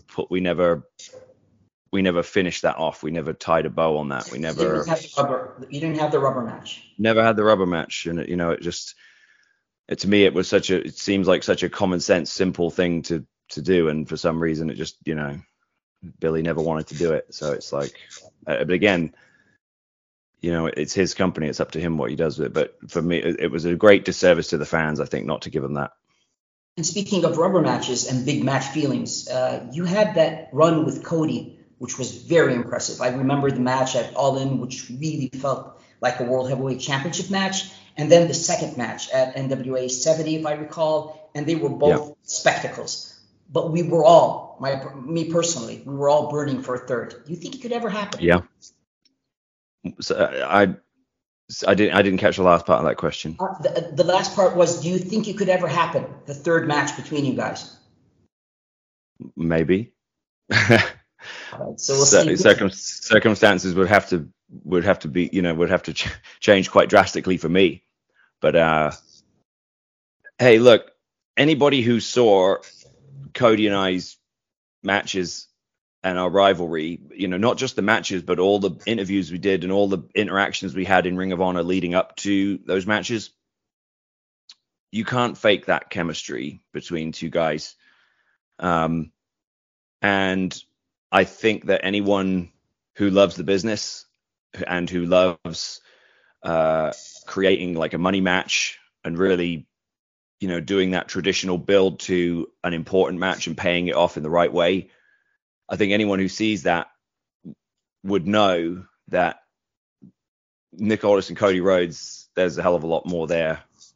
we never finished that off. We never tied a bow on that. We never. You didn't have the rubber match. Never had the rubber match, and to me it seems like such a common sense, simple thing to do, and for some reason it just Billy never wanted to do it. So it's like, but again, it's his company. It's up to him what he does with it. But for me, it was a great disservice to the fans, I think, not to give them that. And speaking of rubber matches and big match feelings, you had that run with Cody, which was very impressive. I remember the match at All In, which really felt like a World Heavyweight Championship match. And then the second match at NWA 70, if I recall, and they were both spectacles. But we were all, me personally, we were all burning for a third. Do you think it could ever happen? Yeah. So I didn't catch the last part of that question. The last part was, do you think it could ever happen, the third match between you guys? Maybe. Right, so we'll see. Circumstances would have to be, would have to change quite drastically for me. But hey, look, anybody who saw Cody and I's matches and our rivalry, not just the matches, but all the interviews we did and all the interactions we had in Ring of Honor leading up to those matches, you can't fake that chemistry between two guys. And I think that anyone who loves the business and who loves creating like a money match and really, doing that traditional build to an important match and paying it off in the right way, I think anyone who sees that would know that Nick Aldis and Cody Rhodes, there's a hell of a lot more there,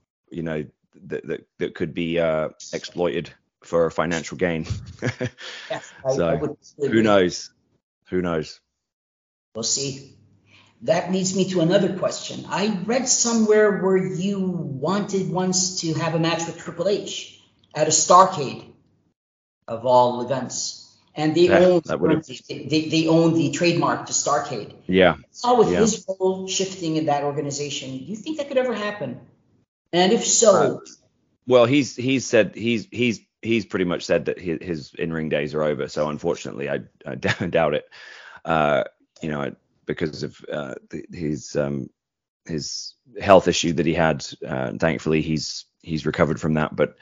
that could be exploited for financial gain. Yes, so who knows? We'll see. That leads me to another question. I read somewhere where you wanted once to have a match with Triple H at a Starrcade of all events, and they own the trademark to Starrcade. Yeah. How with his role shifting in that organization, do you think that could ever happen? And if so, well, he's pretty much said that his in-ring days are over. So unfortunately, I doubt it. Because of his health issue that he had. Thankfully, he's recovered from that. But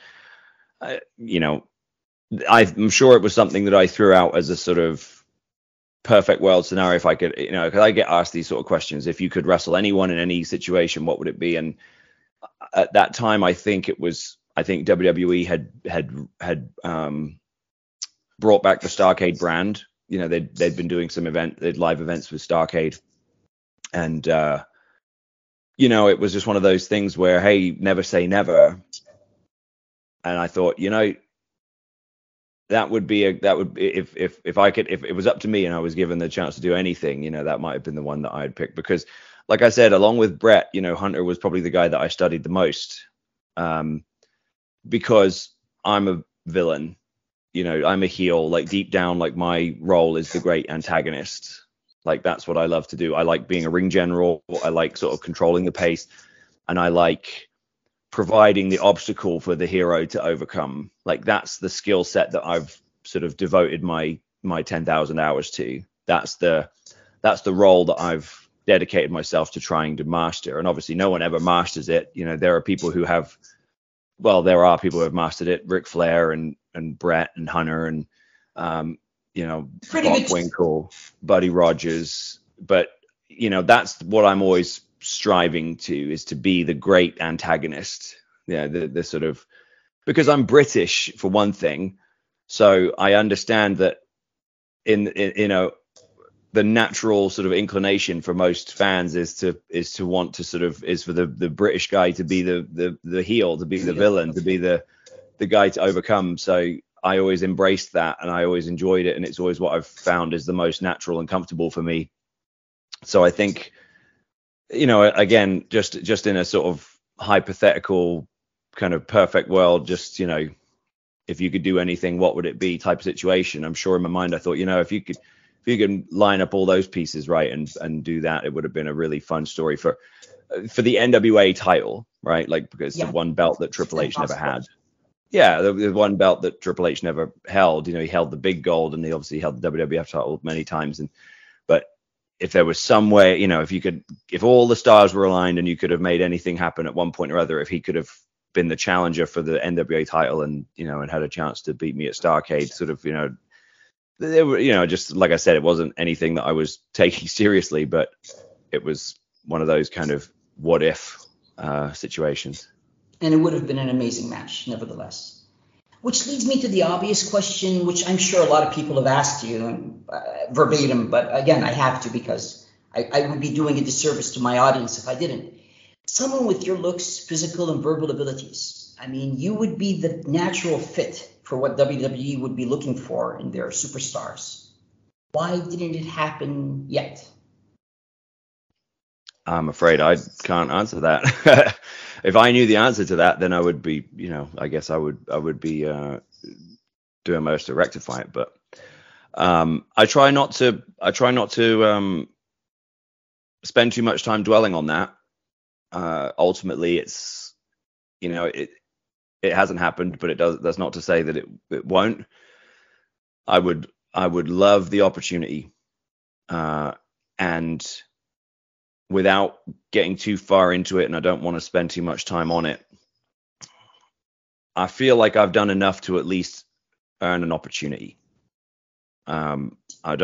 I'm sure it was something that I threw out as a sort of perfect world scenario. If I could, because I get asked these sort of questions. If you could wrestle anyone in any situation, what would it be? And at that time, I think WWE had brought back the Starrcade brand. They'd been doing some live events with Starrcade, and it was just one of those things where, hey, never say never. And I thought, that would be if it was up to me and I was given the chance to do anything, that might have been the one that I'd pick, because like I said, along with Brett, Hunter was probably the guy that I studied the most, because I'm a villain. I'm a heel, like deep down, like my role is the great antagonist. Like that's what I love to do. I like being a ring general. I like sort of controlling the pace, and I like providing the obstacle for the hero to overcome. Like that's the skill set that I've sort of devoted my 10,000 hours to. That's the role that I've dedicated myself to trying to master. And obviously no one ever masters it. There are people who have mastered it. Ric Flair and Brett and Hunter and Bob Winkle, Buddy Rogers. But that's what I'm always striving to, is to be the great antagonist. The sort of, because I'm British for one thing, so I understand that in the natural sort of inclination for most fans is to want to sort of, is for the British guy to be the heel, to be the villain, to be the guy to overcome. So I always embraced that, and I always enjoyed it, and it's always what I've found is the most natural and comfortable for me. So I think, again, just in a sort of hypothetical kind of perfect world, just, if you could do anything, what would it be type of situation? I'm sure in my mind I thought, if you could line up all those pieces right and do that, it would have been a really fun story for the NWA title, right? Like, because the one belt that Triple H never had. Yeah, the one belt that Triple H never held. He held the big gold, and he obviously held the WWF title many times. But if there was some way, if all the stars were aligned and you could have made anything happen at one point or other, if he could have been the challenger for the NWA title and had a chance to beat me at Starrcade, sort of, they were, just like I said, it wasn't anything that I was taking seriously, but it was one of those kind of what if situations. And it would have been an amazing match, nevertheless. Which leads me to the obvious question, which I'm sure a lot of people have asked you verbatim, but again, I have to, because I would be doing a disservice to my audience if I didn't. Someone with your looks, physical, and verbal abilities, I mean, you would be the natural fit for what WWE would be looking for in their superstars. Why didn't it happen yet? I'm afraid I can't answer that. If I knew the answer to that, then I would be, I guess I would be doing my best to rectify it. But I try not to spend too much time dwelling on that. Ultimately, it's, it hasn't happened, but that's not to say that it won't. I would love the opportunity, and without getting too far into it, and I don't want to spend too much time on it, I feel like I've done enough to at least earn an opportunity. No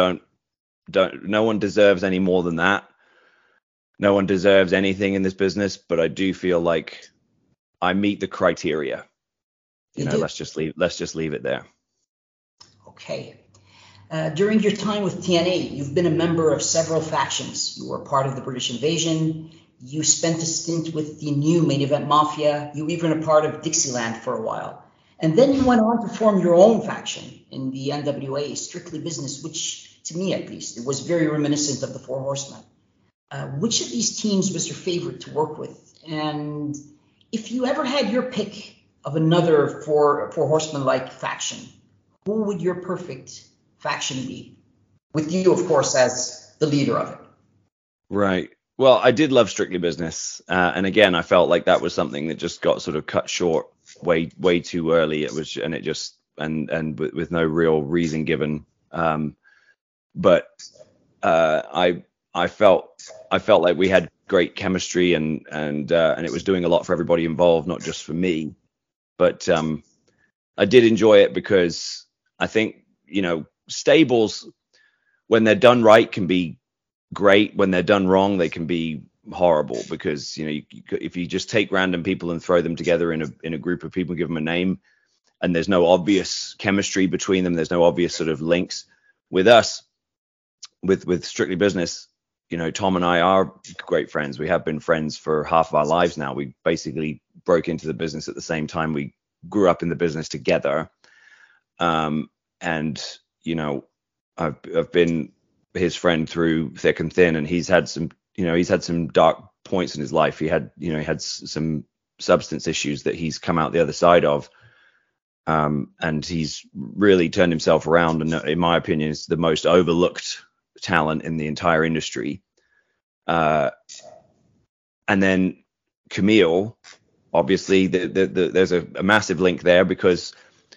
one deserves any more than that. No one deserves anything in this business, but I do feel like I meet the criteria. Let's just leave it there. Okay. During your time with TNA, you've been a member of several factions. You were part of the British Invasion. You spent a stint with the new Main Event Mafia. You were even a part of Dixieland for a while. And then you went on to form your own faction in the NWA, Strictly Business, which, to me at least, it was very reminiscent of the Four Horsemen. Which of these teams was your favorite to work with? And if you ever had your pick of another Four Horsemen-like faction, who would your perfect faction be? With you, of course, as the leader of it. Right. Well, I did love Strictly Business. And again, I felt like that was something that just got sort of cut short way too early. It was, and it just, and with no real reason given. But I felt like we had great chemistry and it was doing a lot for everybody involved, not just for me. But I did enjoy it because I think, stables, when they're done right, can be great. When they're done wrong, they can be horrible, because if you just take random people and throw them together in a group of people, give them a name, and there's no obvious chemistry between them, there's no obvious sort of links. With us, with Strictly Business, Tom and I are great friends. We have been friends for half of our lives now. We basically broke into the business at the same time. We grew up in the business together. And I've been his friend through thick and thin, and he's had some dark points in his life. He had some substance issues that he's come out the other side of. And he's really turned himself around, and in my opinion, is the most overlooked talent in the entire industry. And then Camille, obviously, there's a massive link there, because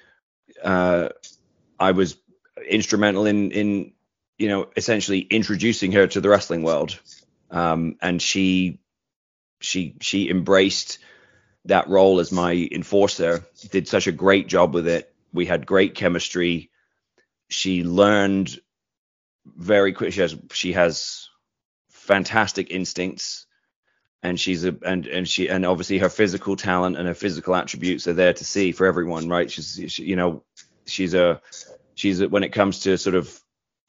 I was instrumental in essentially introducing her to the wrestling world, and she embraced that role as my enforcer, did such a great job with it. We had great chemistry. She learned very quick. She has fantastic instincts, and and obviously her physical talent and her physical attributes are there to see for everyone, right? She's when it comes to sort of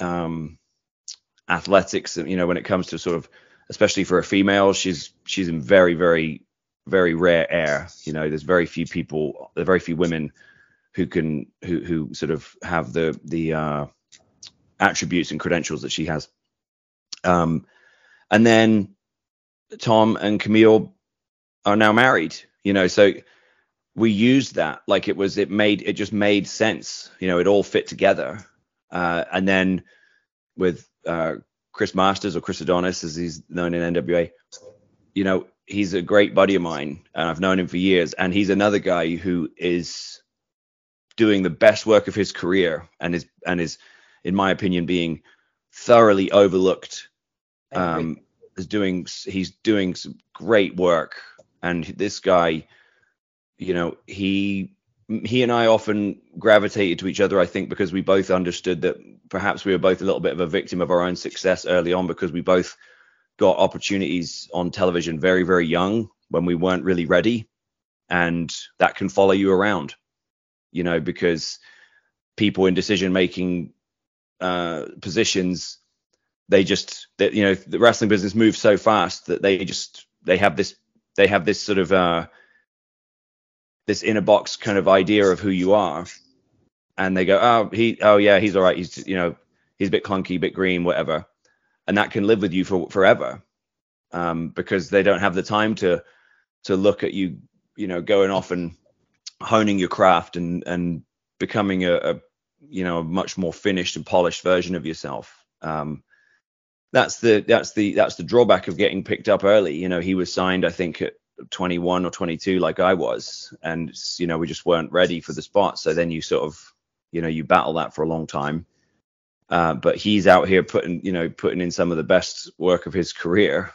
athletics, when it comes to sort of, especially for a female, she's in very, very, very rare air. There's very few women who sort of have the attributes and credentials that she has. And then Tom and Camille are now married, so we used that like it just made sense, it all fit together. And then with Chris Masters, or Chris Adonis as he's known in NWA, he's a great buddy of mine and I've known him for years, and he's another guy who is doing the best work of his career and is in my opinion being thoroughly overlooked. He's doing some great work, and this guy, he and I often gravitated to each other, I think, because we both understood that perhaps we were both a little bit of a victim of our own success early on, because we both got opportunities on television very, very young when we weren't really ready, and that can follow you around, because people in decision-making positions, the wrestling business moves so fast that they have this sort of this inner box kind of idea of who you are, and they go, he's all right, he's he's a bit clunky, a bit green, whatever, and that can live with you forever, because they don't have the time to look at you, going off and honing your craft and becoming a much more finished and polished version of yourself. That's the drawback of getting picked up early. He was signed, I think, at 21 or 22, like I was, and we just weren't ready for the spot. So then you sort of, you battle that for a long time. But he's out here putting in some of the best work of his career.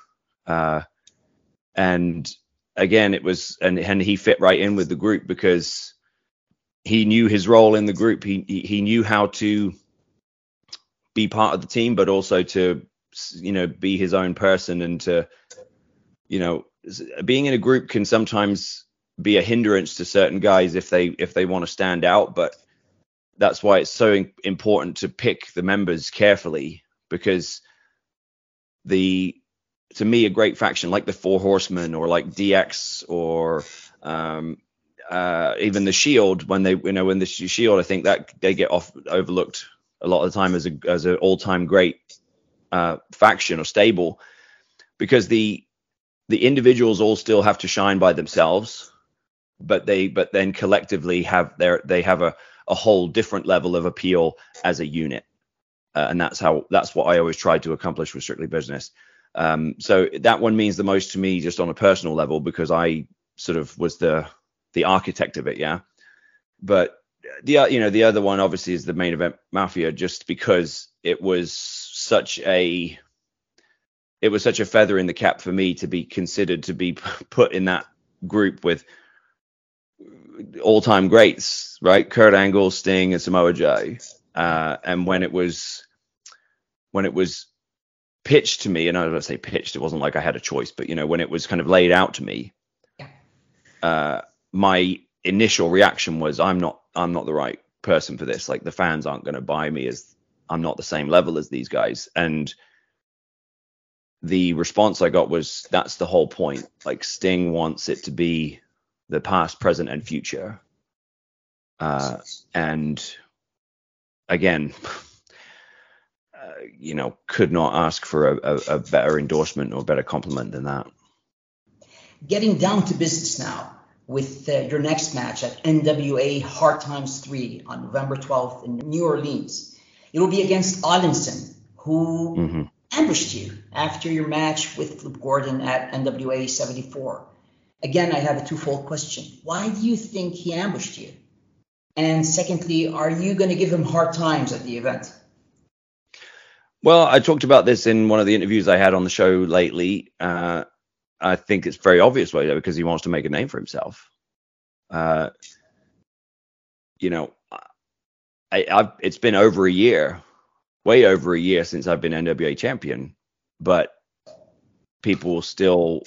And again, it was, and he fit right in with the group because he knew his role in the group. He knew how to be part of the team, but also to, be his own person, and to, being in a group can sometimes be a hindrance to certain guys if they want to stand out. But that's why it's so important to pick the members carefully, because to me, a great faction like the Four Horsemen, or like DX, or even the Shield, when the Shield, I think that they get overlooked a lot of the time as an all-time great faction or stable, because the individuals all still have to shine by themselves, but then collectively they have a whole different level of appeal as a unit, and that's what I always tried to accomplish with Strictly Business. So that one means the most to me, just on a personal level, because I sort of was the architect of it, yeah. But the other one obviously is the Main Event Mafia, just because it was such a feather in the cap for me to be considered to be put in that group with all-time greats, right? Kurt Angle, Sting, and Samoa Joe. And when it was pitched to me, and I was going to say pitched, it wasn't like I had a choice, but when it was kind of laid out to me, my initial reaction was, I'm not the right person for this. Like, the fans aren't going to buy me, as I'm not the same level as these guys. And the response I got was, that's the whole point. Like, Sting wants it to be the past, present, and future. And again, could not ask for a better endorsement or better compliment than that. Getting down to business now with your next match at NWA Hard Times 3 on November 12th in New Orleans. It will be against Allinson, who ambushed you after your match with Flip Gordon at NWA 74. Again, I have a twofold question. Why do you think he ambushed you? And secondly, are you going to give him hard times at the event? Well, I talked about this in one of the interviews I had on the show lately. I think it's very obvious why, because he wants to make a name for himself. It's been over a year, way over a year since I've been NWA champion, but people still,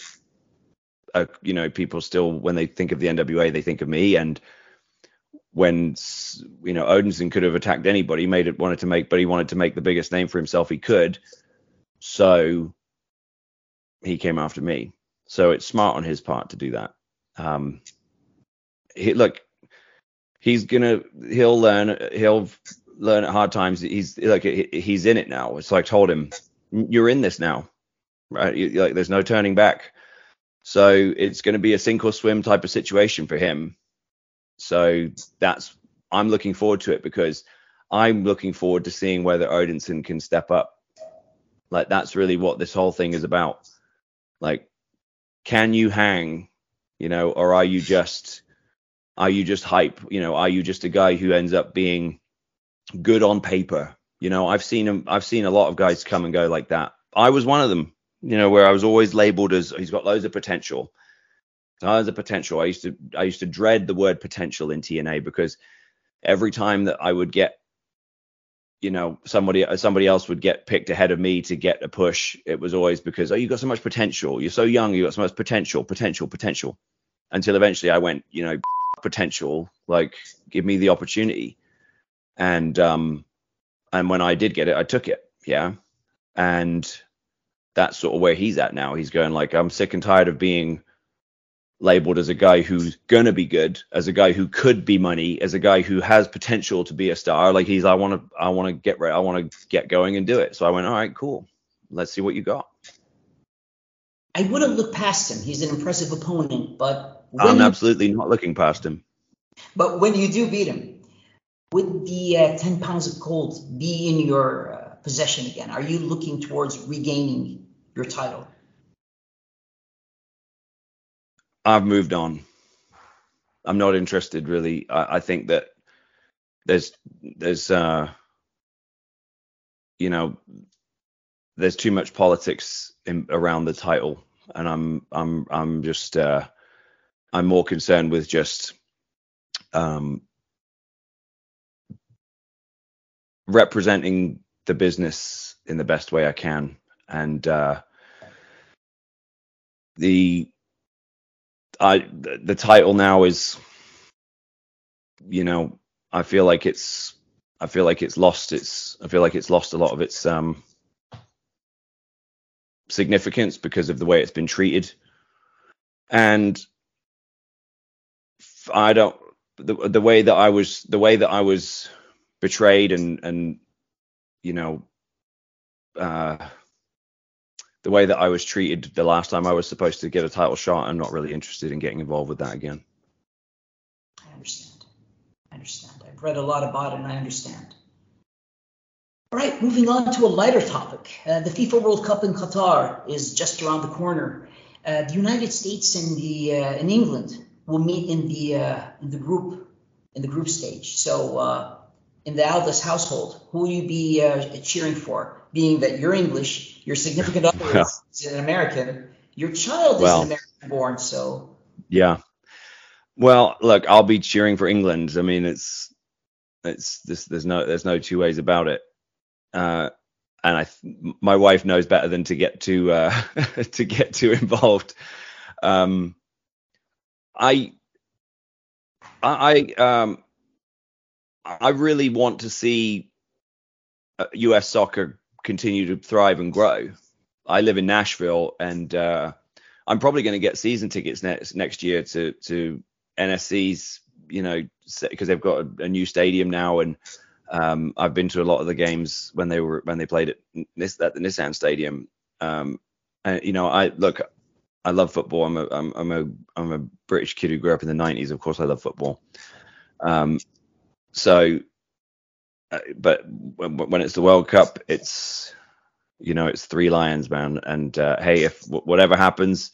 when they think of the NWA, they think of me. And when, Odinson could have attacked anybody, but he wanted to make the biggest name for himself he could. So he came after me. So it's smart on his part to do that. he'll learn at hard times. He's in it now. So I told him, you're in this now, right? Like there's no turning back. So it's going to be a sink or swim type of situation for him. So I'm looking forward to it, because I'm looking forward to seeing whether Odinson can step up. Like that's really what this whole thing is about. Like, can you hang, or are you just hype? Are you just a guy who ends up being good on paper? I've seen a lot of guys come and go like that. I was one of them, where I was always labeled as he's got loads of potential. Tons of potential. I used to dread the word potential in TNA, because every time that I would get, somebody else would get picked ahead of me to get a push, it was always because, you got so much potential. You're so young. You got so much potential. Until eventually I went, potential, like give me the opportunity. And when I did get it, I took it. Yeah. And that's sort of where he's at now. He's going like, I'm sick and tired of being labeled as a guy who's going to be good, as a guy who could be money, as a guy who has potential to be a star. Like I want to get going and do it. So I went, all right, cool. Let's see what you got. I wouldn't look past him. He's an impressive opponent, but I'm absolutely not looking past him. But when you do beat him, would the 10 pounds of gold be in your possession again? Are you looking towards regaining your title? I've moved on. I'm not interested, really. I think that there's too much politics around the title, and I'm just I'm more concerned with just representing the business in the best way I can, and the title now is, I feel like it's lost a lot of its significance because of the way it's been treated. And the way that I was betrayed and the way that I was treated the last time I was supposed to get a title shot, I'm not really interested in getting involved with that again. I understand. I've read a lot about it, and I understand. All right, moving on to a lighter topic. The FIFA World Cup in Qatar is just around the corner. The United States and in England will meet in the group stage. So in the Aldis household, who will you be cheering for? Being that you're English, your significant other is an American, your child is an American born. So yeah. Well, look, I'll be cheering for England. I mean, it's there's no two ways about it. And my wife knows better than to get too involved. I really want to see U.S. soccer continue to thrive and grow. I live in Nashville, and I'm probably going to get season tickets next year to NSC's, because they've got a new stadium now, and I've been to a lot of the games when they played at the Nissan Stadium. And I love football. I'm a British kid who grew up in the 90s. Of course, I love football. But when it's the World Cup, it's three lions, man. And hey, if whatever happens,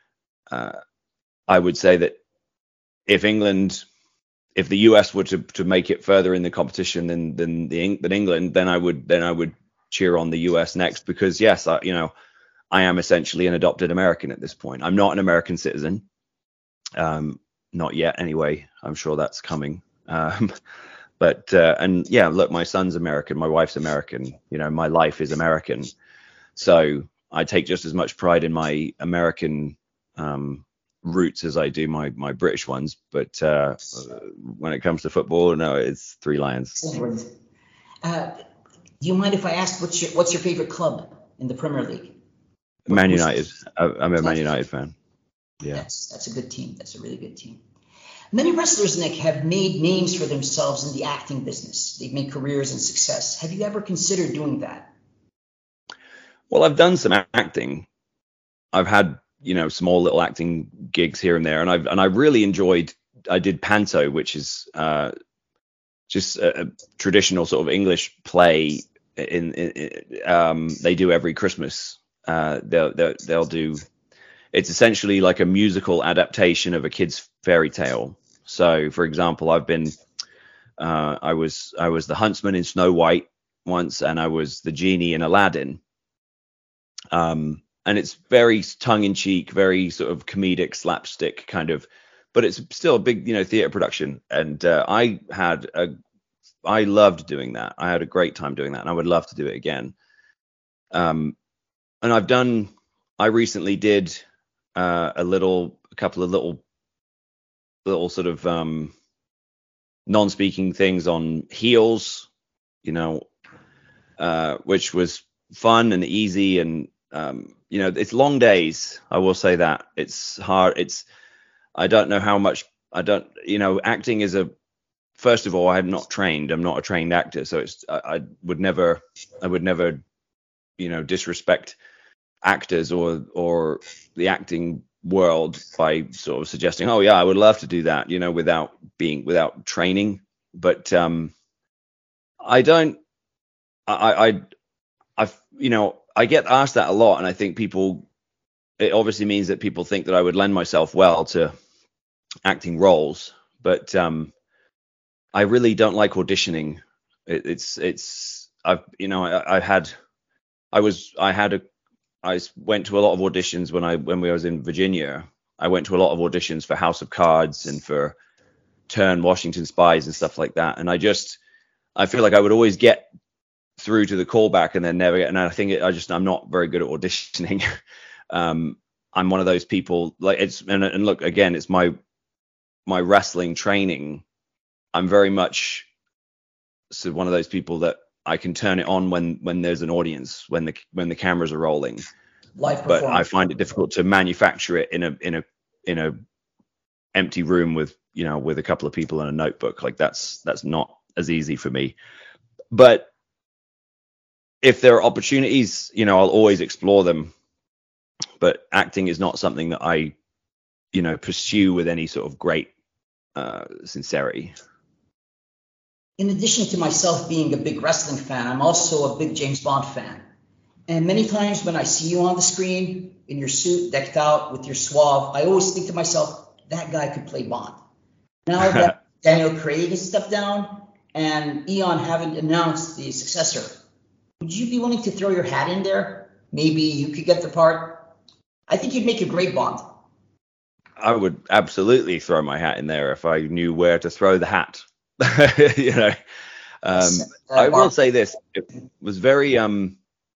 I would say that if the US were to make it further in the competition than England, then I would cheer on the US next, because yes, I am essentially an adopted American at this point. I'm not an American citizen, not yet anyway. I'm sure that's coming. But look, my son's American, my wife's American, my life is American. So I take just as much pride in my American roots as I do my British ones. But when it comes to football, no, it's three lions. Do you mind if I ask what's your favorite club in the Premier League? Man United. I'm a Man United fan. Yeah, that's a good team. That's a really good team. Many wrestlers, Nick, have made names for themselves in the acting business. They've made careers and success. Have you ever considered doing that? Well, I've done some acting. I've had, small little acting gigs here and there, and I really enjoyed. I did Panto, which is just a traditional sort of English play. They do every Christmas. They'll do. It's essentially like a musical adaptation of a kid's fairy tale. So, for example, I was the huntsman in Snow White once, and I was the genie in Aladdin. And it's very tongue-in-cheek, very sort of comedic, slapstick kind of, but it's still a big, theater production. And I loved doing that. I had a great time doing that, and I would love to do it again. And I recently did a couple of little sort of non-speaking things on Heels, which was fun and easy, and it's long days. I will say that it's hard. I don't know how much. Acting is first of all, I'm not trained. I'm not a trained actor, so I would never disrespect actors or the acting world by sort of suggesting, oh yeah, I would love to do that, without training. But I get asked that a lot, and I think it obviously means that people think that I would lend myself well to acting roles, but I really don't like auditioning. I went to a lot of auditions when we was in Virginia. I went to a lot of auditions for House of Cards and for Turn, Washington Spies and stuff like that. And I feel like I would always get through to the callback and then never get. And I think I'm not very good at auditioning. I'm one of those people, like, and look, again, it's my wrestling training. I'm very much one of those people that I can turn it on when there's an audience, when the cameras are rolling. But I find it difficult to manufacture it in a empty room with a couple of people and a notebook. Like that's not as easy for me. But if there are opportunities, I'll always explore them. But acting is not something that I, pursue with any sort of great sincerity. In addition to myself being a big wrestling fan, I'm also a big James Bond fan. And many times when I see you on the screen in your suit, decked out with your suave, I always think to myself, that guy could play Bond. Now that Daniel Craig has stepped down and Eon haven't announced the successor, would you be willing to throw your hat in there? Maybe you could get the part. I think you'd make a great Bond. I would absolutely throw my hat in there if I knew where to throw the hat. I will say this: it was very, it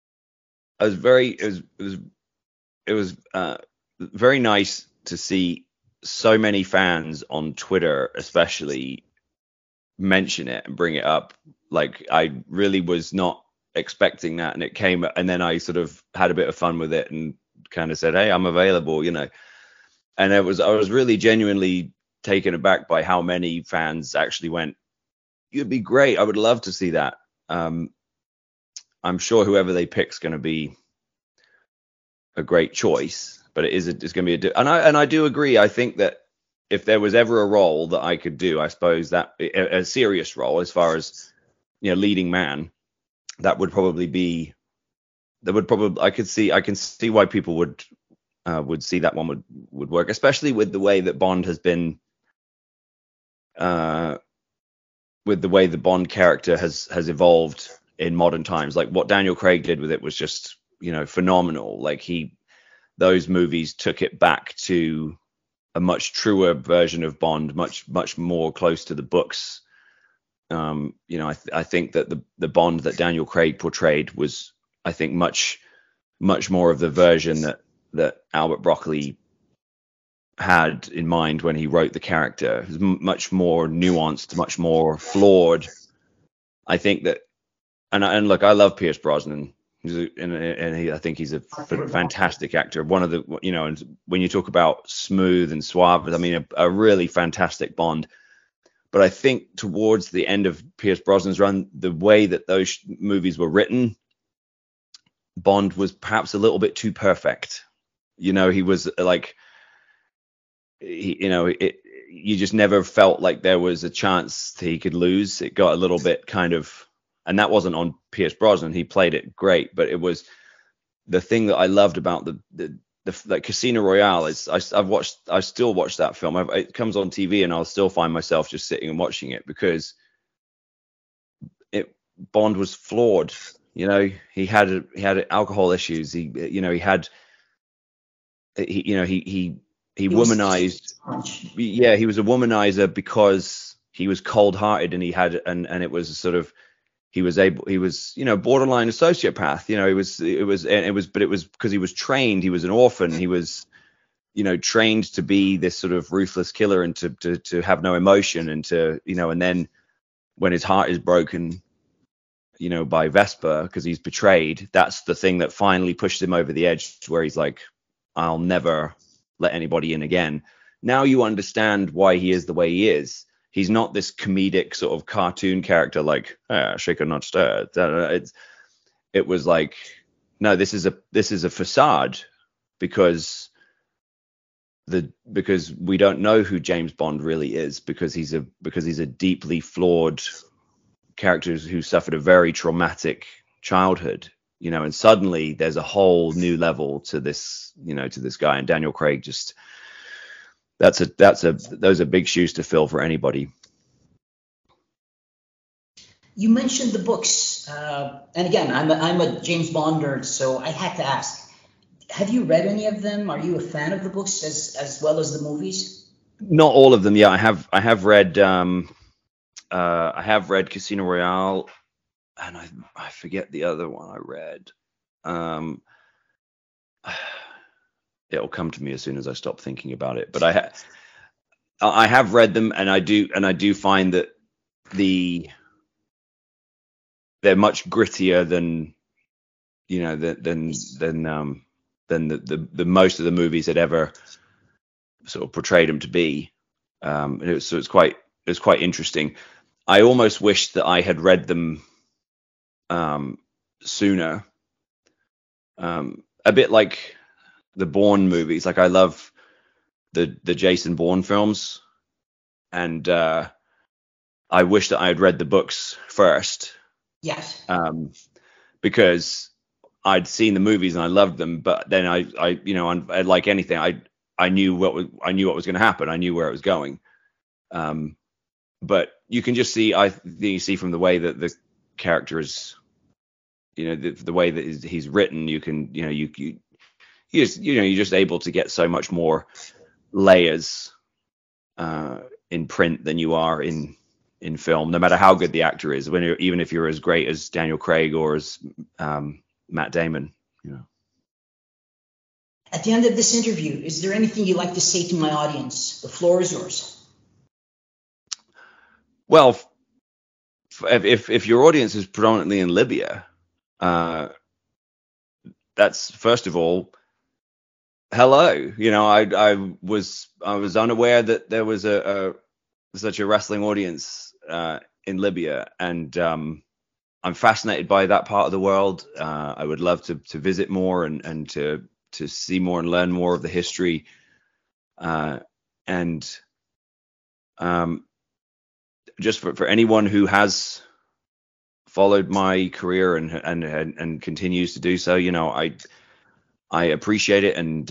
was very nice to see so many fans on Twitter, especially, mention it and bring it up. Like, I really was not expecting that, and it came, and then I sort of had a bit of fun with it and kind of said, "Hey, I'm available," And I was really genuinely taken aback by how many fans actually went, "You'd be great. I would love to see that." I'm sure whoever they pick's going to be a great choice, but it's going to be and I do agree. I think that if there was ever a role that I could do, I suppose that a serious role as far as leading man, that would probably be. I can see why people would see that one would work, especially with the way that Bond has been. With the way the Bond character has evolved in modern times, like what Daniel Craig did with it was just, phenomenal. Like those movies took it back to a much truer version of Bond, much more close to the books. I think that the Bond that Daniel Craig portrayed was, I think, much more of the version that Albert Broccoli had in mind when he wrote the character. It was much more nuanced, much more flawed. I think that, and look, I love Pierce Brosnan. I think he's a fantastic actor. One of the, and when you talk about smooth and suave, I mean, a really fantastic Bond. But I think towards the end of Pierce Brosnan's run, the way that those movies were written, Bond was perhaps a little bit too perfect. He was like, you just never felt like there was a chance he could lose. It got a little bit kind of, and that wasn't on Pierce Brosnan. He played it great, but it was the thing that I loved about the like Casino Royale. I still watch that film. It comes on TV, and I'll still find myself just sitting and watching it because Bond was flawed. He had alcohol issues. He womanized. Yeah, he was a womanizer because he was cold-hearted, and it was sort of. He was borderline a sociopath. But it was because he was trained. He was an orphan. He was, trained to be this sort of ruthless killer and to have no emotion and to, and then when his heart is broken, by Vesper because he's betrayed, that's the thing that finally pushed him over the edge where he's like, I'll never let anybody in again. Now you understand why he is the way he is. He's not this comedic sort of cartoon character like shaker not stirred. It was like, no, this is a facade because we don't know who James Bond really is because he's a deeply flawed character who suffered a very traumatic childhood, and suddenly there's a whole new level to this guy, and Daniel Craig just. Those are big shoes to fill for anybody. You mentioned the books, and again, I'm a James Bond nerd, so I had to ask: have you read any of them? Are you a fan of the books as well as the movies? Not all of them. Yeah, I have read. I have read Casino Royale, and I forget the other one I read. It'll come to me as soon as I stop thinking about it. But I have read them, and I do find that they're much grittier than the most of the movies had ever sort of portrayed them to be. It's quite interesting. I almost wish that I had read them sooner. A bit like the Bourne movies. Like I love the Jason Bourne films, and I wish that I had read the books first. Yes. Because I'd seen the movies and I loved them, but then I like anything, I knew what was going to happen. I knew where it was going. But you can just see, you see from the way that the character is, the way that he's written, you can, you're just able to get so much more layers in print than you are in film, no matter how good the actor is, even if you're as great as Daniel Craig or as Matt Damon. At the end of this interview, is there anything you'd like to say to my audience? The floor is yours. Well, if your audience is predominantly in Libya, that's, first of all, hello. I was unaware that there was such a wrestling audience in Libya, and I'm fascinated by that part of the world. I would love to visit more and to see more and learn more of the history. Just for anyone who has followed my career and continues to do so, I appreciate it, and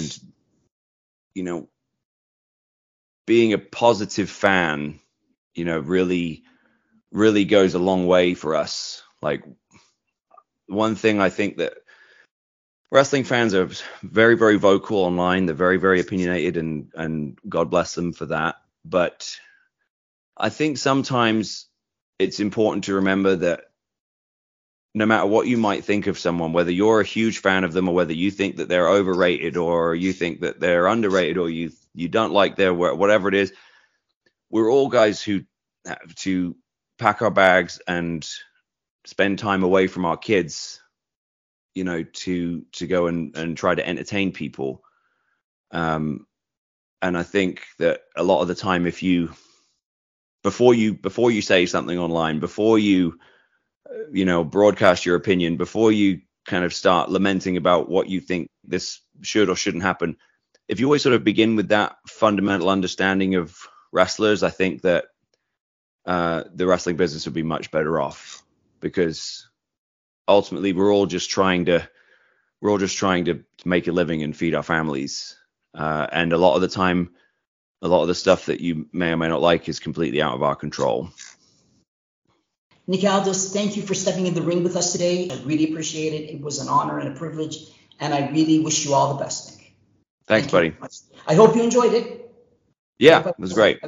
being a positive fan, really goes a long way for us. Like, one thing I think that wrestling fans are very, very vocal online. They're very, very opinionated, and God bless them for that. But I think sometimes it's important to remember that no matter what you might think of someone, whether you're a huge fan of them or whether you think that they're overrated or you think that they're underrated or you don't like their work, whatever it is, we're all guys who have to pack our bags and spend time away from our kids you know, to go and try to entertain people. And I think that a lot of the time, if you, before you say something online, before you know, broadcast your opinion, before you kind of start lamenting about what you think this should or shouldn't happen, if you always sort of begin with that fundamental understanding of wrestlers, I think that the wrestling business would be much better off, because ultimately we're all just trying to make a living and feed our families. And a lot of the time, a lot of the stuff that you may or may not like is completely out of our control. Nick Aldis, thank you for stepping in the ring with us today. I really appreciate it. It was an honor and a privilege, and I really wish you all the best, Nick. Thanks, buddy. I hope you enjoyed it. Yeah, it was great.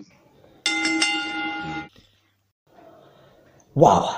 واو.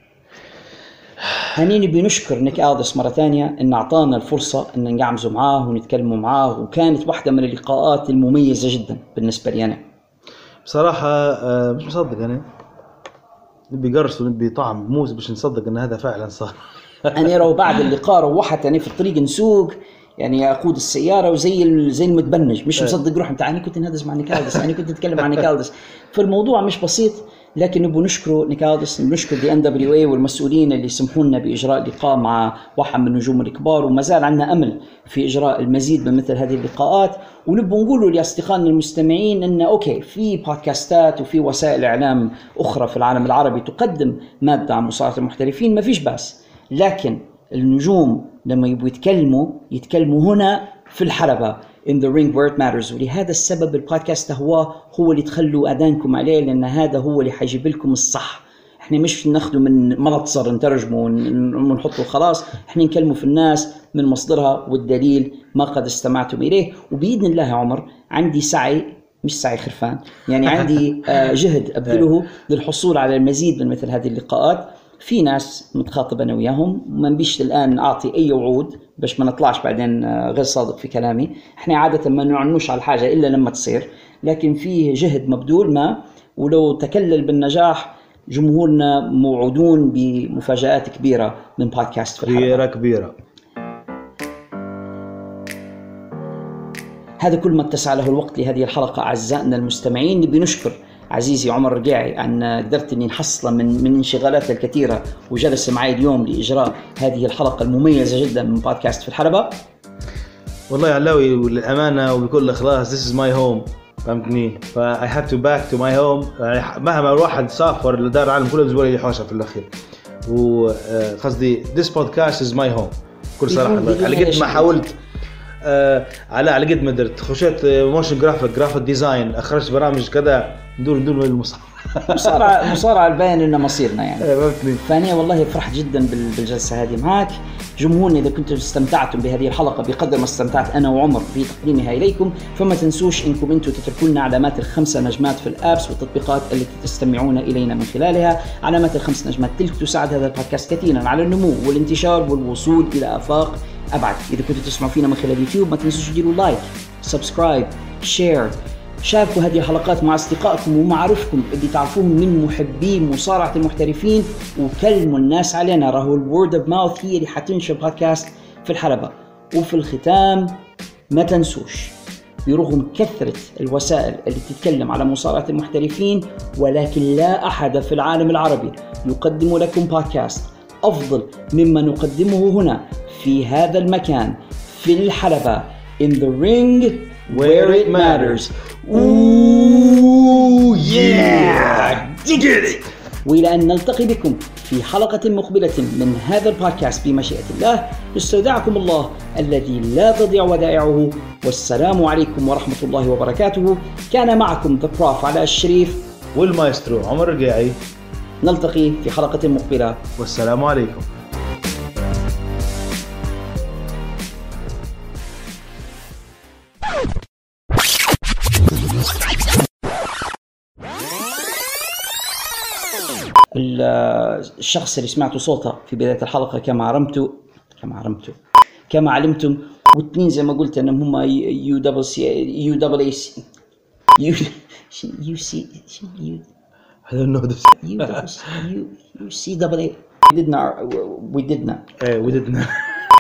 هنيني بنشكر نيك ألدس مرة ثانية إن أعطانا الفرصة إن نقعمزوا معاه ونتكلموا معاه، وكانت واحدة من اللقاءات المميزة جدا بالنسبة لي أنا. بصراحة مش مصدق أنا، نبي قرص ونبي طعم موز باش نصدق إن هذا فعلا صار. أنا رو بعد اللقاء روحت أنا في الطريق نسوق، يعني أقود السيارة وزي المتبنج، مش مصدق روح أنا كنت نهدز مع نيك ألدس، أنا كنت أتكلم مع نيك ألدس. فالموضوع مش بسيط، لكن نبغى نشكره نيك ألدس، نشكر دي NWA والمسؤولين اللي سمحونا بإجراء لقاء مع واحد من النجوم الكبار، وما زال عندنا أمل في إجراء المزيد من مثل هذه اللقاءات. ونبغى نقوله لأصدقائنا المستمعين إن أوكي، في بودكاستات وفي وسائل إعلام أخرى في العالم العربي تقدم مادة عن مصارعة المحترفين، ما فيش بأس، لكن النجوم لما يبغوا يتكلموا هنا في الحلبة in the ring where it matters. ولهذا السبب البودكاست هو اللي تخلوا أذانكم عليه، لأن هذا هو اللي حيجيب لكم الصح. احنا مش ناخده من ملتصر نترجمه ونحطه خلاص، احنا نكلمه في الناس من مصدرها والدليل ما قد استمعتم إليه. وبإذن الله يا عمر عندي سعي، مش سعي خرفان، يعني عندي جهد أبذله للحصول على المزيد من مثل هذه اللقاءات. في ناس متخاطب أنا وياهم، ما نبيش الآن أعطي أي وعود باش ما نطلعش بعدين غير صادق في كلامي. إحنا عادة ما نعنوش على الحاجة إلا لما تصير، لكن فيه جهد مبذول ما، ولو تكلل بالنجاح جمهورنا موعودون بمفاجآت كبيرة من بودكاست في الحلقة. كبيرة. هذا كل ما اتسع له الوقت لهذه الحلقة أعزائنا المستمعين. نبي نشكر عزيزي عمر رقيعي أن قدرت أني نحصله من انشغالات الكثيرة وجلس معي اليوم لإجراء هذه الحلقة المميزة جدا من بودكاست في الحلبة. والله يا علاوي والأمانة وبكل إخلاص this is my home، فهمتني؟ I have to back to my home. مهما الواحد سافر لدار العالم كله زبالة يحوشها في الأخير، وقصدي this podcast is my home كل صراحة. على قد ما حاولت على قد ما قدرت، خشيت موشن جرافيك ديزاين، أخرجت برامج كذا، ندور مصارعة الباين إنه مصيرنا يعني. فأنا والله فرحت جدا بالجلسة هذه معك. جمهورنا إذا كنتم استمتعتم بهذه الحلقة بقدر ما استمتعت أنا وعمر في تقديمها إليكم، فما تنسوش إنكم أنتم تتركوا لنا علامات ال5 نجمات في الآبس والتطبيقات التي تستمعون إلينا من خلالها. علامات ال5 نجمات تلك تساعد هذا البودكاست كثيرا على النمو والانتشار والوصول إلى آفاق أبعد. إذا كنتوا تسمعوا فينا من خلال اليوتيوب ما تنسوش تديروا لايك، سبسكرايب، شير، شاركوا هذه الحلقات مع أصدقائكم ومعارفكم اللي تعرفوهم من محبين مصارعة المحترفين، وكلموا الناس علينا. راهو الورد اوف ماوث هي اللي حتنشر بودكاست في الحلبة. وفي الختام ما تنسوش، برغم كثرة الوسائل اللي تتكلم على مصارعة المحترفين، ولكن لا أحد في العالم العربي يقدم لكم بودكاست أفضل مما نقدمه هنا في هذا المكان في الحلبة in the ring where it matters. Ooh yeah, dig it. وإلى أن نلتقي بكم في حلقة مقبلة من هذا البودكاست بمشيئة الله، نستودعكم الله الذي لا تضيع ودائعه، والسلام عليكم ورحمة الله وبركاته. كان معكم The Prof علاء الشريف والمايسترو عمر رقيعي. نلتقي في حلقة مقبلة، والسلام عليكم. الشخص اللي سمعتوا صوته في بداية الحلقة كما علمتم واثنين زي ما قلت انهم هم we didn't